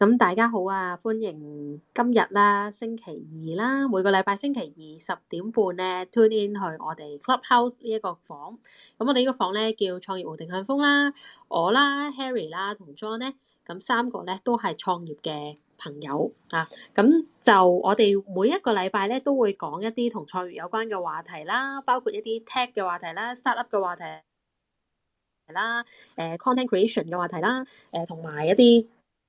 咁大家好啊，歡迎今日啦，星期二啦，每個禮拜星期二10點半咧 tune in 去我哋 Clubhouse 呢一個房。咁我哋呢個房咧叫創業無定向瘋啦，我啦 Harry 啦同 John 咧，咁三個咧都係創業嘅朋友啊。咁就我哋每一個禮拜咧都會講一啲同創業有關嘅話題啦，包括一啲 tech 嘅話題啦、startup 嘅話題啦、content creation 嘅話題啦、同埋一啲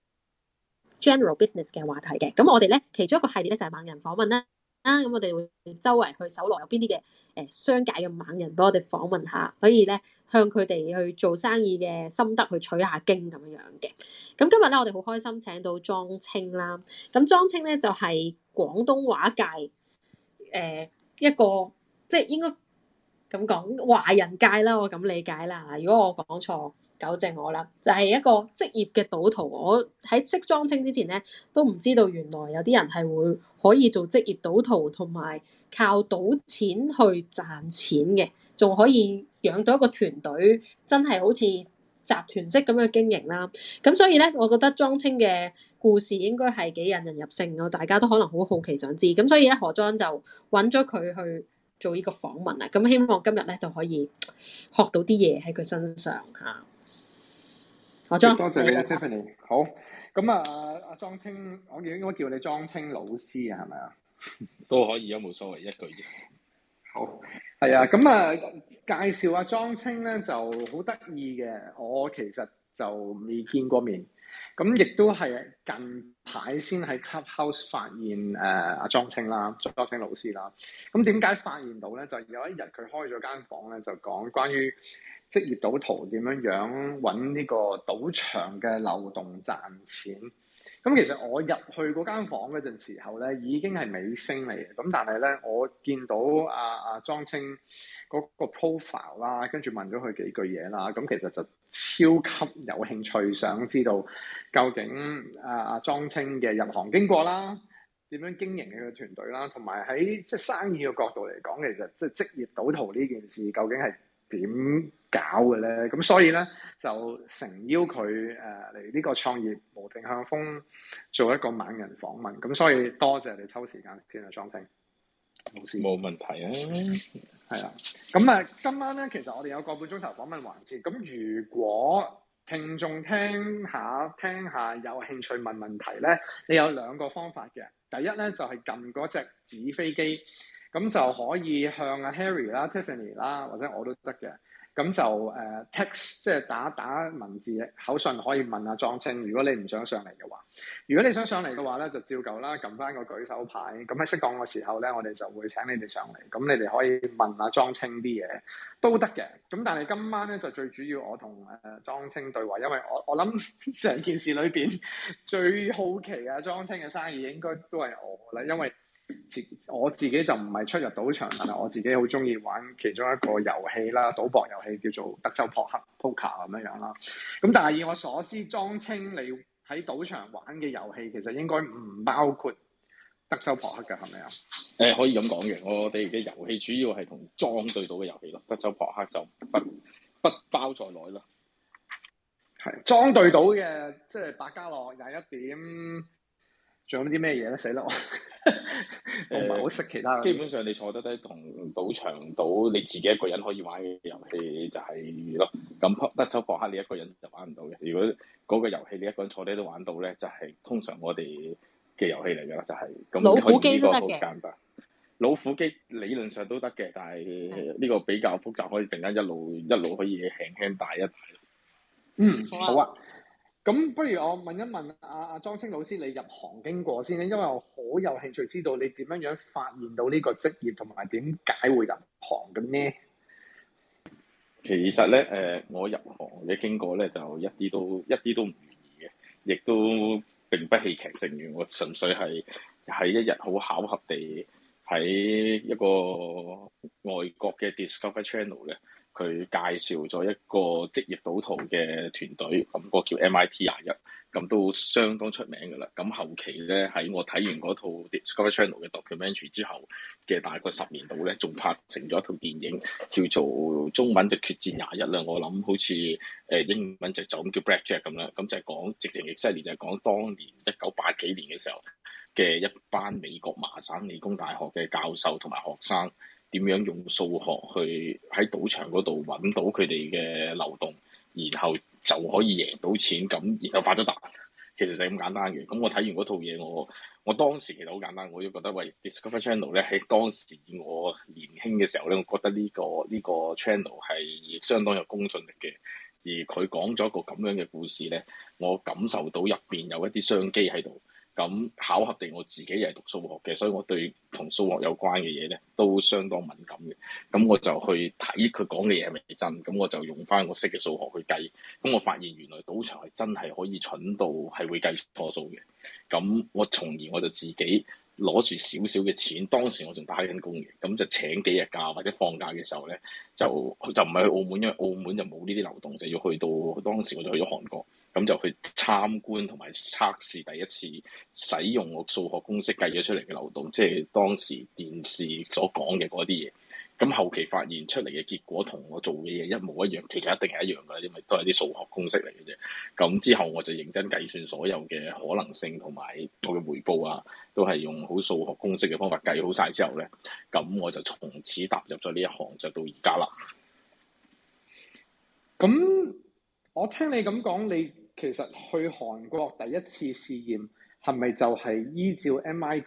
general business 嘅話題嘅。咁我哋咧其中一個系列咧就係猛人訪問啦。咁我哋會周圍去搜羅有邊啲嘅商界嘅猛人俾我哋訪問下，可以咧向佢哋去做生意嘅心得去取下經咁樣嘅。咁今日咧我哋好開心請到莊青啦。咁莊青咧就係廣東話界一個即係應該咁講華人界啦，我咁理解啦。如果我講錯，糾正我啦。就係一個職業嘅賭徒。我喺識莊青之前咧，都唔知道原來有啲人係會可以做職業賭徒，同埋靠賭錢去賺錢嘅，仲可以養到一個團隊，真係好似集團式咁樣經營啦。咁所以咧，我覺得莊青嘅故事應該係幾引人入勝嘅，大家都可能好好奇想知。咁所以咧，何莊就揾咗佢去做呢個訪問啊。咁希望今日咧就可以學到啲嘢喺佢身上嚇。何莊， 多謝你 Tiffany。好，咁阿莊青，我應該叫你莊青老師啊，係咪啊？ 都可以，有冇所謂，一句啫。 好，係啊，咁介紹阿莊青咧就好得意嘅。我其實就未見過面，咁亦都係近排先喺 Clubhouse 發現阿莊青啦，莊青老師啦。咁點解發現到咧？就有一日佢開咗間房咧，就講關於職業賭徒點樣揾呢個賭場嘅漏洞賺錢。咁其實我入去嗰間房嗰陣時候咧，已經係尾聲嚟嘅。咁但係咧，我見到阿莊青嗰個 profile 啦，跟住問咗佢幾句嘢啦。咁其實就超級有興趣，想知道究竟阿莊青嘅入行經過啦，點樣經營佢嘅團隊啦，同埋喺即係生意嘅角度嚟講，其實即係職業賭徒呢件事究竟係點搞嘅咧？咁所以咧就誠邀佢嚟呢個創業無定向瘋做一個猛人訪問。咁所以多謝你抽時間先啊，莊青老師。 冇問題啊。 係啦。咁今晚咧其實我哋有個半鐘頭訪問環節。咁如果聽眾聽下有興趣問問題咧，你有兩個方法嘅。第一咧就係撳嗰隻紙飛機，咁就可以向阿 Harry 啦、Tiffany 啦或者我都得嘅。咁就text 即係打文字口信可以問阿莊青。如果你唔想上嚟嘅話，如果你想上嚟嘅話咧，就照舊啦，撳翻個舉手牌。咁喺適當嘅時候咧，我哋就會請你哋上嚟。咁你哋可以問阿莊青啲嘢都得嘅。咁但係今晚咧就最主要我同莊青對話，因為我諗成件事裏邊最好奇阿莊青嘅生意應該都係我啦，因為我自己就唔係出入賭場，但係我自己好中意玩其中一個遊戲啦，賭博遊戲叫做德州撲克 （Poker） 咁樣啦。咁但係以我所知，莊青你喺賭場玩嘅遊戲其實應該唔包括德州撲克嘅，係咪啊？ 可以咁講嘅，我哋嘅遊戲主要係同莊對賭嘅遊戲咯，德州撲克就不包在內咯。 係莊對賭嘅，即係百家樂、21點，仲有啲咩嘢咧？死啦！我唔係好識其他。 基本上你坐得低同賭場賭，你自己一個人可以玩嘅遊戲就係咯。咁德州撲克你一個人就玩唔到嘅。如果嗰個遊戲你一個人坐低都玩到咧，就係通常我哋嘅遊戲嚟㗎啦，就係咁。 老虎機都得嘅。 簡單。老虎機理論上都得嘅，但係呢個比較複雜，可以陣間一路可以輕輕帶一帶。 好啊。咁不如我問一問阿莊青老師，你入行經過先咧，因為我好有興趣知道你點樣發現到呢個職業，同埋點解會入行嘅呢？ 其實咧，我入行嘅經過咧，就一啲都唔容易嘅，亦都並不戲劇性嘅。我純粹係喺一日好巧合地喺一個外國嘅 Discovery Channel 咧， 佢介紹咗一個職業賭徒嘅團隊，咁個叫 MIT21，咁都相當出名㗎啦。咁後期咧喺我睇完嗰套 Discovery Channel 嘅 documentary 之後嘅大概10年度咧，仲拍成咗一套電影，叫做中文就決戰21啦。我諗好似英文就咁叫 Blackjack 咁啦。咁就係講直情exactly就係講當年1980幾年嘅時候嘅一班美國麻省理工大學嘅教授同埋學生。點樣用數學去喺賭場嗰度揾到佢哋嘅流動，然後就可以贏到錢，咁然後發咗達，其實就係咁簡單嘅。咁我睇完嗰套嘢，我當時其實好簡單，我都覺得喂 Discovery Channel 咧喺當時我年輕嘅時候咧，我覺得呢個 channel 係相當有公信力嘅。而佢講咗一個咁樣嘅故事咧，我感受到入邊有一啲商機喺度。咁巧合地，我自己又係讀數學嘅，所以我對同數學有關嘅嘢咧都相當敏感嘅。咁我就去睇佢講嘅嘢係咪真，咁我就用翻我識嘅數學去計。咁我發現原來賭場係真係可以蠢到係會計錯數嘅。咁我從而我就自己攞住少少嘅錢，當時我仲打緊工嘅，咁就請幾日假或者放假嘅時候咧，就唔係去澳門，因為澳門就冇呢啲流動，就要去到當時我就去咗韓國。咁就去參觀同埋測試第一次使用我數學公式計咗出嚟嘅流動，即係當時電視所講嘅嗰啲嘢。咁後期發現出嚟嘅結果同我做嘅嘢一模一樣，其實一定係一樣㗎啦，因為都係啲數學公式嚟嘅啫。咁之後我就認真計算所有嘅可能性同埋我嘅回報啊，都係用好數學公式嘅方法計好晒之後咧，咁我就從此踏入咗呢一行，就到而家啦。 咁我聽你咁講，你其實去韓國第一次試驗係咪就係依照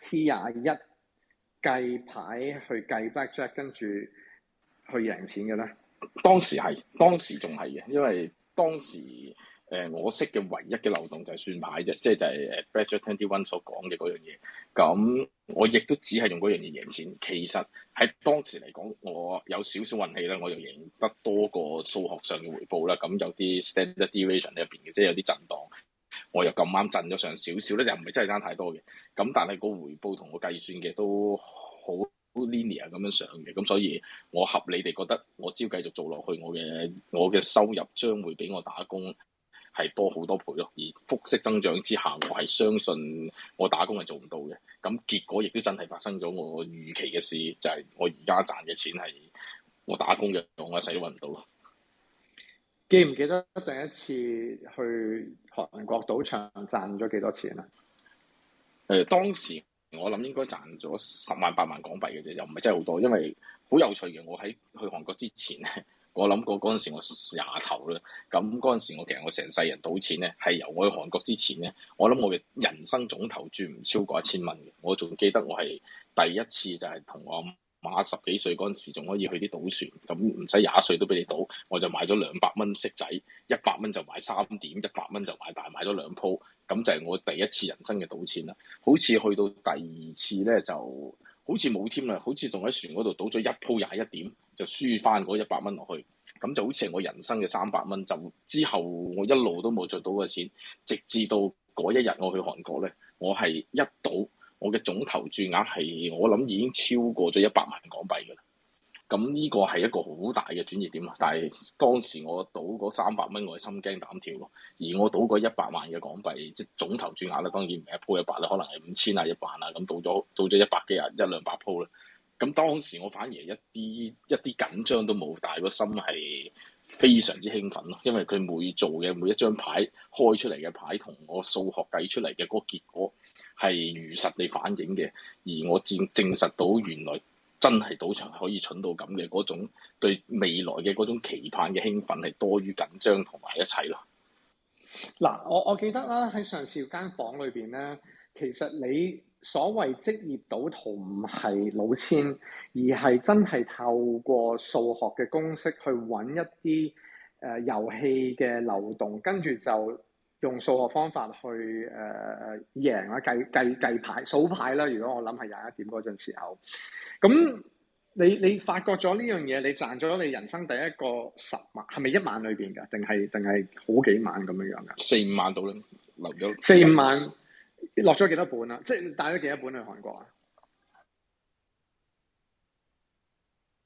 MIT21計牌去計 Blackjack， 跟住去贏錢嘅咧？ 當時仲係嘅，因為當時我識嘅唯一嘅漏洞就係算牌啫，即係就係Blackjack 21所講嘅嗰樣嘢。咁我亦都只係用嗰樣嘢贏錢。其實喺當時嚟講，我有少少運氣啦，我就贏得多過數學上嘅回報啦。咁有啲 standard deviation 喺入邊嘅，即係有啲震盪，我又咁啱震咗上少少咧，就唔係真係爭太多嘅。咁但係個回報同我計算嘅都好 linear 咁樣上嘅，咁所以我合理地覺得我只要繼續做落去，我嘅收入將會比我打工係多好多倍咯。而複式增長之下，我係相信我打工係做唔到嘅。咁結果亦都真係發生咗我預期嘅事，就係我而家賺嘅錢係我打工嘅，我一世都揾唔到咯。 記唔記得第一次去韓國賭場賺咗幾多錢啊？ 當時我諗應該賺咗10萬8萬港幣嘅啫，又唔係真係好多。因為好有趣嘅，我喺去韓國之前咧，我諗過嗰陣時我廿頭啦。咁嗰陣時其實我成世人賭錢咧，係由我去韓國之前咧，我諗我嘅人生總投注唔超過1000蚊嘅。我仲記得我係第一次就係同我媽10幾歲嗰陣時，仲可以去啲賭船，咁唔使20歲都俾你賭，我就買咗200蚊骰仔，100蚊就買3點，100蚊就買大，買咗2鋪，咁就係我第一次人生嘅賭錢啦。好似去到第二次咧，就好似冇添啦，好似仲喺船嗰度賭咗1鋪21點，就輸翻嗰100蚊落去，咁就好似係我人生嘅300蚊。就之後我一路都冇再賭過錢，直至到嗰一日我去韓國咧，我係一賭。我嘅總投注額係我諗已經超過咗100萬港幣㗎啦，咁呢個係一個好大嘅轉捩點啊！但係當時我賭嗰300蚊，我係心驚膽跳咯。而我賭嗰100萬嘅港幣，即係總投注額啦，當然唔係一鋪100啦，可能係5000啊、1萬啊，咁賭咗100幾啊、100-200鋪啦。咁當時我反而一啲緊張都冇，但係個心係非常之興奮咯，因為佢每做嘅每一張牌開出嚟嘅牌，同我數學計出嚟嘅嗰個結果係如實地反映嘅，而我證實到原來真係賭場係可以蠢到咁嘅，嗰種對未來嘅嗰種期盼嘅興奮係多於緊張同埋一切咯。 嗱，我記得啦，喺上次間房裏邊咧，其實你所謂職業賭徒唔係老千，而係真係透過數學嘅公式去揾一啲遊戲嘅漏洞，跟住就用數學方法去贏啦，計牌數牌啦。如果我諗係21點嗰陣時候，咁你發覺咗呢樣嘢，你賺咗你人生第一個10萬，係咪1晚裏邊㗎？定係好幾晚咁樣樣㗎 ？4-5萬到啦，留咗 4-5萬，落咗幾多本啊？即係帶咗幾多本去韓國啊？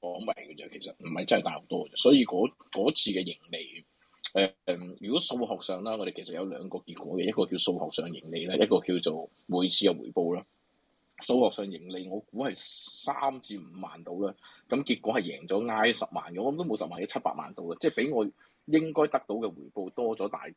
米嘅啫，其實唔係真係大好多嘅，所以嗰次嘅盈利，如果數學上啦，我哋其實有兩個結果嘅，一個叫數學上盈利啦，一個叫做每次嘅回報啦。數學上盈利我估係3至5萬到啦，咁結果係贏咗挨10萬嘅，我諗都冇10萬嘅700萬到啦，即係比我應該得到嘅回報多咗大概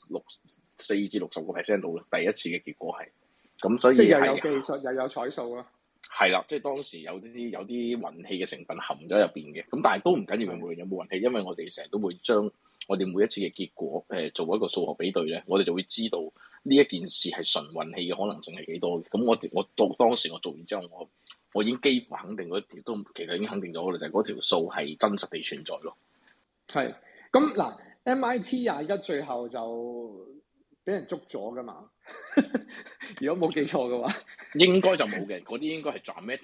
4至60%到啦。第一次嘅結果係，咁所以即係又有技術又有彩數咯。 係啦，即係當時有啲運氣嘅成分含咗入邊嘅，咁但係都唔緊要，無論有冇運氣，因為我哋成日都會將我哋每一次嘅結果做一個數學比對咧，我哋就會知道呢一件事係純運氣嘅可能性係幾多嘅。咁我到當時我做完之後，我已經幾乎肯定嗰條都其實已經肯定咗啦，就係嗰條數係真實地存在咯。 係咁嗱，MIT 21最後就俾人捉咗噶嘛？如果冇記錯嘅話，應該就冇嘅。嗰啲應該係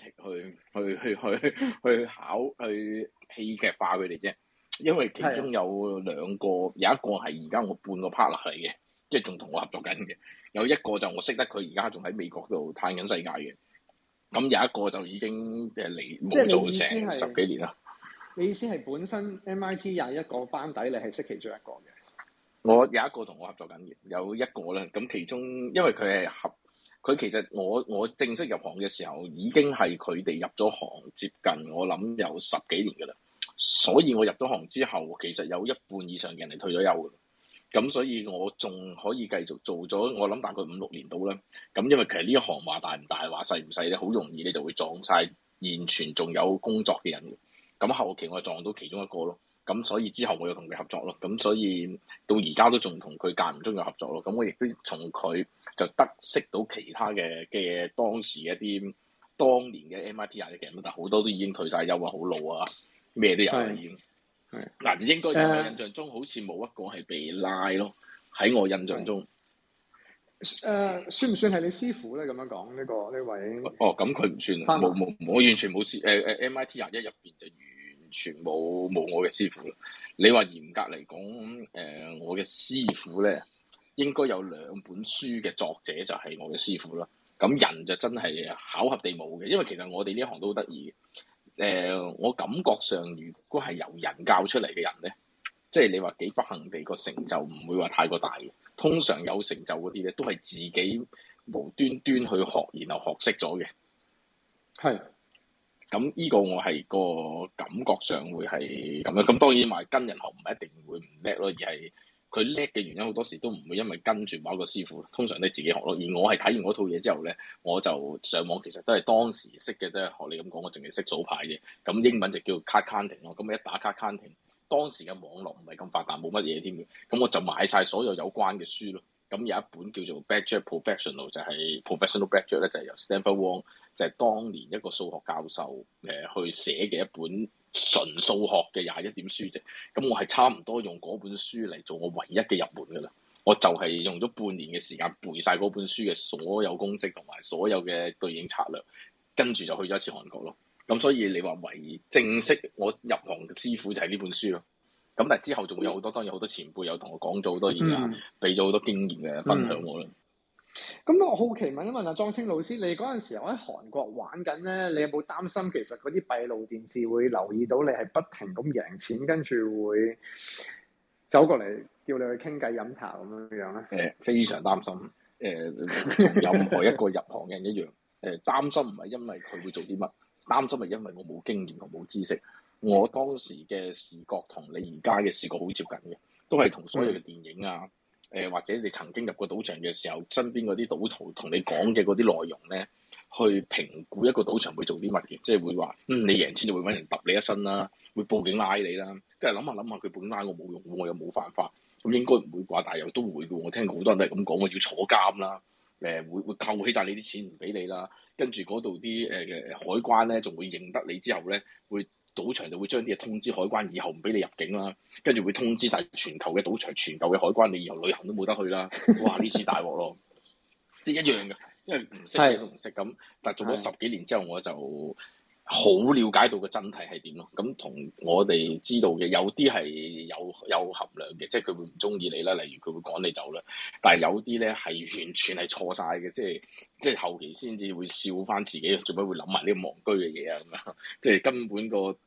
dramatic 去戲劇化佢哋啫。因為其中有兩個，有一個係而家我半個 partner 嚟嘅，即係仲同我合作緊嘅。有一個就我識得佢而家仲喺美國度嘆緊世界嘅。咁有一個就已經嚟冇做成10幾年啦。 你意思係本身 MIT 21個班底，你係識其中一個嘅？ 我有一個同我合作緊嘅，有一個咧。咁其中因為佢其實我正式入行嘅時候已經係佢哋入咗行接近我諗有10幾年㗎啦。所以我入咗行之後，其實有一半以上嘅人係退咗休嘅，咁所以我仲可以繼續做咗，我諗大概5-6年到啦。咁因為其實呢一行話大唔大，話細唔細咧，好容易你就會撞晒現存仲有工作嘅人嘅。咁後期我撞到其中一個咯，咁所以之後我又同佢合作咯。咁所以到而家都仲同佢間唔中有合作咯。咁我亦都從佢就得識到其他嘅當時一啲當年嘅 MIT 21嘅人，但好多都已經退晒休啊，好老啊。咩都有啦，已經。嗱，應該我印象中好似冇一個係被拉咯。喺我印象中， 算唔算係你師傅咧？咁樣講呢位？ 哦，咁佢唔算，冇，我完全冇師。MIT 21入邊就完全冇我嘅師傅啦。你話嚴格嚟講，我嘅師傅咧應該有2本書嘅作者就係我嘅師傅啦。咁人就真係巧合地冇嘅，因為其實我哋呢一行都好得意嘅。我感覺上，如果係由人教出嚟嘅人咧，即係你話幾不幸地個成就唔會話太過大嘅。通常有成就嗰啲咧，都係自己無端端去學，然後學識咗嘅。係。咁呢個我係個感覺上會係咁樣。咁當然話跟人學唔係一定會唔叻咯，而係佢叻嘅原因好多時都唔會因為跟住某一個師傅，通常都係自己學咯。而我係睇完嗰套嘢之後咧，我就上網其實都係當時識嘅啫。學你咁講，我淨係識數牌嘅。咁英文就叫 card counting 咯。咁一打 card counting，當時嘅網絡唔係咁發達，冇乜嘢添嘅。咁我就買晒所有有關嘅書咯。咁有一本叫做 Blackjack Professional， 就係 Professional Blackjack 咧，就係由 Stanford Wong， 就係當年一個數學教授去寫嘅一本純數學嘅21點書籍。咁我係差唔多用嗰本書嚟做我唯一嘅入門噶啦。我就係用咗半年嘅時間背晒嗰本書嘅所有公式同埋所有嘅對應策略，跟住就去咗一次韓國咯。咁所以你話唯正式我入行嘅師傅就係呢本書咯。咁但係之後仲會有好多，當然好多前輩有同我講咗好多嘢啊，俾咗好多經驗嘅分享我啦。 咁我好奇問一問阿莊青老師，你嗰陣時候喺韓國玩緊咧，你有冇擔心其實嗰啲閉路電視會留意到你係不停咁贏錢，跟住會走過嚟叫你去傾偈飲茶咁樣樣咧？ 非常擔心。同任何一個入行嘅人一樣。擔心唔係因為佢會做啲乜，擔心係因為我冇經驗同冇知識。我當時嘅視覺同你而家嘅視覺好接近嘅，都係同所有嘅電影啊，或者你曾經入過賭場嘅時候，身邊嗰啲賭徒同你講嘅嗰啲內容咧，去評估一個賭場會做啲乜嘅，即係會話，你贏錢就會揾人揼你一身啦，會報警拉你啦。即係諗下佢報警拉我冇用，我又冇犯法，咁應該唔會啩？但係又都會嘅。我聽過好多人都係咁講，我要坐監啦，會扣起晒你啲錢唔俾你啦，跟住嗰度啲海關咧仲會認得你之後咧會。賭場就會將啲嘢通知海關，以後唔俾你入境啦。跟住會通知晒全球嘅賭場、全球嘅海關，你以後旅行都冇得去啦。哇！呢次大鑊咯，即係一樣嘅，因為唔識嘢都唔識咁。但係做咗10幾年之後，我就好了解到個真諦係點咯。咁同我哋知道嘅有啲係有含量嘅，即係佢會唔中意你啦，例如佢會趕你走啦。但係有啲咧係完全係錯晒嘅，即係後期先至會笑翻自己，做咩會諗埋呢個戇居嘅嘢啊咁樣？即係根本個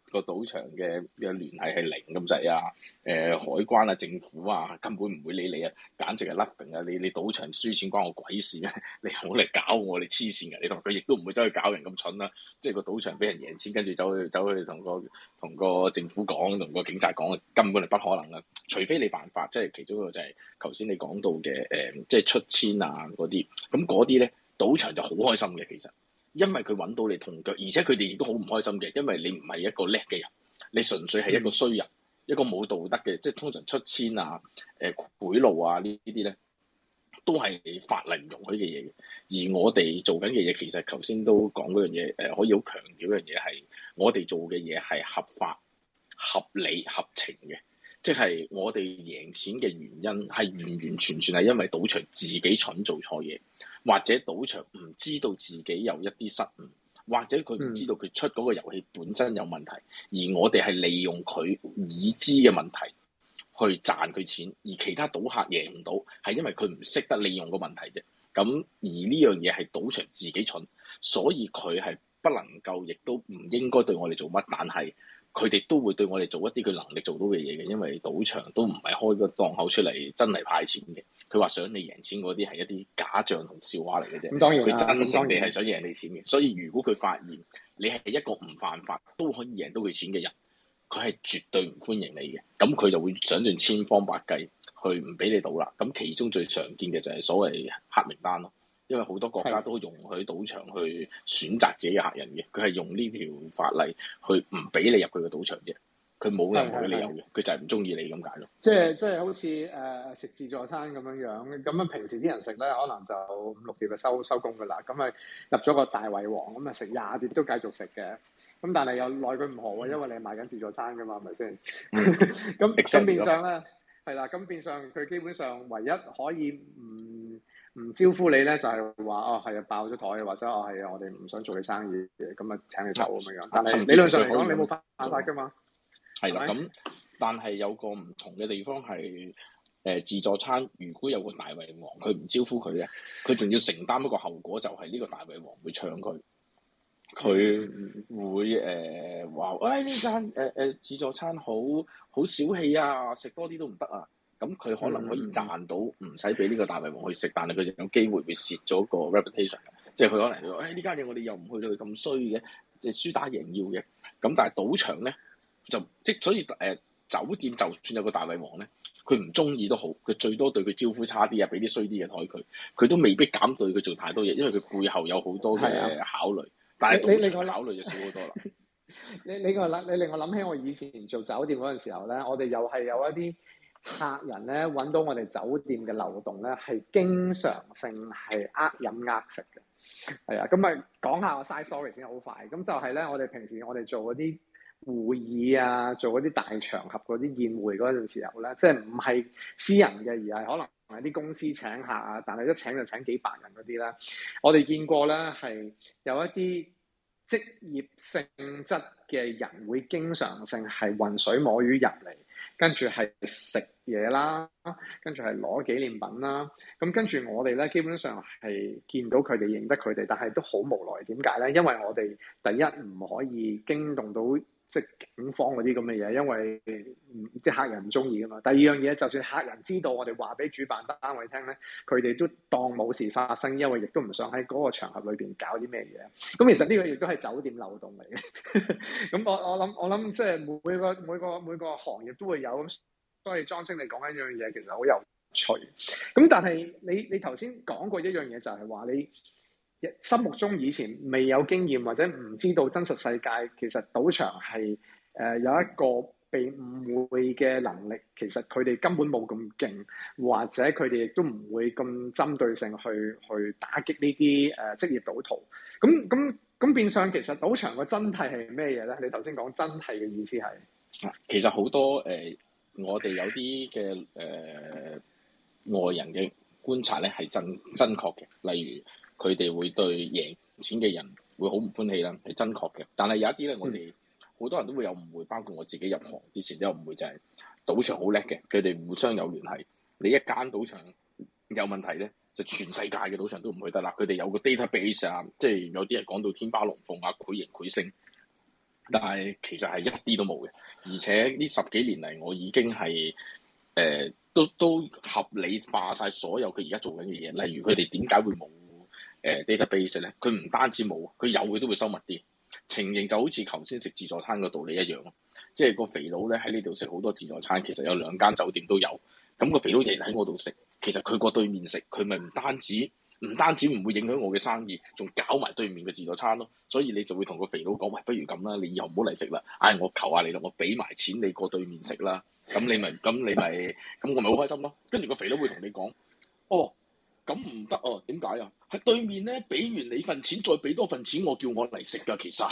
個賭場嘅聯繫係零咁滯啊！海關啊、政府啊，根本唔會理你啊，簡直係 nothing 啊！你賭場輸錢關我鬼事咩？你唔好嚟搞我，你黐線㗎！你同佢亦都唔會走去搞人咁蠢啦！即係個賭場俾人贏錢，跟住走去同個政府講，同個警察講，根本係不可能啦！除非你犯法，即係其中一個就係頭先你講到嘅即係出千啊嗰啲，咁嗰啲咧賭場就好開心嘅，其實。因為佢揾到你痛腳，而且佢哋亦都好唔開心嘅，因為你唔係一個叻嘅人，你純粹係一個衰人，一個冇道德嘅，即係通常出千啊、賄賂啊呢啲咧，都係法例唔容許嘅嘢嘅。而我哋做緊嘅嘢，其實頭先都講嗰樣嘢，可以好強調一樣嘢係，我哋做嘅嘢係合法、合理、合情嘅，即係我哋贏錢嘅原因係完完全全係因為賭場自己蠢做錯嘢。或者賭場唔知道自己有一啲失誤，或者佢唔知道佢出嗰個遊戲本身有問題，而我哋係利用佢已知嘅問題去賺佢錢，而其他賭客贏唔到，係因為佢唔識得利用個問題啫。咁而呢樣嘢係賭場自己蠢，所以佢係不能夠，亦都唔應該對我哋做乜，但係佢哋都會對我哋做一啲佢能力做到嘅嘢嘅，因為賭場都唔係開個檔口出嚟真係派錢嘅。佢話想你贏錢嗰啲係一啲假象同笑話嚟嘅啫。咁當然佢真誠地係想贏你錢嘅。所以如果佢發現你係一個唔犯法都可以贏到佢錢嘅人，佢係絕對唔歡迎你嘅。咁佢就會想盡千方百計去唔俾你賭啦。咁其中最常見嘅就係所謂黑名單咯。因為好多國家都容許賭場去選擇自己嘅客人嘅，佢係用呢條法例去唔俾你入佢嘅賭場啫。佢冇任何嘅理由嘅，佢就係唔中意你咁解咯。 即係好似食自助餐咁樣，咁啊平時啲人食咧，可能就5-6碟就收工噶啦。咁啊入咗個大胃王，咁啊食20碟都繼續食嘅。咁但係又奈佢唔何喎，因為你係賣緊自助餐噶嘛，係咪先？咁變相咧係啦，咁變相佢基本上唯一可以唔招呼你咧，就係話係啊爆咗台，或者係啊我哋唔想做你生意嘅，咁啊請你走咁樣。但係理論上嚟講，你冇犯法噶嘛。 係啦，咁但係有個唔同嘅地方係自助餐，如果有個大胃王，佢唔招呼佢咧，佢仲要承擔一個後果，就係呢個大胃王會搶佢，佢會話呢間自助餐好小氣啊，食多啲都唔得啊。咁佢可能可以賺到，唔使俾呢個大胃王去食，但係佢有機會會蝕咗個 reputation，即係佢可能話呢間嘢我哋又唔去到佢咁衰嘅，即係輸打贏要嘅。咁但係賭場咧。所以酒店就算有個大胃王咧，佢唔中意都好，佢最多對佢招呼差啲啊，俾啲衰啲嘅台佢都未必敢對佢做太多嘢，因為佢背後有好多嘅考慮。但係賭場考慮就少好多啦。 你令我諗起我以前做酒店嗰陣時候咧，我哋又係有一啲客人咧揾到我哋酒店嘅漏洞咧，係經常性係飲食嘅。係啊，咁咪講下我 side story 先，好快。咁就係咧，我哋平時我哋做嗰啲會議啊，做嗰啲大場合嗰啲宴會嗰陣時候咧，即係唔係私人嘅，而係可能係啲公司請客啊，但係一請就請幾百人嗰啲咧，我哋見過咧係有一啲職業性質嘅人會經常性係渾水摸魚入嚟，跟住係食嘢啦，跟住係攞紀念品啦，咁跟住我哋咧基本上係見到佢哋認得佢哋，但係都好無奈。點解咧？因為我哋第一唔可以驚動到即係警方嗰啲咁嘅嘢，因為即係客人唔中意噶嘛。第二樣嘢，就算客人知道我哋話俾主辦單位聽咧，佢哋都當冇事發生，因為亦都唔想喺嗰個場合裏邊搞啲咩嘢。咁其實呢個亦都係酒店漏洞嚟嘅。咁我諗即係每個行業都會有，所以莊青你講一樣嘢其實好有趣。咁但係你頭先講過一樣嘢，就係話你心目中以前未有經驗或者唔知道真實世界，其實賭場係有一個被誤會嘅能力，其實佢哋根本冇咁勁，或者佢哋亦都唔會咁針對性去打擊呢啲職業賭徒。咁變相其實賭場個真諦係咩嘢咧？你頭先講真諦嘅意思係其實好多我哋有啲嘅外人嘅觀察咧係真確嘅，例如佢哋會對贏錢嘅人會好唔歡喜啦，係真確嘅。但係有一啲咧，我哋好多人都會有誤會，包括我自己入行之前都有誤會，就係賭場好叻嘅，佢哋互相有聯繫。你一間賭場有問題咧，就全世界嘅賭場都唔去得啦。佢哋有個 database 啊，即係有啲人講到天花龍鳳啊，繪形繪聲。 但係其實係一啲都冇嘅，而且呢10幾年嚟，我已經係都合理化晒所有佢而家做緊嘅嘢。例如佢哋點解會冇database 咧？佢唔單止冇，佢有佢都會收密啲。情形就好似頭先食自助餐個道理一樣，即係個肥佬咧喺呢度食好多自助餐，其實有2間酒店都有。咁個肥佬日日喺我度食，其實佢個對面食，佢咪唔單止唔會影響我嘅生意，仲搞埋對面嘅自助餐咯。所以你就會同個肥佬講：喂，不如咁啦，你以後唔好嚟食啦。我求下你啦，我俾埋錢你過對面食啦。咁我咪好開心咯。跟住個肥佬會同你講：哦，咁唔得哦，點解啊？喺對面咧，俾完你份錢，再俾多份錢，我叫我嚟食㗎。其實，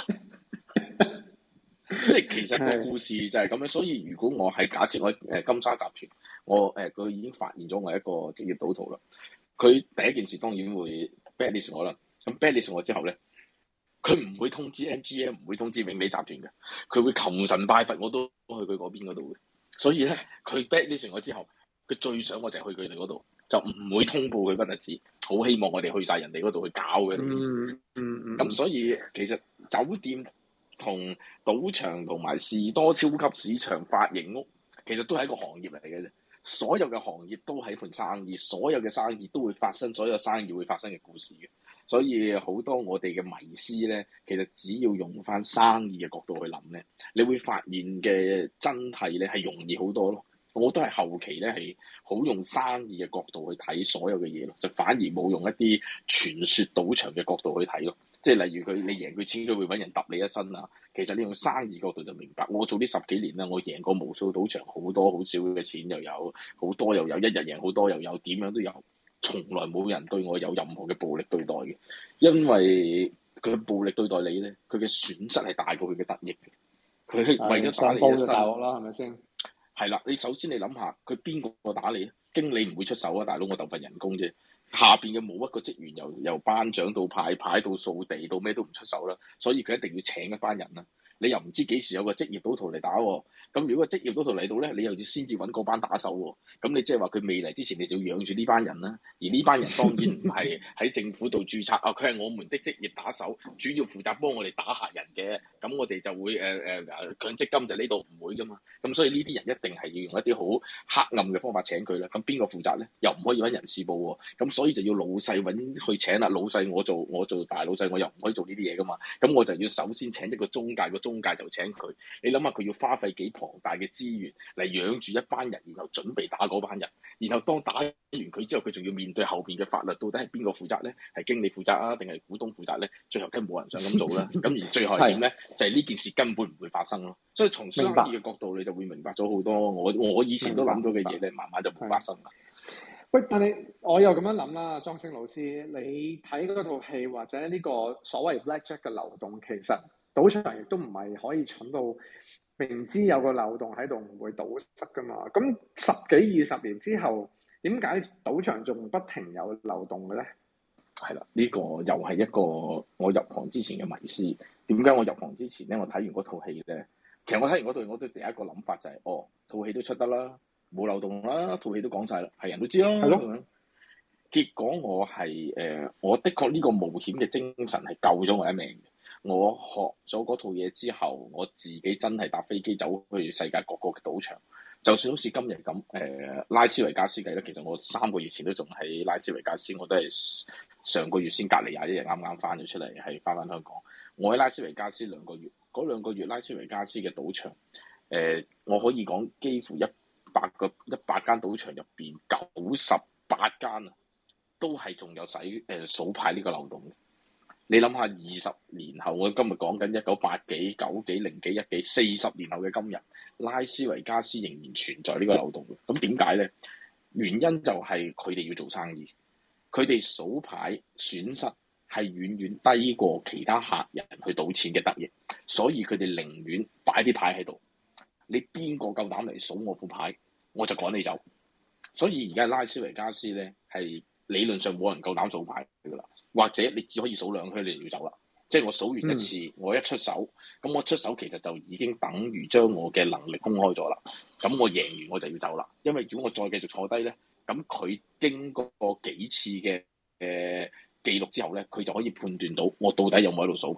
即係其實個故事就係咁樣。所以如果我係假設我金沙集團，佢已經發現咗我係一個職業賭徒啦。佢第一件事當然會 blacklist 我啦。咁 blacklist 我之後咧，佢唔會通知 MGM，唔會通知永利集團嘅。佢會求神拜佛，我都去佢嗰邊嗰度嘅。所以咧，佢 blacklist 我之後，佢最想我就係去佢哋嗰度，就唔會通報佢不特止。好希望我哋去晒人哋嗰度去搞嘅。咁所以其實酒店同賭場同埋士多超級市場、髮型屋，其實都係一個行業嚟嘅啫。所有嘅行業都係一盤生意，所有嘅生意都會發生，所有生意會發生嘅故事嘅。所以好多我哋嘅迷思咧，其實只要用翻生意嘅角度去諗咧，你會發現嘅真諦咧係容易好多咯。我都係後期咧係好用生意嘅角度去睇所有嘅嘢咯，就反而冇用一啲傳說賭場嘅角度去睇咯。即係例如你贏佢錢，佢會揾人揼你一身啊。其實你用生意角度就明白。我做呢10幾年啦，我贏過無數賭場，好多好少嘅錢又有，好多又有，一日贏好多又有，點樣都有，從來冇人對我有任何嘅暴力對待嘅。因為佢暴力對待你咧，佢嘅損失係大過佢嘅得益嘅。佢為咗打你一身， 大鑊啦，係咪先？ 係啦，你首先你諗下，佢邊個打你？經理唔會出手啊，大佬，我鬥份人工啫。下邊嘅冇一個職員由班長到派到掃地到咩都唔出手啦，所以佢一定要請一班人啦。你又唔知幾時有個職業賭徒嚟打喎，咁如果個職業賭徒嚟到咧，你又要先至揾嗰班打手喎，咁你即係話佢未嚟之前，你就要養住呢班人啦。而呢班人當然唔係喺政府度註冊啊，佢係我們的職業打手，主要負責幫我哋打客人嘅，咁我哋就會強積金就呢度唔會噶嘛，咁所以呢啲人一定係要用一啲好黑暗嘅方法請佢啦。咁邊個負責咧？又唔可以揾人事部喎，咁所以就要老細揾去請啦。老細我做大老細，我又唔可以做呢啲嘢噶嘛，咁我就要首先請一個中介，個中介就請佢。你諗下佢要花費幾龐大嘅資源嚟養住一班人，然後準備打嗰班人，然後當打完佢之後，佢仲要面對後邊嘅法律，到底係邊個負責咧？係經理負責啊，定係股東負責咧？最後梗係冇人想咁做啦。咁而最後係點咧？就係呢件事根本唔會發生咯。所以從生意嘅角度，你就會明白咗好多我以前都諗咗嘅嘢咧，慢慢就冇發生啦。 喂，但係我又咁樣諗啦，莊星老師，你睇嗰套戲或者呢個所謂 Blackjack 嘅流動，其實賭場亦都唔係可以蠢到明知有個漏洞喺度唔會堵塞噶嘛。咁10幾20年之後，點解賭場仲不停有漏洞嘅咧？ 係啦，呢個又係一個我入行之前嘅迷思。點解我入行之前咧，我睇完嗰套戲咧，其實我睇完嗰套戲，我都第一個諗法就係，套戲都出得啦，冇漏洞啦，套戲都講晒啦，係人都知啦。係咯。結果我係我的確呢個冒險嘅精神係救咗我一命嘅。我學咗嗰套嘢之後，我自己真係搭飛機走去世界各個嘅賭場，就算好似今日咁拉斯維加斯計咧，其實我3個月前都仲喺拉斯維加斯，我都係上個月先隔離21日啱啱翻咗出嚟，係翻香港。我喺拉斯維加斯2個月，嗰2個月拉斯維加斯嘅賭場，我可以講幾乎100間賭場入邊98間啊，都係仲有數牌呢個漏洞嘅。你諗下20年後，我今日講緊1980幾、90幾、0幾、1幾40年後嘅今日，拉斯維加斯仍然存在呢個漏洞嘅。咁點解咧？原因就係佢哋要做生意，佢哋數牌損失係遠遠低過其他客人去賭錢嘅得益，所以佢哋寧願擺啲牌喺度。你邊個夠膽嚟數我副牌，我就趕你走。所以而家拉斯維加斯咧係理論上冇人夠膽數牌㗎啦，或者你只可以數2圈，你就要走啦。即係我數完一次，我一出手，咁我出手其實就已經等於將我嘅能力公開咗啦。咁我贏完我就要走啦，因為如果我再繼續坐低咧，咁佢經過幾次嘅記錄之後咧，佢就可以判斷到我到底有冇喺度數牌啦。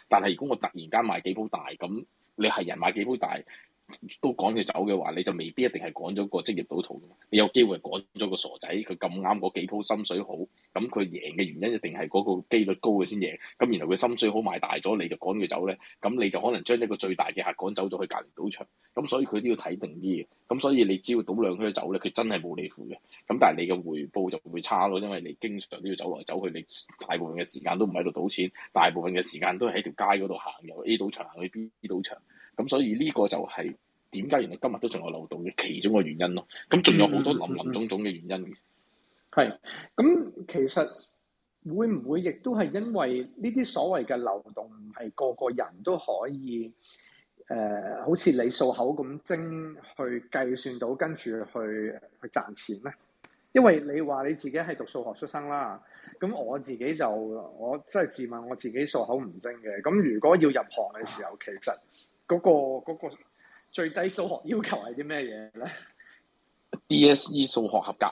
但係如果我突然間買幾鋪大，咁你係人買幾鋪大都趕佢走嘅話，你就未必一定係趕咗個職業賭徒。你有機會趕咗個傻仔，佢咁啱嗰幾鋪心水好，咁佢贏嘅原因一定係嗰個機率高嘅先贏。咁然後佢心水好買大咗，你就趕佢走咧，咁你就可能將一個最大嘅客趕走咗去隔離賭場。咁所以佢都要睇定啲嘅。咁所以你只要賭兩圈走咧，佢真係冇你符嘅。咁但係你嘅回報就會差咯，因為你經常都要走來走去，你大部分嘅時間都唔喺度賭錢，大部分嘅時間都係喺條街嗰度行，由 A 賭場行去 B 賭場。咁所以呢個就係點解原來今日都仲有漏洞嘅其中個原因咯。咁仲有好多林林總總嘅原因。 係，咁其實會唔會亦都係因為呢啲所謂嘅漏洞唔係個個人都可以好似你數口咁精去計算到，跟住去賺錢咧？因為你話你自己係讀數學出身啦，咁我自己就我真係自問我自己數口唔精嘅。咁如果要入行嘅時候，其實嗰個最低數學要求係啲咩嘢咧 DSE 數學合格，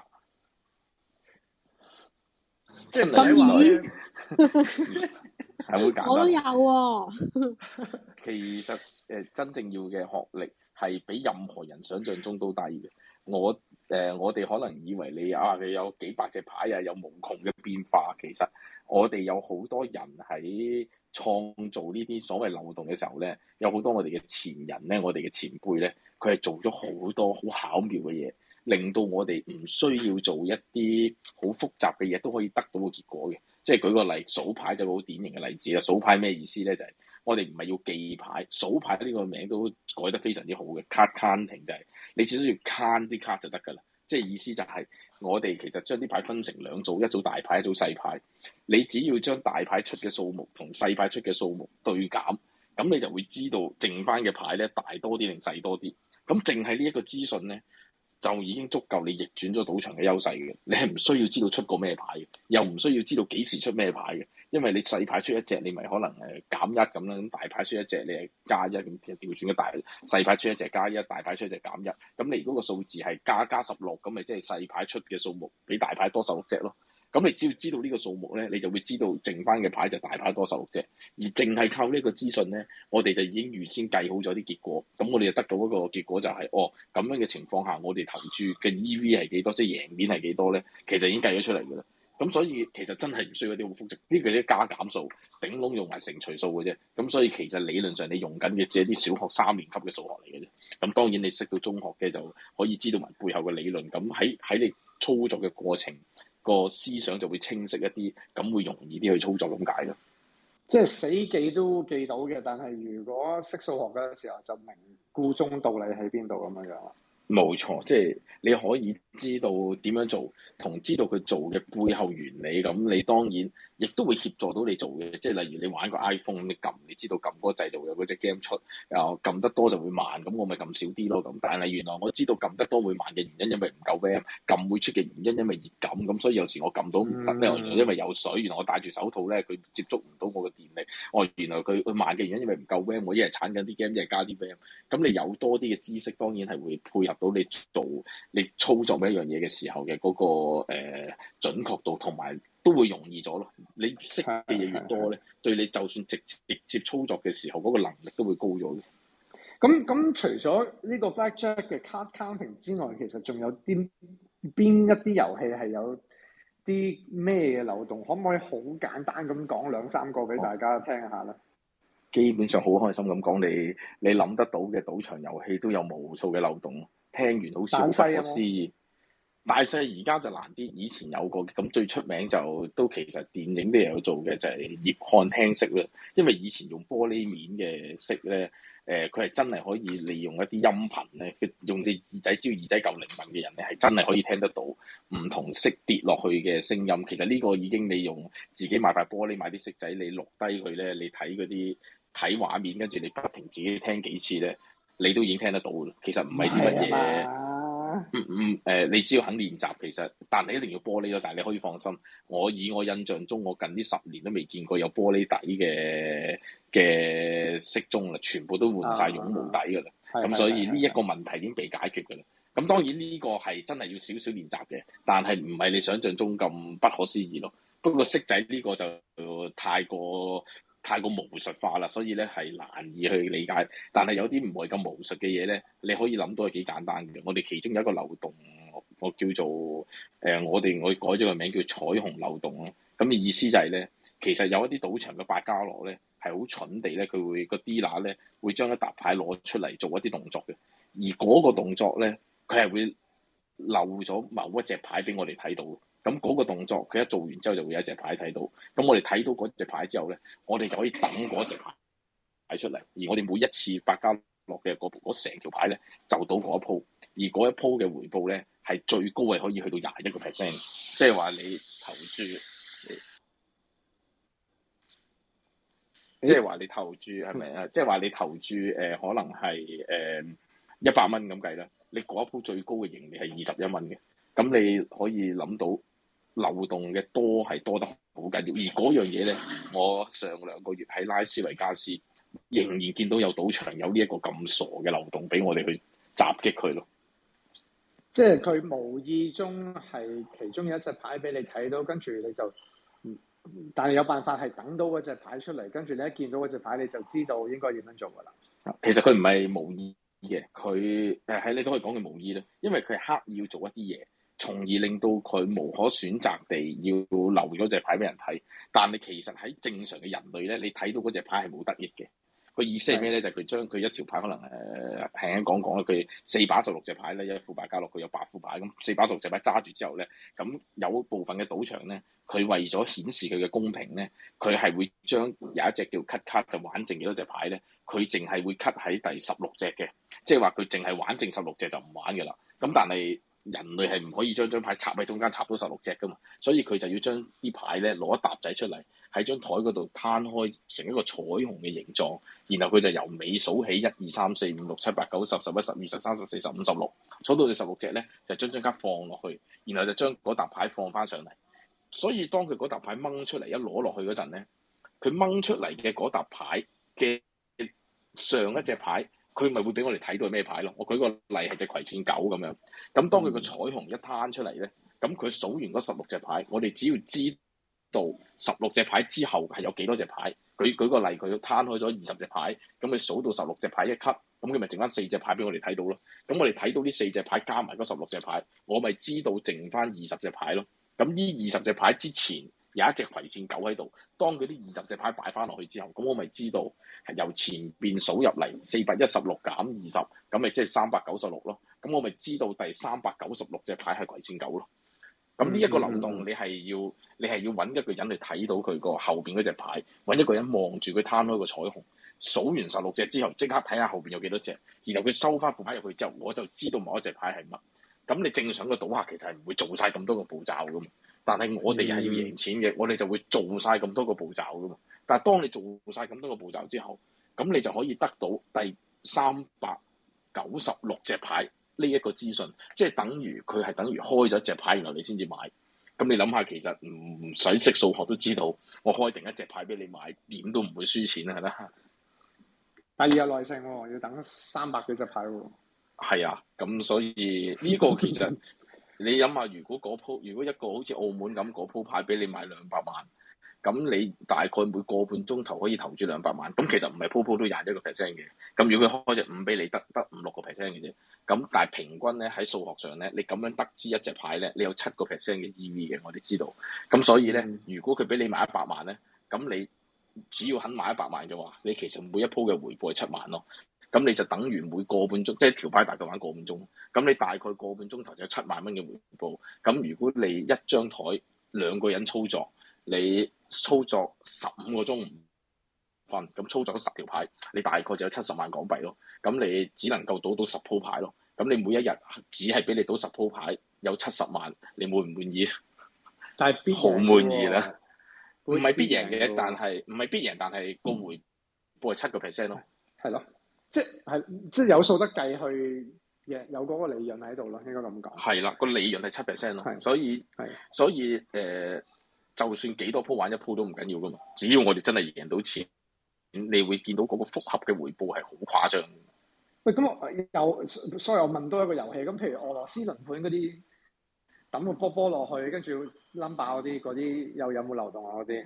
即係咁易係會簡單。 我都有喎。 其實真正要嘅學歷係比任何人想象中都低嘅。我哋可能以為你有幾百隻牌啊，有無窮嘅變化。其實我哋有好多人喺創造呢啲所謂漏洞嘅時候咧，有好多我哋嘅前人咧，我哋嘅前輩咧，佢係做咗好多好巧妙嘅嘢，令到我哋唔需要做一啲好複雜嘅嘢都可以得到個結果嘅。即係舉個例，數牌就好典型嘅例子啦。數牌咩意思咧？就係我哋唔係要記牌，數牌呢個名都改得非常之好嘅。card counting 就係你只需要 count 啲 card 就得㗎啦。即係意思就係我哋其實將啲牌分成兩組，一組大牌，一組細牌。你只要將大牌出嘅數目同細牌出嘅數目對減，咁你就會知道剩翻嘅牌咧大多啲定細多啲。咁淨係呢一個資訊咧，就已經足夠你逆轉咗賭場嘅優勢嘅。你係唔需要知道出過咩牌嘅，又唔需要知道幾時出咩牌嘅。因為你細牌出一隻，你咪可能減一咁啦。咁大牌出一隻，你係加一咁調轉嘅大細牌出一隻加一，大牌出一隻減一。咁你如果個數字係加16，咁咪即係細牌出嘅數目比大牌多16隻咯。咁你只要知道呢個數目咧，你就會知道剩翻嘅牌就大牌多16隻。而淨係靠呢個資訊咧，我哋就已經預先計好咗啲結果。咁我哋就得到一個結果就係，咁樣嘅情況下，我哋投注嘅 EV 係幾多，即係贏面係幾多咧？其實已經計咗出嚟㗎啦。咁所以其實真係唔需要一啲好複雜，呢個啲加減數，頂籠用埋乘除數嘅啫。咁所以其實理論上你用緊嘅只係啲小學3年級嘅數學嚟嘅啫。咁當然你識到中學嘅就可以知道埋背後嘅理論。咁喺你操作嘅過程，個思想就會清晰一啲，咁會容易啲去操作咁解咯。 即係死記都記到嘅，但係如果識數學嘅時候就明故中道理喺邊度咁樣樣。 冇錯，即係你可以知道點樣做，同知道佢做嘅背後原理，咁你當然亦都會協助到你做嘅。即係例如你玩個 iPhone，你知道撳嗰個掣就會有嗰隻 game 出，撳得多就會慢，咁我咪撳少啲咯。咁但係原來我知道撳得多會慢嘅原因，因為唔夠 RAM，撳會出嘅原因因為熱感，咁所以有時我撳到唔得咧，因為有水。原來我戴住手套咧，佢接觸唔到我嘅電力。原來佢慢嘅原因因為唔夠 RAM，我一係鏟緊啲 game，一係加啲 RAM。咁你有多啲嘅知識，當然係會配合到你操作每一樣嘢嘅時候嘅嗰個準確度，同埋都會容易咗咯。你識嘅嘢越多咧，對你就算直接操作嘅時候嗰個能力都會高咗嘅。 咁除咗呢個 Blackjack 嘅 card counting 之外，其實仲有邊一啲遊戲係有啲咩嘅漏洞？可唔可以好簡單咁講2-3個俾大家聽下咧？ 基本上好開心咁講，你諗得到嘅賭場遊戲都有無數嘅漏洞。聽完好似好不可思議。大細而家就難啲，以前有過嘅。咁最出名就都其實電影都有做嘅，就係葉漢聽色啦。因為以前用玻璃面嘅色咧，佢係真係可以利用一啲音頻咧，用隻耳仔，只要耳仔夠靈敏嘅人咧，係真係可以聽得到唔同色跌落去嘅聲音。其實呢個已經你用自己買塊玻璃買啲色仔，你錄低佢咧，你睇嗰啲睇畫面，跟住你不停自己聽幾次咧，你都已經聽得到啦。其實唔係啲乜嘢。你只要肯練習，其實，但係一定要玻璃咯。但係你可以放心，以我印象中，我近呢10年都未見過有玻璃底嘅骰盅啦，全部都換晒絨毛底噶啦。咁所以呢一個問題已經被解決噶啦。咁當然呢個係真係要少少練習嘅，但係唔係你想象中咁不可思議咯。不過骰仔呢個就太過太過巫術化啦，所以咧係難以去理解。但係有啲唔係咁巫術嘅嘢咧，你可以諗到係幾簡單嘅。我哋其中有一個漏洞，我叫做我改咗個名叫彩虹漏洞咯。咁嘅意思就係咧，其實有一啲賭場嘅百家樂咧係好蠢地咧，佢會個 dealer 咧會將一沓牌攞出嚟做一啲動作嘅，而嗰個動作咧佢係會漏咗某一隻牌俾我哋睇到。咁嗰個動作，佢一做完之後就會有一隻牌睇到。咁我哋睇到嗰隻牌之後咧，我哋就可以等嗰隻牌出嚟。而我哋每一次百家樂嘅嗰成條牌咧，就賭嗰一鋪。而嗰一鋪嘅回報咧，係最高係可以去到21%。即係話你投注，即係話你投注係咪啊？即係話你投注可能係100蚊咁計啦。你嗰一鋪最高嘅盈利係21蚊嘅。咁你可以諗到。漏洞嘅係多得好緊要，而嗰樣嘢咧，我上2個月喺拉斯維加斯仍然見到有賭場有呢一個咁傻嘅漏洞俾我哋去襲擊佢咯。 即係佢無意中係其中有一隻牌俾你睇到，跟住你就，但係有辦法係等到嗰隻牌出嚟，跟住你一見到嗰隻牌你就知道應該點樣做㗎啦。 其實佢唔係無意嘅，佢你都可以講佢無意啦，因為佢係刻意要做一啲嘢。從而令到佢無可選擇地要留咗隻牌俾人睇，但係其實喺正常嘅人類咧，你睇到嗰隻牌係冇得益嘅。個意思係咩咧？就係佢將佢一條牌可能輕輕講啦，佢416隻牌咧，一副百家樂佢有8副牌，咁416隻牌揸住之後咧，咁有部分嘅賭場咧，佢為咗顯示佢嘅公平咧，佢係會將有一隻叫 cut 卡就玩剩幾多隻牌咧，佢淨係會 cut 喺第16隻嘅，即係話佢淨係玩剩16隻就唔玩嘅啦。咁但係人類係唔可以將張牌插喺中間插到16隻噶嘛，所以佢就要將啲牌咧攞一沓仔出嚟喺張台嗰度攤開成一個彩虹嘅形狀，然後佢就由尾數起1、2、3、4、5、6、7、8、9、10、11、12、13、14、15、16，數到第16隻咧就將張卡放落去，然後就將嗰沓牌放翻上嚟。所以當佢嗰沓牌掹出嚟一攞落去嗰陣咧，佢掹出嚟嘅嗰沓牌嘅上一隻牌。佢咪會俾我哋睇到係咩牌咯？我舉個例係隻葵扇狗咁樣。咁當佢個彩虹一攤出嚟咧，咁佢數完嗰16隻牌，我哋只要知道16隻牌之後係有幾多隻牌。舉個例，佢攤開咗20隻牌，咁佢數到16隻牌一級，咁佢咪剩翻4隻牌俾我哋睇到咯。咁我哋睇到呢4隻牌加埋嗰16隻牌，我咪知道剩翻20隻牌咯。咁呢20隻牌之前有一隻葵扇狗喺度，當佢啲20隻牌擺翻落去之後，咁我咪知道係由前邊數入嚟416減20，咁咪即係396咯。咁我咪知道第396隻牌係葵扇狗咯。咁呢一個漏洞，你係要揾一個人去睇到佢個後邊嗰隻牌，揾一個人望住佢攤開個彩虹，數完16隻之後，即刻睇下後邊有幾多隻，然後佢收翻副牌入去之後，我就知道某一隻牌係乜。咁你正常嘅賭客其實係唔會做晒咁多個步驟噶嘛。但係我哋係要贏錢嘅，我哋就會做晒咁多個步驟噶嘛。但係當你做晒咁多個步驟之後，咁你就可以得到第396隻牌呢一個資訊，即係等於佢係等於開咗一隻牌，然後你先至買。咁你諗下，其實唔使識數學都知道，我開定一隻牌俾你買，點都唔會輸錢啊，係啦。 但係要有耐性喎，要等300幾隻牌喎。 係啊，咁所以呢個其實。你諗下，如果一個好似澳門咁嗰鋪牌俾你買200萬，咁你大概每個半鐘頭可以投注200萬，咁其實唔係鋪鋪都21%嘅。咁如果佢開隻5俾你，得5-6%嘅啫。咁但係平均咧喺數學上咧，你咁樣得知一隻牌咧，你有7%嘅 EV 嘅，我哋知道。咁所以咧，如果佢俾你買100萬咧，咁你只要肯買100萬嘅話，你其實每一鋪嘅回報係7萬咯。咁你就等於每個半鐘，即係條牌大概玩個半鐘。咁你大概個半鐘頭就有7萬蚊嘅回報。咁如果你一張台2個人操作，你操作15個鐘唔瞓，咁操作咗10條牌，你大概就有70萬港幣咯。咁你只能夠賭到10鋪牌咯。咁你每一日只係俾你賭10鋪牌，有70萬，你滿唔滿意？ 但係好滿意啦！唔係必贏嘅，但係唔係必贏，但係個回報係7%咯。 係咯。即係有數得計去有嗰個利潤喺度咯，應該咁講。係啦，個利潤係7%咯，所以就算幾多鋪玩一鋪都唔緊要噶嘛，只要我哋真係贏到錢，你會見到嗰個複合嘅回報係好誇張。 喂，咁所以我問多一個遊戲，咁譬如俄羅斯輪盤嗰啲抌個波落去，跟住冧爆嗰啲又有冇漏洞啊？嗰啲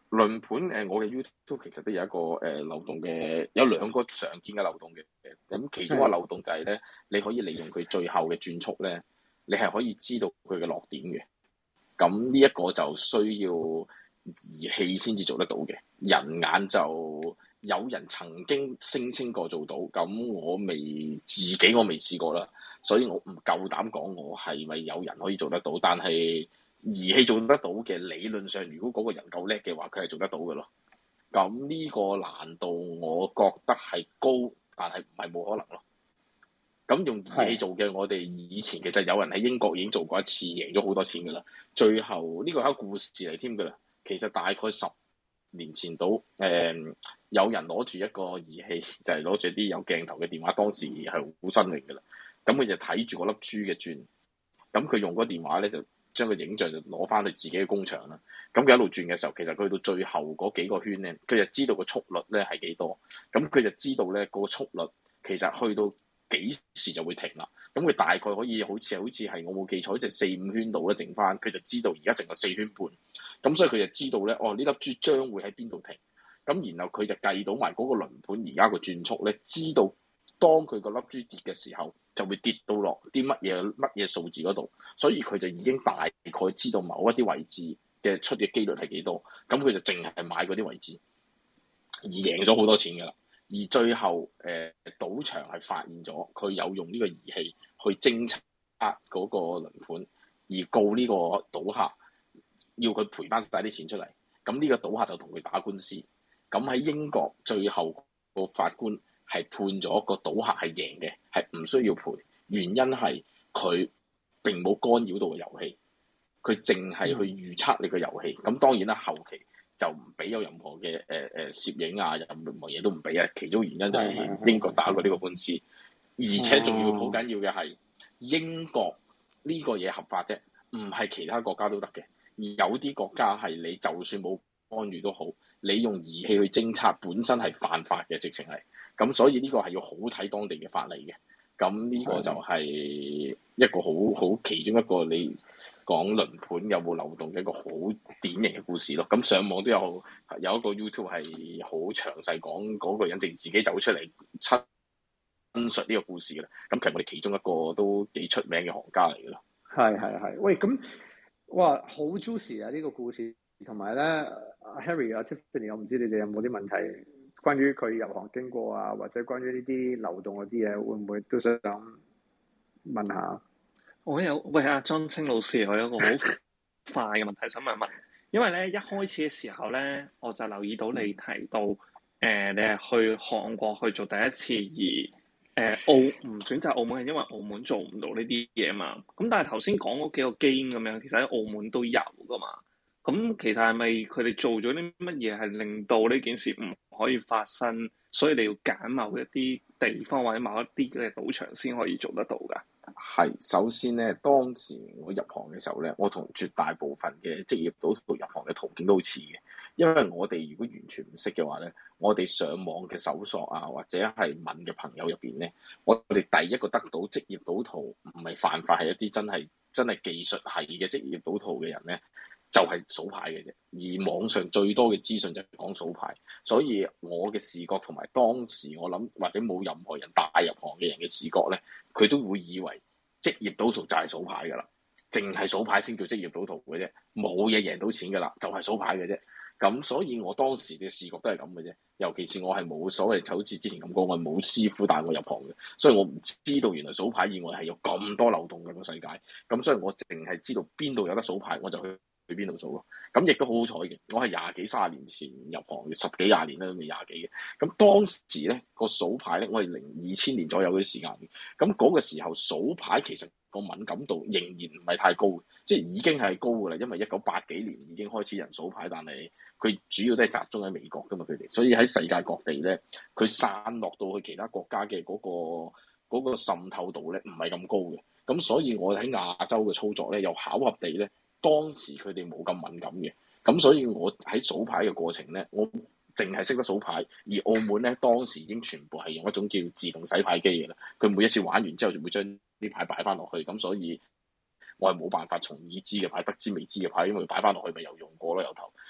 輪盤我嘅 YouTube 其實都有一個漏洞嘅，有兩個常見嘅漏洞嘅。咁其中一個漏洞就係咧，你可以利用佢最後嘅轉速咧，你係可以知道佢嘅落點嘅。咁呢一個就需要儀器先至做得到嘅，人眼就有人曾經聲稱過做到，咁我未試過啦，所以我唔夠膽講我係咪有人可以做得到，但係儀器做得到嘅，理論上如果嗰個人夠叻嘅話，佢係做得到嘅咯。咁呢個難度我覺得係高，但係唔係冇可能咯。咁用儀器做嘅，我哋以前其實有人喺英國已經做過一次，贏咗好多錢噶啦。最後呢個係一個故事嚟添噶啦。其實大概10年前到，有人攞住一個儀器，就係攞住啲有鏡頭嘅電話，當時係好新穎噶啦。咁佢就睇住嗰粒珠嘅轉，咁佢用嗰個電話咧就將個影像就攞翻去自己嘅工場啦。咁佢一路轉嘅時候，其實佢去到最後嗰幾個圈咧，佢就知道個速率咧係幾多。咁佢就知道咧個速率其實去到幾時就會停啦。咁佢大概可以好似係我冇記錯，就4-5圈度咧剩翻，佢就知道而家剩個4圈半。咁所以佢就知道咧，呢粒珠將會喺邊度停。咁然後佢就計到埋嗰個輪盤而家個轉速咧，知道當佢個粒珠跌嘅時候，就會跌到落啲乜嘢數字嗰度。所以佢就已經大概知道某一啲位置嘅出嘅機率係幾多。咁佢就淨係買嗰啲位置，而贏咗好多錢㗎啦。而最後賭場係發現咗佢有用呢個儀器去偵測嗰個輪盤，而告呢個賭客，要佢賠翻晒啲錢出嚟。咁呢個賭客就同佢打官司。咁喺英國最後個法官係判咗個賭客係贏嘅，係唔需要賠。原因係佢並冇干擾到個遊戲，佢淨係去預測你個遊戲。咁當然啦，後期就唔俾有任何嘅攝影啊，任何嘢都唔俾啊。其中原因就係英國打過呢個官司，而且仲要好緊要嘅係英國呢個嘢合法啫，唔係其他國家都得嘅。而有啲國家係你就算冇干預都好，你用儀器去偵測本身係犯法嘅，直情係。咁所以呢個係要好睇當地嘅法例嘅。咁呢個就係一個好其中一個你講輪盤有冇漏洞嘅一個好典型嘅故事咯。咁上網都有一個 YouTube 係好詳細講嗰個人自己走出嚟陳述呢個故事嘅啦。咁其實我哋其中一個都幾出名嘅行家嚟嘅咯。 係，喂，咁哇好 juicy 啊！呢個故事同埋咧，Harry 啊 Tiffany， 我唔知你哋有冇啲問題關於佢入行經過啊，或者關於呢啲流動嗰啲嘢，會唔會都想問下？ 喂，阿莊清老師，我有一個好快嘅問題想問一問，因為咧一開始嘅時候咧，我就留意到你提到你係去韓國去做第一次，而唔選擇澳門係因為澳門做唔到呢啲嘢嘛。咁但係頭先講嗰幾個 game 咁樣，其實喺澳門都有噶嘛。咁其實係咪佢哋做咗啲乜嘢係令到呢件事唔可以發生？所以你要揀某一啲地方或者某一啲嘅賭場先可以做得到㗎？ 係，首先咧，當時我入行嘅時候咧，我同絕大部分嘅職業賭徒入行嘅途徑都好似嘅，因為我哋如果完全唔識嘅話咧，我哋上網嘅搜索啊，或者係問嘅朋友入邊咧，我哋第一個得到職業賭徒唔係犯法，係一啲真係技術係嘅職業賭徒嘅人咧，就係數牌嘅啫。而網上最多嘅資訊就係講數牌，所以我嘅視覺同埋當時我諗或者冇任何人帶入行嘅人嘅視覺咧，佢都會以為職業賭徒就係數牌㗎啦，淨係數牌先叫職業賭徒嘅啫，冇嘢贏到錢㗎啦，就係數牌嘅啫。咁所以我當時嘅視覺都係咁嘅啫，尤其是我係冇所謂，就好似之前咁講，我冇師傅帶我入行嘅，所以我唔知道原來數牌以外係有咁多漏洞嘅個世界。咁所以我淨係知道邊度有得數牌，我就去邊度數咯。咁亦都好好彩嘅，我係20幾30年前入行嘅，10幾20年啦，都未20幾嘅。咁當時咧個數牌咧，我係2000年左右嗰啲時間嘅。咁嗰個時候數牌其實個敏感度仍然唔係太高，即係已經係高㗎啦。因為1980幾年已經開始人數牌，但係佢主要都係集中喺美國㗎嘛，佢哋，所以喺世界各地咧，佢散落到去其他國家嘅嗰個滲透度咧唔係咁高嘅。咁所以我喺亞洲嘅操作咧，又巧合地咧，當時佢哋冇咁敏感嘅。咁所以我喺數牌嘅過程咧，我淨係識得數牌，而澳門咧當時已經全部係用一種叫自動洗牌機嘅啦。佢每一次玩完之後就會將啲牌擺翻落去，咁所以我係冇辦法從已知嘅牌得知未知嘅牌，因為擺翻落去咪又用過咯由頭。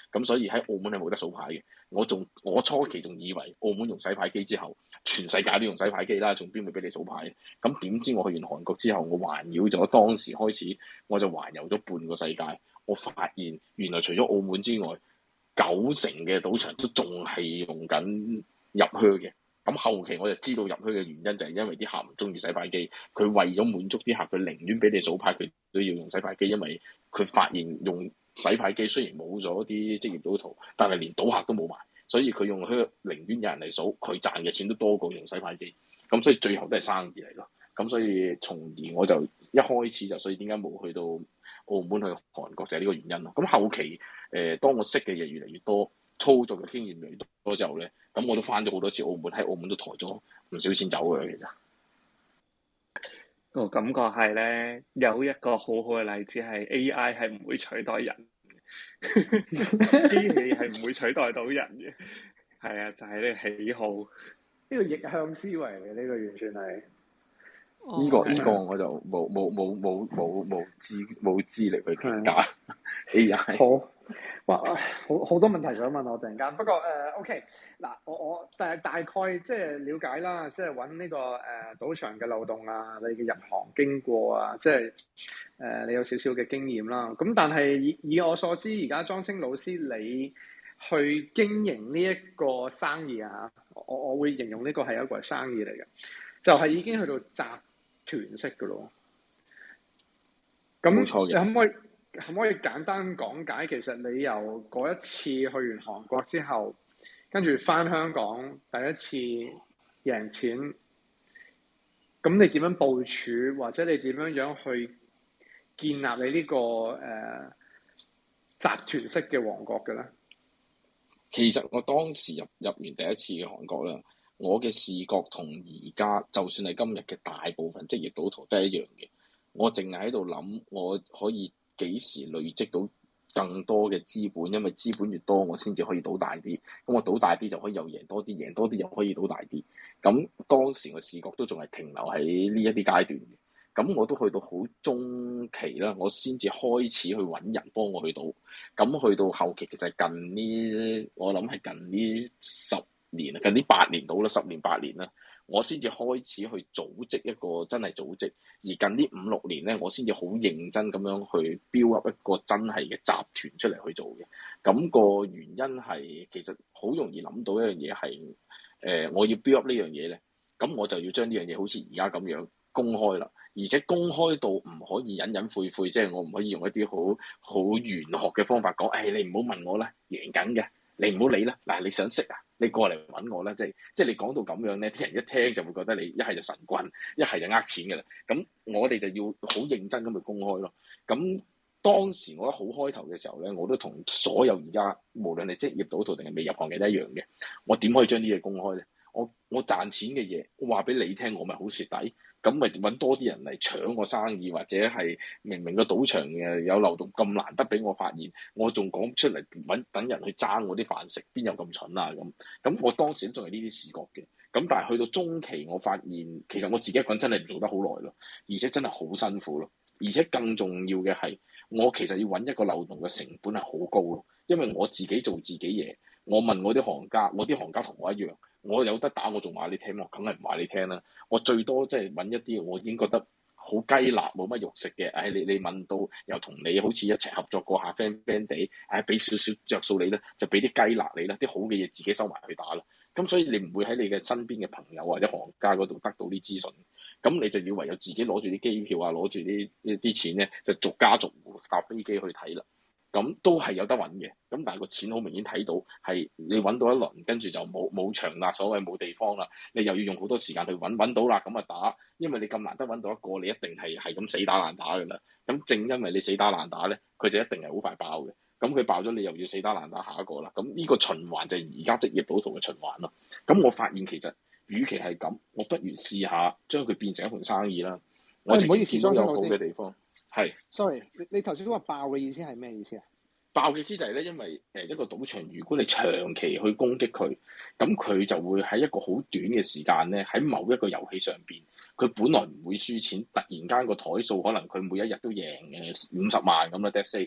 咁所以喺澳門係冇得數牌嘅。我初期仲以為澳門用洗牌機之後，全世界都用洗牌機啦，仲邊會俾你數牌？咁點知我去完韓國之後，我環繞咗當時開始，我就環遊咗半個世界。我發現原來除咗澳門之外，90%嘅賭場都仲係用緊入靴嘅。咁後期我就知道入靴嘅原因就係因為啲客唔中意洗牌機，佢為咗滿足啲客，佢寧願俾你數牌，佢都要用洗牌機，因為佢發現用洗牌機雖然冇咗啲職業賭徒，但係連賭客都冇埋，所以佢用靴寧願有人嚟數，佢賺嘅錢都多過用洗牌機。咁所以最後都係生意嚟咯。咁所以從而我就一開始就所以點解冇去到澳門去韓國就係呢個原因咯。咁後期當我識嘅嘢越嚟越多，操作嘅經驗越嚟越多之後咧，咁我都翻咗好多次澳門，喺澳門都抬咗唔少錢走嘅其實。 個感覺係咧，有一個好好嘅例子係 AI 係唔會取代人嘅，機器係唔會取代到人嘅。係啊，就係呢個喜好， 呢個逆向思維嚟嘅，呢個完全係。 呢個我就冇資力去評價 AI。 好，哇，好多問題想問我突然間。不過OK，嗱，我大概即係了解啦，即係揾呢個賭場嘅漏洞啊，你嘅入行經過啊，即係你有少少嘅經驗啦。咁但係以我所知，而家莊青老師你去經營呢一個生意啊，我會形容呢個係一個生意嚟嘅，就係已經去到集團式嘅咯。咁冇錯嘅。 你可唔可以簡單講解，其實你由嗰一次去完韓國之後，跟住翻香港第一次贏錢，咁你點樣部署，或者你點樣去建立你呢個集團式嘅王國嘅咧？ 其實我當時入完第一次嘅韓國啦，我嘅視覺同而家就算係今日嘅大部分職業賭徒都係一樣嘅。我淨係喺度諗，我可以幾時累積到更多嘅資本，因為資本越多，我先至可以賭大啲。咁我賭大啲就可以又贏多啲，贏多啲又可以賭大啲。咁當時我視覺都仲係停留喺呢一啲階段嘅。咁我都去到好中期啦，我先至開始去揾人幫我去賭。咁去到後期，其實近呢，我諗係近呢10年啊，近呢8年到啦，10年8年啦，我先至開始去組織一個真係組織。而近呢5、6年咧，我先至好認真咁樣去 build up 一個真係嘅集團出嚟去做嘅。咁個原因係其實好容易諗到一樣嘢係我要 build up 呢樣嘢咧，咁我就要將呢樣嘢好似而家咁樣公開啦。而且公開到唔可以隱隱晦晦，即係我唔可以用一啲好玄學嘅方法講，你唔好問我啦，贏緊嘅，你唔好理啦。嗱，你想識啊，你過嚟揾我啦。即係你講到咁樣咧，啲人一聽就會覺得你一係就神棍，一係就呃錢㗎啦。咁我哋就要好認真咁去公開咯。咁當時我一好開頭嘅時候咧，我都同所有而家無論係職業賭徒定係未入行嘅都一樣嘅。我點可以將啲嘢公開咧？我賺錢嘅嘢，我話俾你聽，我咪好蝕底。咁咪揾多啲人嚟搶我生意，或者係明明個賭場嘅有漏洞咁難得俾我發現，我仲講出嚟等人去爭我啲飯食，邊有咁蠢啊？咁我當時仲係呢啲視覺嘅。咁但係去到中期，我發現其實我自己一個人真係唔做得好耐咯，而且真係好辛苦咯。而且更重要嘅係，我其實要揾一個漏洞嘅成本係好高咯，因為我自己做自己嘢。我問我啲行家，我啲行家同我一樣。我有得打，我仲話你聽，我梗係唔話你聽啦。我最多即係揾一啲我已經覺得好雞肋冇乜肉食嘅。你問到又同你好似一齊合作過下 friend 地，俾少少着數你咧，就俾啲雞肋你啦。啲好嘅嘢自己收埋去打啦。咁所以你唔會喺你嘅身邊嘅朋友或者行家嗰度得到啲資訊。咁你就要唯有自己攞住啲機票啊，攞住啲錢咧，就逐家逐戶搭飛機去睇啦。咁都係有得揾嘅，咁但係個錢好明顯睇到係你揾到一輪，跟住就冇場啦，所謂冇地方啦，你又要用好多時間去揾到啦，咁啊打，因為你咁難得揾到一個，你一定係咁死打爛打㗎啦。咁正因為你死打爛打咧，佢就一定係好快爆嘅。咁佢爆咗，你又要死打爛打下一個啦。咁呢個循環就係而家職業賭徒嘅循環咯。咁我發現其實，與其係咁，我不如試下將佢變成一盤生意啦。我直接見到有好嘅地方。係 ，sorry，你頭先都話爆嘅意思係咩意思啊？ 爆嘅意思就係咧，因為一個賭場，如果你長期去攻擊佢，咁佢就會喺一個好短嘅時間咧，喺某一個遊戲上邊，佢本來唔會輸錢，突然間個台數可能佢每一日都贏50萬咁啦，let's say，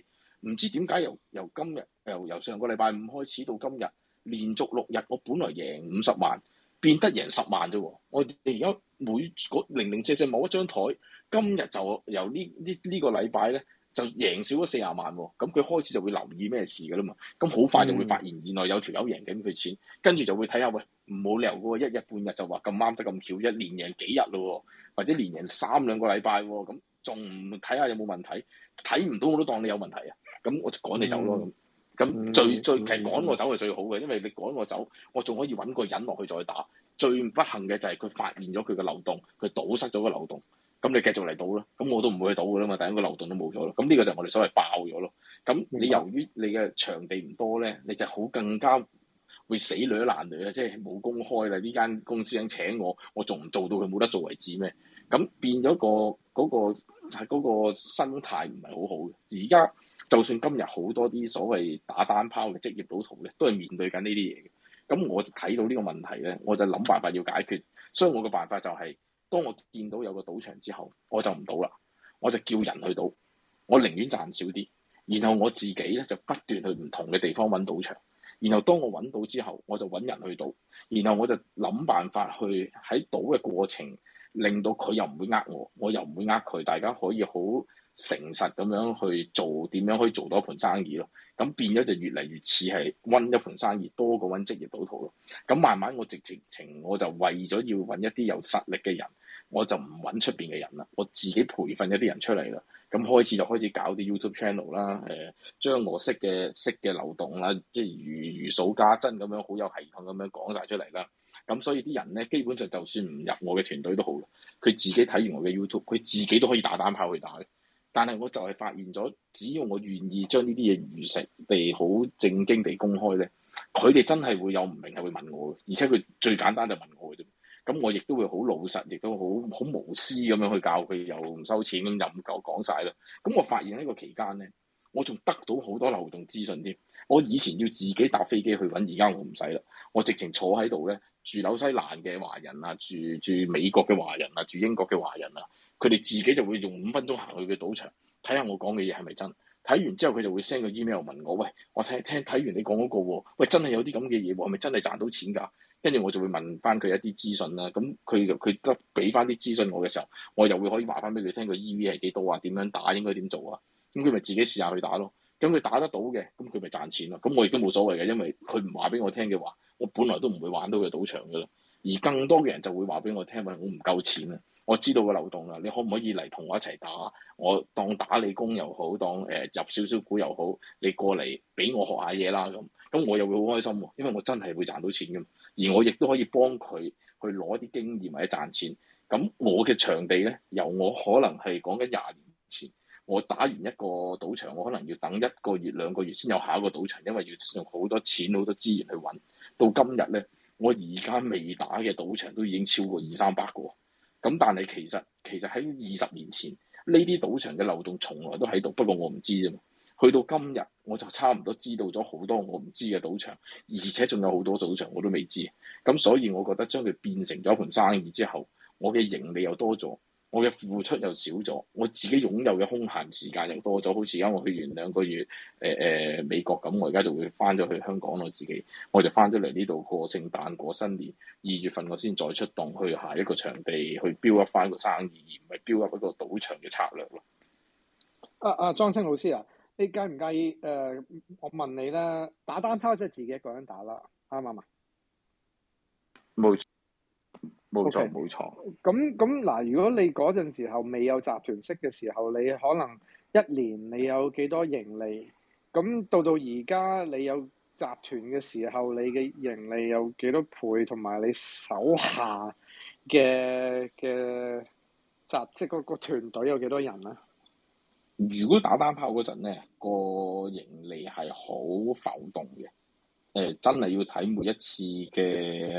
唔知點解由今日由上個禮拜五開始到今日，連續6日，我本來贏50萬，變得贏10萬啫喎！我哋而家每嗰零零舍舍某一張台，今日就由呢個禮拜咧就贏少咗40萬喎。咁佢開始就會留意咩事㗎啦嘛。咁好快就會發現原來有條友贏緊佢錢，跟住就會睇下喂，冇理由嘅喎，一日半日就話咁啱得咁巧，一連贏幾日咯，或者連贏3-2個禮拜喎，咁仲唔睇下有冇問題？睇唔到我都當你有問題啊！咁我就趕你走咯咁最其實趕我走係最好嘅，因為你趕我走，我仲可以揾個人落去再打。最不幸嘅就係佢發現咗佢嘅漏洞，佢堵塞咗個漏洞，咁你繼續嚟賭啦。咁我都唔會去賭㗎啦嘛，第一個漏洞都冇咗咯。咁呢個就係我哋所謂爆咗咯。咁你由於你嘅場地唔多咧，你就好更加會死女爛女啊！即係冇公開啦，呢間公司想請我仲唔做到佢冇得做為止咩？咁變咗嗰個生態唔係好好嘅。而家就算今日好多啲所謂打單拋嘅職業賭徒咧，都係面對緊呢啲嘢嘅。咁我就睇到呢個問題咧，我就諗辦法要解決。所以我嘅辦法就係，當我見到有個賭場之後，我就唔賭啦，我就叫人去賭。我寧願賺少啲，然後我自己咧就不斷去唔同嘅地方揾賭場。然後當我揾到之後，我就揾人去賭。然後我就諗辦法去喺賭嘅過程，令到佢又唔會呃我，我又唔會呃佢，大家可以好誠實咁樣去做，點樣可以做到一盤生意咯？咁變咗就越嚟越似係揾一盤生意多過揾職業賭徒咯。咁慢慢我直情我就為咗要揾一啲有實力嘅人，我就唔揾出邊嘅人啦，我自己培訓一啲人出嚟啦。咁開始就開始搞啲 YouTube channel 啦，將我識嘅漏洞啦，即係如數家珍咁樣，好有系統咁樣講晒出嚟啦。咁所以啲人咧，基本上就算唔入我嘅團隊都好，佢自己睇完我嘅 YouTube，佢自己都可以打單炮去打嘅。但係我就係發現咗，只要我願意將呢啲嘢如實地好正經地公開咧，佢哋真係會有唔明係會問我嘅，而且佢最簡單就問我嘅啫。咁我亦都會好老實，亦都好無私咁樣去教佢，又唔收錢咁任夠講晒啦。咁我發現呢個期間咧，我仲得到好多流動資訊添。我以前要自己搭飛機去揾，而家我唔使啦。我直情坐喺度咧，住紐西蘭嘅華人啊，住美國嘅華人啊，住英國嘅華人啊，佢哋自己就會用5分鐘行去嘅賭場，睇下我講嘅嘢係咪真。睇完之後佢就會 send 個 email 問我，喂，我睇完你講嗰個喎，喂，真係有啲咁嘅嘢喎，係咪真係賺到錢㗎？跟住我就會問翻佢一啲資訊啦。咁佢得俾翻啲資訊我嘅時候，我又會可以話翻俾佢聽個 EV 係幾多啊？點樣打應該點做啊？咁佢咪自己試下去打咯。咁佢打得到嘅，咁佢咪賺錢咯。咁我亦都冇所謂嘅，因為佢唔話俾我聽嘅話，我本來都唔會玩到佢賭場㗎啦。而更多嘅人就會話俾我聽，喂，我唔夠錢啊！我知道個漏洞啦，你可唔可以嚟同我一齊打？我當打你工又好，當入少少股又好，你過嚟俾我學下嘢啦咁我又會好開心喎，因為我真係會賺到錢㗎嘛。而我亦都可以幫佢去攞啲經驗或者賺錢。咁我嘅場地咧，由我可能係講緊20年前，我打完一個賭場，我可能要等1個月2個月先有下一個賭場，因為要用好多錢好多資源去揾。到今日咧，我而家未打嘅賭場都已經超過200-300個。咁但係其實喺20年前，呢啲賭場嘅漏洞從來都喺度，不過我唔知啫嘛。去到今日，我就差唔多知道咗好多我唔知嘅賭場，而且仲有好多賭場我都未知。咁所以，我覺得將佢變成咗一盤生意之後，我嘅盈利又多咗，我嘅付出又少咗，我自己擁有嘅空閒時間又多咗。好似而家我去完2個月美國咁，我而家就會翻咗去香港，我就翻咗嚟呢度過聖誕過新年。2月份我先再出動去下一個場地去 build up 翻個生意，而唔係 build up 一個賭場嘅策略咯。 莊青老師啊，你介唔介意我問你咧，打單拋即係自己一個人打啦，啱唔啱啊？ 冇錯 Okay. 冇錯。 咁嗱，如果你嗰陣時候未有集團式嘅時候，你可能1年你有幾多盈利？咁到而家你有集團嘅時候，你嘅盈利有幾多倍？同埋你手下嘅即係個團隊有幾多人咧？ 如果打單拋嗰陣咧，個盈利係好浮動嘅。真係要睇每一次嘅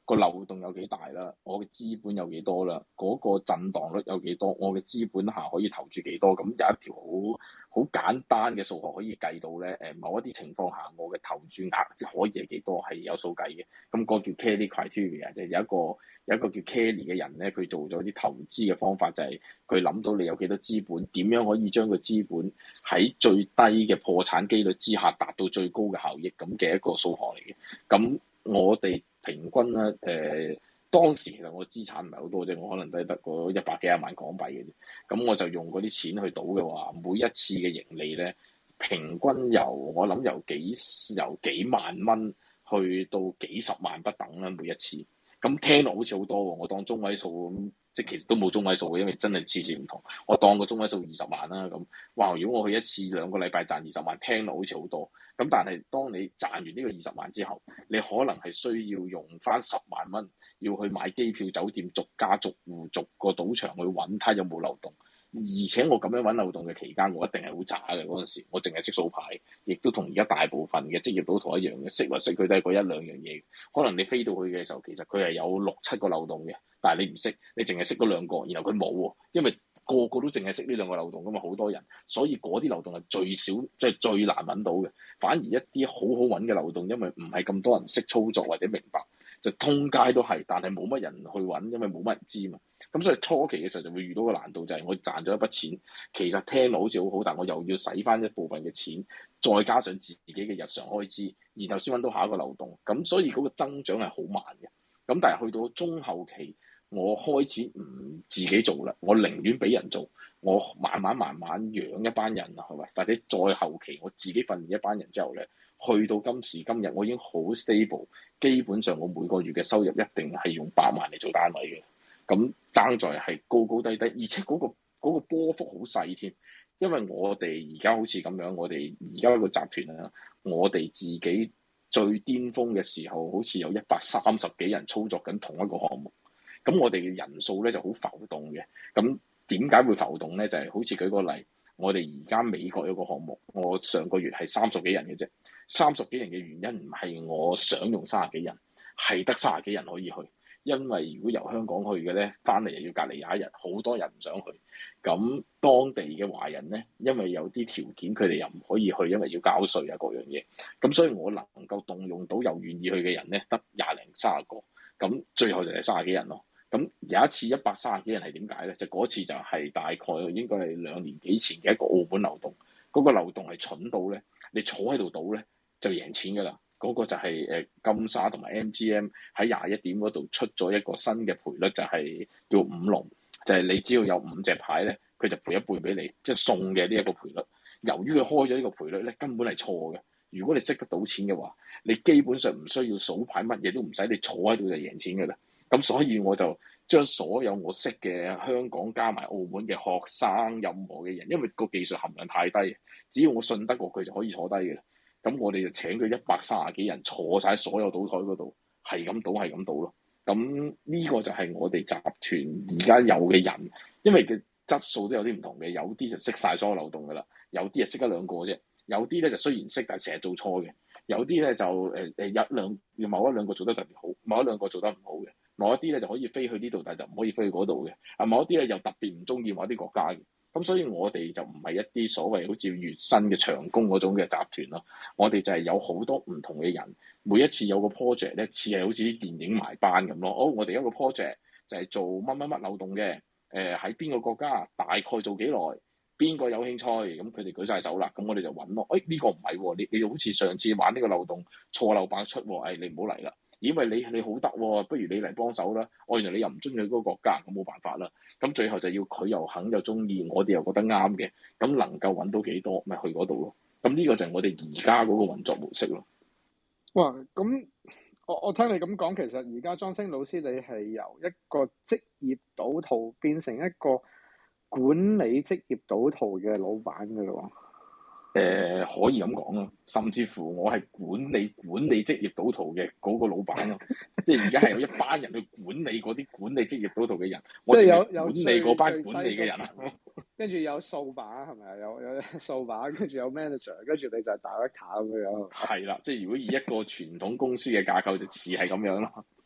個漏洞有幾大啦，我嘅資本有幾多啦，嗰個震盪率有幾多，我嘅資本下可以投注幾多，咁有一條好簡單嘅數學可以計到咧。某一啲情況下，我嘅投注額可以係幾多，係有數計嘅。咁個叫 Kelly criteria，即係有一個叫 Kelly 嘅人咧，佢做咗啲投資嘅方法，就係佢諗到你有幾多資本，點樣可以將個資本喺最低嘅破產機率之下達到最高嘅效益，咁嘅一個數學嚟嘅。咁我哋平均咧，當時其實我資產唔係好多啫，我可能都係得個100幾廿萬港幣嘅啫。咁我就用嗰啲錢去賭嘅話，每一次嘅盈利咧，平均我諗由幾萬蚊去到幾十萬不等啦，每一次。咁聽落好似好多喎，我當中位數咁，即係其實都冇中位數嘅，因為真係次次唔同。我當個中位數20萬啦，咁哇！如果我去一次2個禮拜賺20萬，聽落好似好多。咁但係當你賺完呢個20萬之後，你可能係需要用翻10萬蚊，要去買機票、酒店，逐家逐戶逐個賭場去揾睇有冇漏洞。而且我咁樣揾漏洞嘅期間，我一定係好渣嘅嗰陣時，我淨係識數牌，亦都同而家大部分嘅職業賭徒一樣嘅，識來識去都係嗰1-2樣嘢。可能你飛到去嘅時候，其實佢係有6-7個漏洞嘅，但係你唔識，你淨係識嗰2個，然後佢冇喎，因為個個都淨係識呢2個漏洞咁啊，好多人，所以嗰啲漏洞係最少，即係最難揾到嘅。反而一啲好好揾嘅漏洞，因為唔係咁多人識操作或者明白，就通街都係，但係冇乜人去揾，因為冇乜人知嘛。咁所以初期嘅時候就會遇到個難度，就係我賺咗一筆錢，其實聽落好似好好，但我又要使翻一部分嘅錢，再加上自己嘅日常開支，然後先揾到下一個漏洞。咁所以嗰個增長係好慢嘅。咁但係去到中後期，我開始唔自己做啦，我寧願俾人做，我慢慢養一班人啊，係咪？或者再後期我自己訓練一班人之後咧，去到今時今日，我已經好 stable，基本上我每個月嘅收入一定係用100萬嚟做單位嘅。咁爭在係高高低低，而且嗰個波幅好細添。因為我哋而家好似咁樣，我哋而家個集團啊，我哋自己最巔峰嘅時候，好似有130幾人操作緊同一個項目。咁我哋嘅人數咧就好浮動嘅。咁點解會浮動咧？就係好似舉個例，我哋而家美國有個項目，我上個月係30幾人嘅啫。30幾人嘅原因唔係我想用30幾人，係得30幾人可以去。因為如果由香港去嘅咧，翻嚟又要隔離21日，好多人唔想去。咁當地嘅華人咧，因為有啲條件，佢哋又唔可以去，因為要交稅啊各樣嘢。咁所以我能夠動用到又願意去嘅人咧，得20零30個。咁最後就係30幾人咯。咁有一次130幾人係點解咧？就嗰次就係大概應該係2年幾前嘅一個澳門漏洞。嗰個漏洞係蠢到咧，你坐喺度賭咧就贏錢㗎啦。嗰個就係金沙同埋 MGM 喺21點嗰度出咗一個新嘅賠率，就係叫5龍，就係你只要有5隻牌咧，佢就賠一半俾你，即係送嘅呢一個賠率。由於佢開咗呢個賠率咧，根本係錯嘅。如果你識得賭錢嘅話，你基本上唔需要數牌，乜嘢都唔使，你坐喺度就贏錢㗎啦。咁所以我就將所有我識嘅香港加埋澳門嘅學生，任何嘅人，因為個技術含量太低，只要我信得過佢就可以坐低嘅啦。咁我哋就請佢130幾人坐晒所有賭台嗰度，係咁賭咯。咁呢個就係我哋集團而家有嘅人，因為嘅質素都有啲唔同嘅，有啲就識晒所有漏洞噶啦，有啲係識1-2個啫，有啲咧就雖然識，但係成日做錯嘅，有啲咧就某1-2個做得特別好，某1-2個做得唔好嘅，某一啲咧就可以飛去呢度，但係就唔可以飛去嗰度嘅，某一啲咧又特別唔中意某啲國家嘅。咁所以我哋就唔係一啲所謂好似月薪嘅長工嗰種嘅集團咯，我哋就係有好多唔同嘅人，每一次有個 project 咧，似係好似啲電影埋班咁咯。我哋一個 project 就係做乜乜乜漏洞嘅，喺邊個國家，大概做幾耐，邊個有興趣，咁佢哋舉晒手啦，咁我哋就揾咯。呢個唔係喎，你好似上次玩呢個漏洞錯漏百出喎，你唔好嚟啦。因為你好得喎，不如你嚟幫手啦。原來你又唔中意嗰個國家，咁冇辦法啦。咁最後就要佢又肯又中意，我哋又覺得啱嘅，咁能夠揾到幾多，咪去嗰度咯。咁呢個就係我哋而家嗰個運作模式咯。 哇！咁我聽你咁講，其實而家莊青老師你係由一個職業賭徒變成一個管理職業賭徒嘅老闆㗎咯。 可以咁講咯，甚至乎我係管理職業賭徒嘅嗰個老闆咯，即係而家係有一班人去管理嗰啲管理職業賭徒嘅人，我淨係管理嗰班管理嘅人。 跟住有掃把係咪啊？有掃把，跟住有 manager， 跟住你就係 director 咁樣。 係啦，即係如果以一個傳統公司嘅架構就似係咁樣咯。 係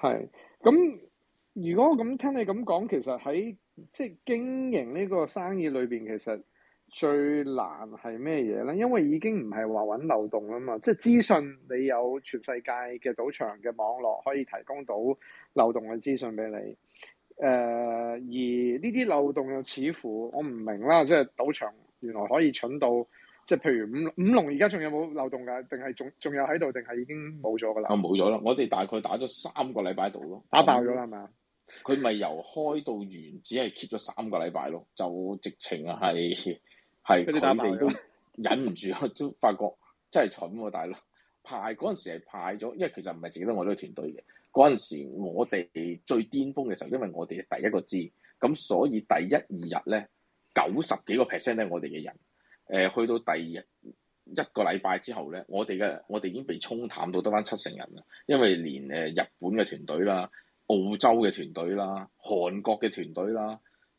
係。咁如果我咁聽你咁講，其實喺即係經營呢個生意裏邊，其實最難係咩嘢咧？因為已經唔係話揾漏洞啦嘛，即係資訊你有全世界嘅賭場嘅網絡可以提供到漏洞嘅資訊俾你。而呢啲漏洞又似乎我唔明啦，即係賭場原來可以蠢到，即係譬如五龍而家仲有冇漏洞㗎？定係仲有喺度？定係已經冇咗㗎啦？ 冇咗啦！我哋大概打咗3個禮拜度咯， 打爆咗啦係咪啊？ 佢咪由開到完，只係 keep 咗3個禮拜咯，就直情係佢哋都忍唔住，都發覺真係蠢喎，大佬！派嗰陣時係派咗，因為其實唔係淨得我呢個團隊嘅。嗰陣時我哋最巔峰嘅時候，因為我哋第一個知，咁所以第1、2日咧90幾個%咧我哋嘅人，去到第1個禮拜之後咧，我哋已經被沖淡到得返7成人啦，因為連日本嘅團隊啦、澳洲嘅團隊啦、韓國嘅團隊啦、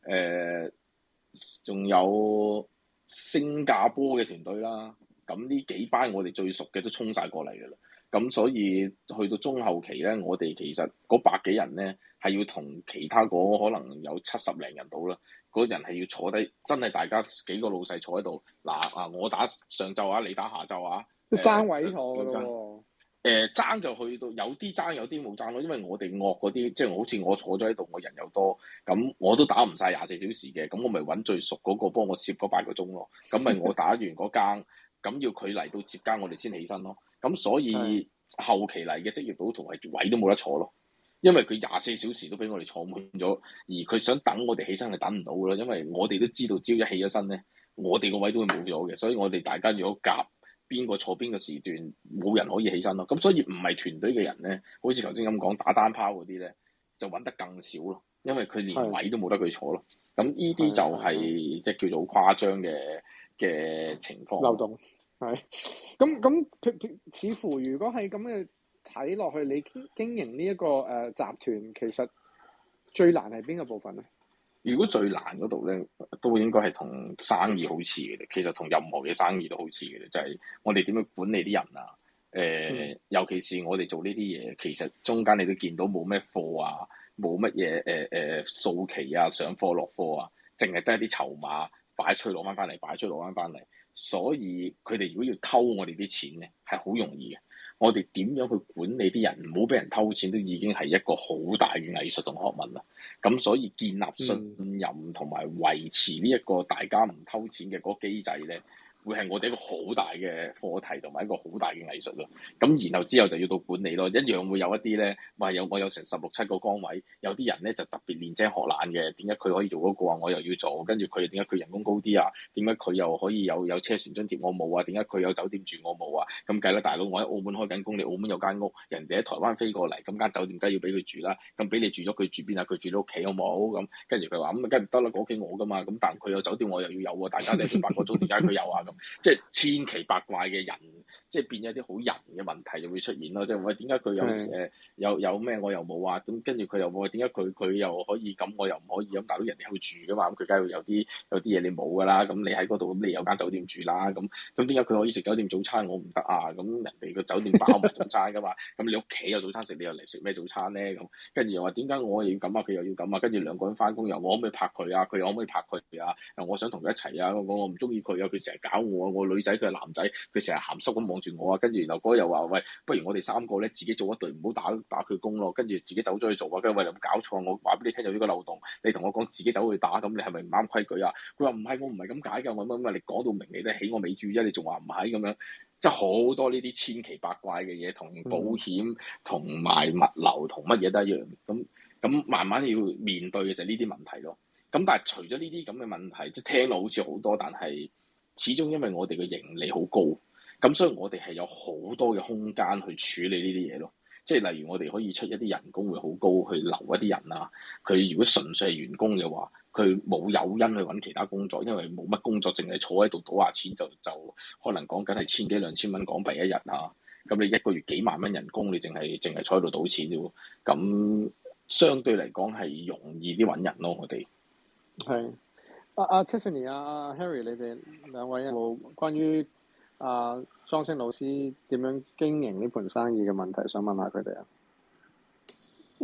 仲有新加坡嘅團隊啦，咁呢幾班我哋最熟嘅都衝晒過嚟㗎啦。咁所以去到中後期咧，我哋其實嗰百幾人咧係要同其他嗰可能有70零人到啦，嗰人係要坐低，真係大家幾個老細坐喺度，我打上晝啊，你打下晝啊， 爭位坐㗎咯喎。 爭就去到有啲爭，有啲冇爭咯，因為我哋惡嗰啲，即係好似我坐咗喺度，我人又多，咁我都打唔晒24小時嘅，咁我咪揾最熟嗰個幫我攝嗰8個鐘咯，咁咪我打完嗰更，咁要佢嚟到接更，我哋先起身咯。咁所以後期嚟嘅職業賭徒係位都冇得坐咯，因為佢24小時都俾我哋坐滿咗，而佢想等我哋起身係等唔到㗎啦，因為我哋都知道朝一起咗身咧，我哋個位都會冇咗嘅，所以我哋大家如果夾邊個坐邊個時段，冇人可以起身咯。咁所以唔係團隊嘅人咧，好似頭先咁講打單拋嗰啲咧，就揾得更少咯，因為佢連位都冇得佢坐咯。咁呢啲就係即係叫做誇張嘅情況。 漏洞係咁，似乎如果係咁嘅睇落去，你經營呢一個集團，其實最難係邊個部分咧？ 如果最難嗰度咧，都應該係同生意好似嘅，其實同任何嘅生意都好似嘅，就係我哋點樣管理啲人啊？尤其是我哋做呢啲嘢，其實中間你都見到冇咩貨啊，冇乜嘢數期啊，上貨落貨啊，淨係得一啲籌碼擺出去攞翻嚟，擺出去攞翻嚟。所以佢哋如果要偷我哋啲錢咧，係好容易嘅。我哋點樣去管理啲人，唔好俾人偷錢，都已經係一個好大嘅藝術同學問啦。咁所以建立信任同埋維持呢一個大家唔偷錢嘅嗰個機制咧，會係我哋一個好大嘅課題同埋一個好大嘅藝術咯。咁然後之後就要到管理咯，一樣會有一啲咧，我有成16、17個崗位，有啲人咧就特別練精學懶嘅，點解佢可以做嗰個啊？我又要做，跟住佢點解佢人工高啲啊？點解佢又可以有車船津貼我冇啊？點解佢有酒店住我冇啊？咁計啦，大佬，我喺澳門開緊工，你澳門有間屋，人哋喺台灣飛過嚟，咁間酒店梗係要俾佢住啦。咁俾你住咗，佢住邊啊？佢住到屋企好冇？咁跟住佢話咁梗係得啦，個屋企我噶嘛。咁但係佢有酒店，我又要有喎。大家都係做8個鐘，點解佢有啊？咁即係千奇百怪嘅人，即係變咗啲好人嘅問題就會出現咯。即係喂，點解佢有咩我又冇啊？咁跟住佢又冇，點解佢又可以咁，我又唔可以咁？大佬人哋去住噶嘛，咁佢梗係會有啲嘢你冇噶啦。咁你喺嗰度，咁你有間酒店住啦。咁點解佢可以食酒店早餐，我唔得啊？咁人哋個酒店包埋早餐噶嘛。咁你屋企有早餐食，你又嚟食咩早餐咧？咁跟住又話點解我又要咁啊？佢又要咁啊？跟住兩個人翻工又我可唔可以拍佢啊？佢又可唔可以拍佢啊？我想同佢一齊啊！我唔中意佢啊！佢成日搞我啊！我女仔佢係男仔，佢成日鹹濕咁望住我啊！跟住然後嗰日又話喂，不如我哋3個咧自己做一隊，唔好打佢工咯。跟住自己走咗去做啊！跟住喂，你有冇搞錯？我話俾你聽有呢個漏洞，你同我講自己走去打，咁你係咪唔啱規矩啊？佢話唔係，我唔係咁解㗎，我乜你講到明你都起我尾注啫，你仲話唔係咁樣，即係好多呢啲千奇百怪嘅嘢，同保險同埋物流同乜嘢都一樣。咁慢慢要面對嘅就係呢啲問題咯。咁但係除咗呢啲咁嘅問題，即係聽落好似好多，但係始終因為我哋嘅盈利好高，咁所以我哋係有好多嘅空間去處理呢啲嘢咯。即係例如我哋可以出一啲人工會好高去留一啲人啊。佢如果純粹係員工嘅話，佢冇誘因去揾其他工作，因為冇乜工作，淨係坐喺度賭下錢就可能講緊係千幾2000蚊港幣一日啊。咁你一個月幾萬蚊人工，你淨係坐喺度賭錢啫喎。咁相對嚟講係容易啲揾人咯，我哋。 係Tiffany Harry， 你哋兩位有冇關於莊青老師點樣經營呢盤生意嘅問題想問下佢哋啊？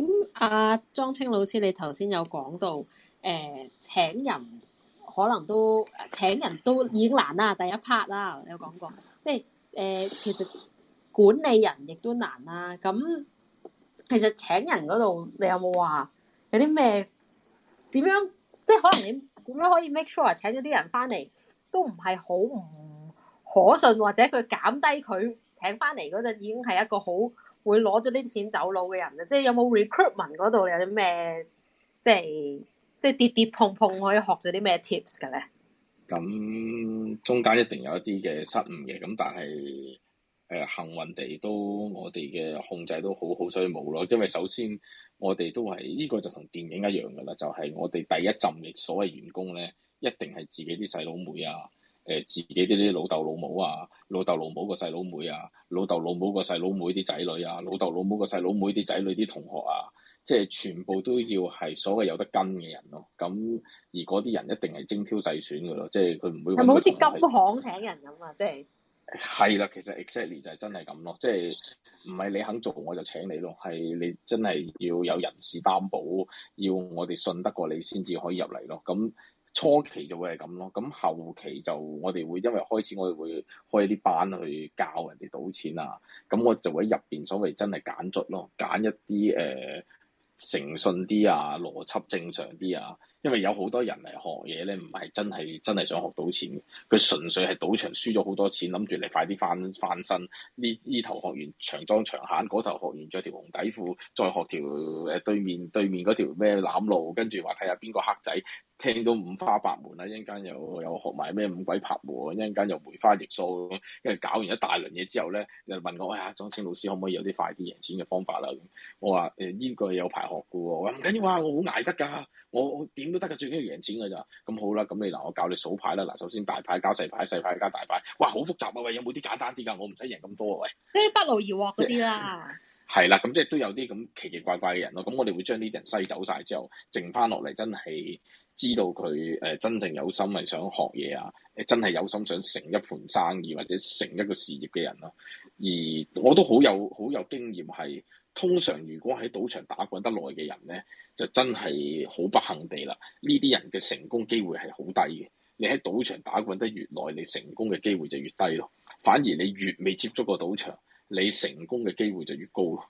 莊青老師，你頭先有講到請人可能都請人都已經難啦，第一 part 啦，你有講過，即係其實管理人亦都難啦。咁其實請人嗰度，你有冇話有啲咩點樣？即係可能你點樣可以 make sure 請咗啲人翻嚟都唔係好唔可信，或者佢減低佢請翻嚟嗰陣已經係一個好會攞咗啲錢走佬嘅人啊！即係有冇 recruitment 嗰度有啲咩即係跌跌碰碰可以學咗啲咩 tips 嘅咧？ 咁中間一定有一啲嘅失誤嘅，咁但係幸運地都我哋嘅控制都好，所以冇咯。因為首先我哋都係呢個就同電影一樣噶啦，就係我哋第一陣嘅所謂員工咧，一定係自己啲細佬妹啊，自己啲老豆老母啊，老豆老母個細佬妹啊，老豆老母個細佬妹啲仔女啊，老豆老母個細佬妹啲仔女啲同學啊，即係全部都要係所謂有得跟嘅人咯。咁而嗰啲人一定係精挑細選嘅咯，即係佢唔會係咪好似金行請人咁啊？即係係啦，其實 exactly 就係真係咁咯，即係唔係你肯做我就請你咯，係你真係要有人事擔保，要我哋信得過你先至可以入嚟咯。咁初期就會係咁咯，咁後期就我哋會因為開始我哋會開一啲班去教人哋賭錢啊，咁我就會喺入邊所謂真係揀卒咯，揀一啲誠信啲啊，邏輯正常啲啊，因為有好多人嚟學嘢咧，唔係真係想學到錢，佢純粹係賭場輸咗好多錢，諗住你快啲翻身。呢頭學完長裝長閒，嗰頭學完着條紅底褲，再學條對面嗰條咩攬路，跟住話睇下邊個黑仔。聽到五花八門啦，一陣間又學埋咩五鬼拍和，一陣間又梅花易數，跟住搞完一大輪嘢之後咧，又問我：哎呀，莊青老師可唔可以有啲快啲贏錢嘅方法啦？我話呢個有排學嘅喎，我話唔緊要啊，我好捱得㗎，我點都得㗎，最緊要贏錢㗎咋。咁好啦，咁你嗱我教你數牌啦，嗱首先大牌加細牌，細牌加大牌，哇好複雜啊喂，有冇啲簡單啲㗎？我唔使贏咁多啊喂， 即係不勞而獲嗰啲啦。 係啦，咁即係都有啲咁奇奇怪怪嘅人咯。咁我哋會將呢啲人篩走晒之後，剩翻落嚟真係知道佢真正有心係想學嘢啊，真係有心想成一盤生意或者成一個事業嘅人咯。而我都好有經驗係，通常如果喺賭場打滾得耐嘅人咧，就真係好不幸地啦。呢啲人嘅成功機會係好低嘅。你喺賭場打滾得越耐，你成功嘅機會就越低咯。反而你越未接觸過賭場，你成功嘅機會就越高咯。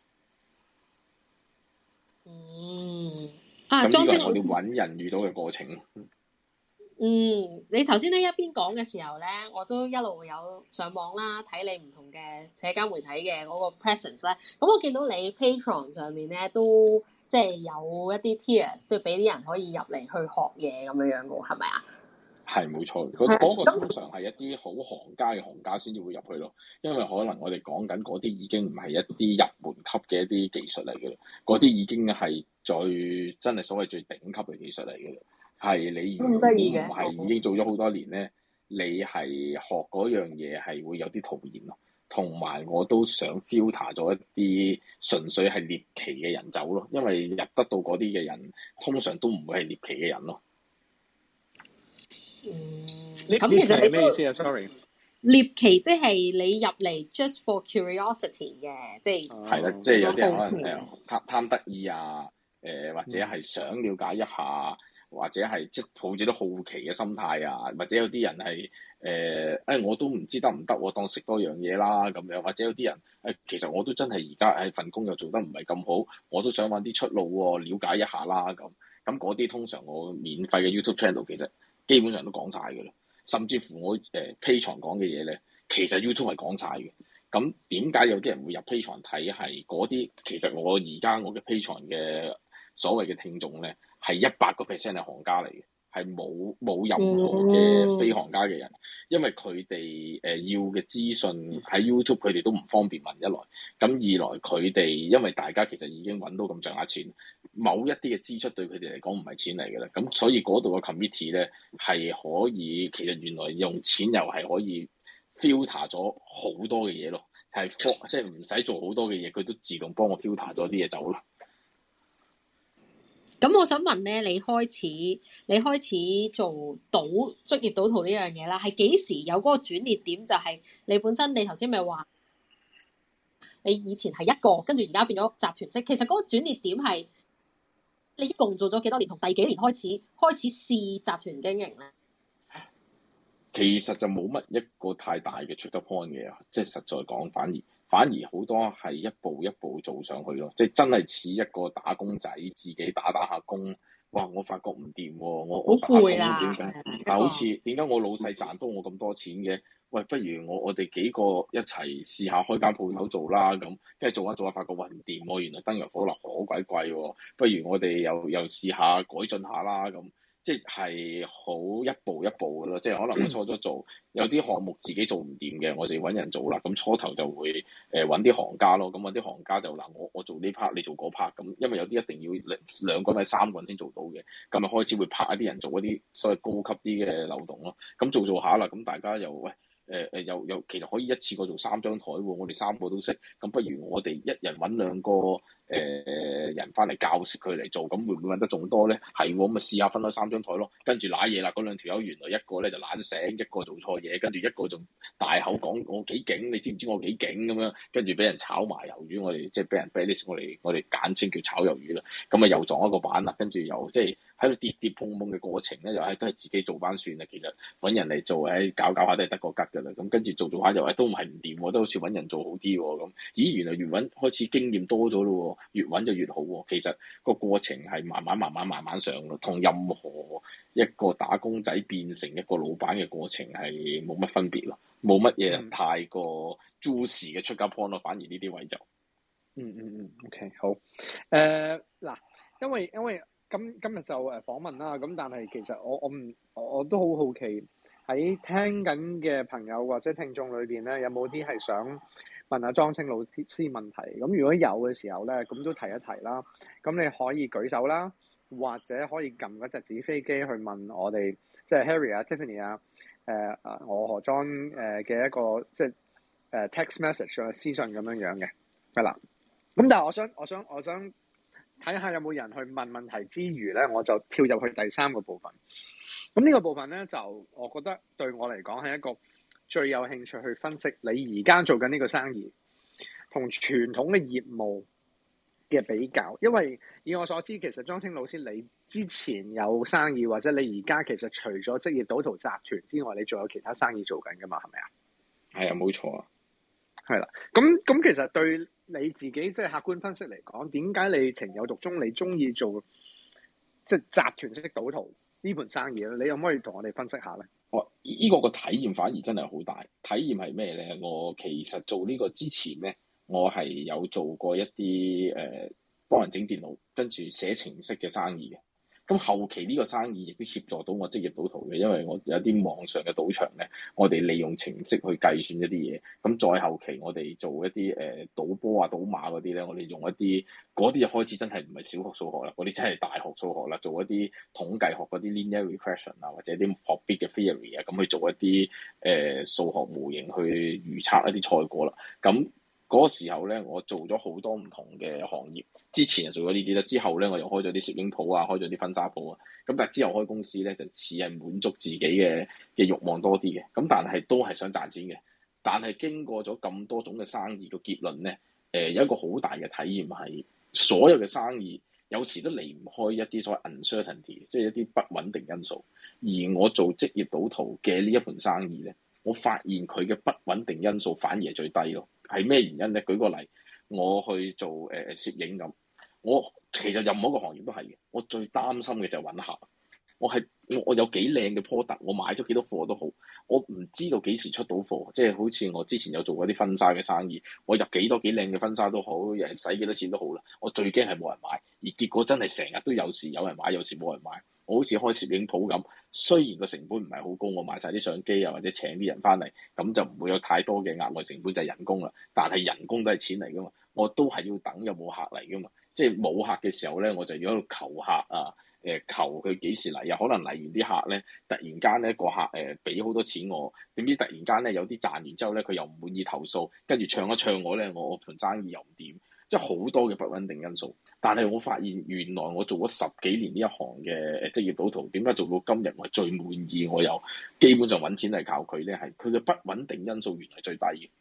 咁呢個係我哋揾人遇到嘅過程。 你頭先咧一邊講嘅時候咧，我都一路有上網啦，睇你唔同嘅社交媒體嘅嗰個 presence 咧。咁我見到你 Patreon 上面咧都即係有一啲 tiers，即係俾啲人可以入嚟去學嘢咁樣樣嘅，係咪啊？係冇錯，嗰個通常係一啲好行家嘅行家先至會入去咯，因為可能我哋講緊嗰啲已經唔係一啲入門級嘅一啲技術嚟嘅啦，嗰啲已經係真係所謂最頂級嘅技術嚟嘅啦。係你如果唔係已經做咗好多年咧，你係學嗰樣嘢係會有啲徒然咯。同埋我都想 filter 咗一啲純粹係獵奇嘅人走咯，因為入得到嗰啲嘅人通常都唔會係獵奇嘅人咯。 咁其實你咩意思啊？Sorry， 獵奇即係你入嚟 just for curiosity 嘅，即係係啦，即係有啲人可能貪得意啊，或者係想了解一下，或者係即係抱住啲好奇嘅心態啊，或者有啲人係我都唔知得唔得，我當食多樣嘢啦咁樣，或者有啲人其實我都真係而家份工又做得唔係咁好，我都想揾啲出路喎，了解一下啦咁。咁嗰啲通常我免費嘅 YouTube channel 其實基本上都講晒嘅啦，甚至乎我Patreon 講嘅嘢咧，其實 YouTube 係講晒嘅。咁點解有啲人會入 Patreon 睇？係嗰啲其實我而家我嘅 Patreon 嘅所謂嘅聽眾咧，係100% 係行家嚟嘅，係冇任何嘅非行家嘅人，因為佢哋要嘅資訊喺 YouTube 佢哋都唔方便問一來，咁二來佢哋因為大家其實已經揾到咁上下錢，某一啲嘅支出對佢哋嚟講唔係錢嚟嘅啦，咁所以嗰度嘅 committee 咧係可以，其實原來用錢又係可以 filter 咗好多嘅嘢咯，係即係唔使做好多嘅嘢，佢都自動幫我 filter 咗啲嘢走咯。 咁我想問咧，你開始做職業賭徒呢樣嘢啦，係幾時有嗰個轉捩點？就係你本身你頭先咪話你以前係一個，跟住而家變咗集團式。其實嗰個轉捩點係你一共做咗幾多年，同第幾年開始試集團經營咧？ 其實就冇乜一個太大嘅 trigger point 嘅，即係實在講，反而好多係一步一步做上去咯，即係真係似一個打工仔自己打下工，哇！我發覺唔掂喎，我打工點解？但好似點解我老細賺多我咁多錢嘅？喂，不如我哋幾個一齊試下開間鋪頭做啦咁，跟住做下發覺喂唔掂喎，原來燈油火蠟好鬼貴喎，不如我哋又試下改進下啦咁。即係好一步一步嘅咯，即係可能我初初做有啲項目自己做唔掂嘅，我就揾人做啦。咁初頭就會揾啲行家咯，咁揾啲行家就嗱我做呢 part，你做嗰 part，咁因為有啲一定要兩個人、三個人先做到嘅，咁咪開始會拍一啲人做一啲所謂高級啲嘅流動咯。咁做下啦，咁大家又喂。又其實可以一次過做3張台喎，我哋3個都識，咁不如我哋一人揾2個人翻嚟教識佢嚟做，咁會唔會揾得仲多咧？係喎，咁咪試下分開3張台咯，跟住揦嘢啦，嗰2條友原來一個咧就懶醒，一個做錯嘢，跟住一個仲大口講我幾勁，你知唔知我幾勁咁樣？跟住俾人炒埋魷魚，我哋即係俾人 blacklist，我哋簡稱叫炒魷魚啦。咁啊又撞一個板啦，跟住又即係喺度跌跌碰碰嘅過程咧，又係都係自己做翻算啦。其實揾人嚟做，搞下都係得個吉㗎啦。咁跟住做下又都唔係唔掂喎，都好似揾人做好啲喎。咁咦，原來越揾開始經驗多咗咯，越揾就越好喎。其實個過程係慢慢上咯，同任何一個打工仔變成一個老闆嘅過程係冇乜分別咯，冇乜嘢太過 juicy 嘅出街 point 咯，反而呢啲位就 OK 好嗱，因為今日就訪問啦，咁但係其實我都好好奇喺聽緊嘅朋友或者聽眾裏邊咧，有冇啲係想問下莊青老師問題？咁如果有嘅時候咧，咁都提一提啦。咁你可以舉手啦，或者可以撳嗰隻紙飛機去問我哋，即係 Harry 啊、Tiffany 啊、我何莊嘅一個即係text message 啊、私信咁樣嘅，係啦。咁但係我想睇下有冇人去問問題之餘咧，我就跳入去第3個部分。咁呢個部分咧，就我覺得對我嚟講係一個最有興趣去分析你而家做緊呢個生意同傳統嘅業務嘅比較。因為以我所知，其實莊青老師你之前有生意，或者你而家其實除咗職業賭徒集團之外，你仲有其他生意做緊㗎嘛？係咪啊？ 係啊，冇錯啊。 係啦，咁其實對你自己即係客觀分析嚟講，點解你情有獨鍾，你中意做即係集團式賭徒呢盤生意咧？你可唔可以同我哋分析下咧？ 呢個體驗反而真係好大。體驗係咩咧？我其實做呢個之前咧，我係有做過一啲幫人整電腦，跟住寫程式嘅生意嘅。咁後期呢個生意亦都協助到我職業賭徒嘅，因為我有啲網上嘅賭場咧，我哋利用程式去計算一啲嘢。咁再後期我哋做一啲賭波啊、賭馬嗰啲咧，我哋用一啲嗰啲就開始真係唔係小學數學啦，嗰啲真係大學數學啦，做一啲統計學嗰啲 linear regression 啊，或者啲學 bit 嘅 theory 啊，咁去做一啲數學模型去預測一啲賽果啦。咁嗰個時候咧，我做咗好多唔同嘅行業。之前就做咗呢啲啦，之後咧我又開咗啲攝影鋪啊，開咗啲婚紗鋪啊。咁但係之後開公司咧，就似係滿足自己嘅慾望多啲嘅。咁但係都係想賺錢嘅。但係經過咗咁多種嘅生意，個結論咧，有一個好大嘅體驗係，所有嘅生意有時都離唔開一啲所謂 uncertainty，即係一啲不穩定因素。而我做職業賭徒嘅呢一盤生意咧，我發現佢嘅不穩定因素反而係最低咯。係咩原因咧？舉個例，我去做攝影咁，我其實任何一個行業都係嘅。我最擔心嘅就係揾客。我有幾靚嘅 product，我買咗幾多貨都好，我唔知道幾時出到貨。即係好似我之前有做過啲婚紗嘅生意，我入幾靚嘅婚紗都好，有人使幾多錢都好啦。我最驚係冇人買，而結果真係成日都有時有人買，有時冇人買。我好似開攝影鋪咁，雖然個成本唔係好高，我買晒啲相機啊，或者請啲人翻嚟，咁就唔會有太多嘅額外成本，就係人工啦。但係人工都係錢嚟噶嘛，我都係要等有冇客嚟噶嘛。即係冇客嘅時候咧，我就要喺度求客啊，求佢幾時嚟啊？可能嚟完啲客咧，突然間咧個客俾好多錢我，點知突然間咧有啲賺完之後咧，佢又唔滿意投訴，跟住唱一唱我咧，我盤生意又唔掂。即係好多嘅不穩定因素，但係我發現原來我做咗10幾年呢一行嘅職業賭徒，點解做到今日我係最滿意？我又基本上揾錢係靠佢咧，係佢嘅不穩定因素原來最低嘅。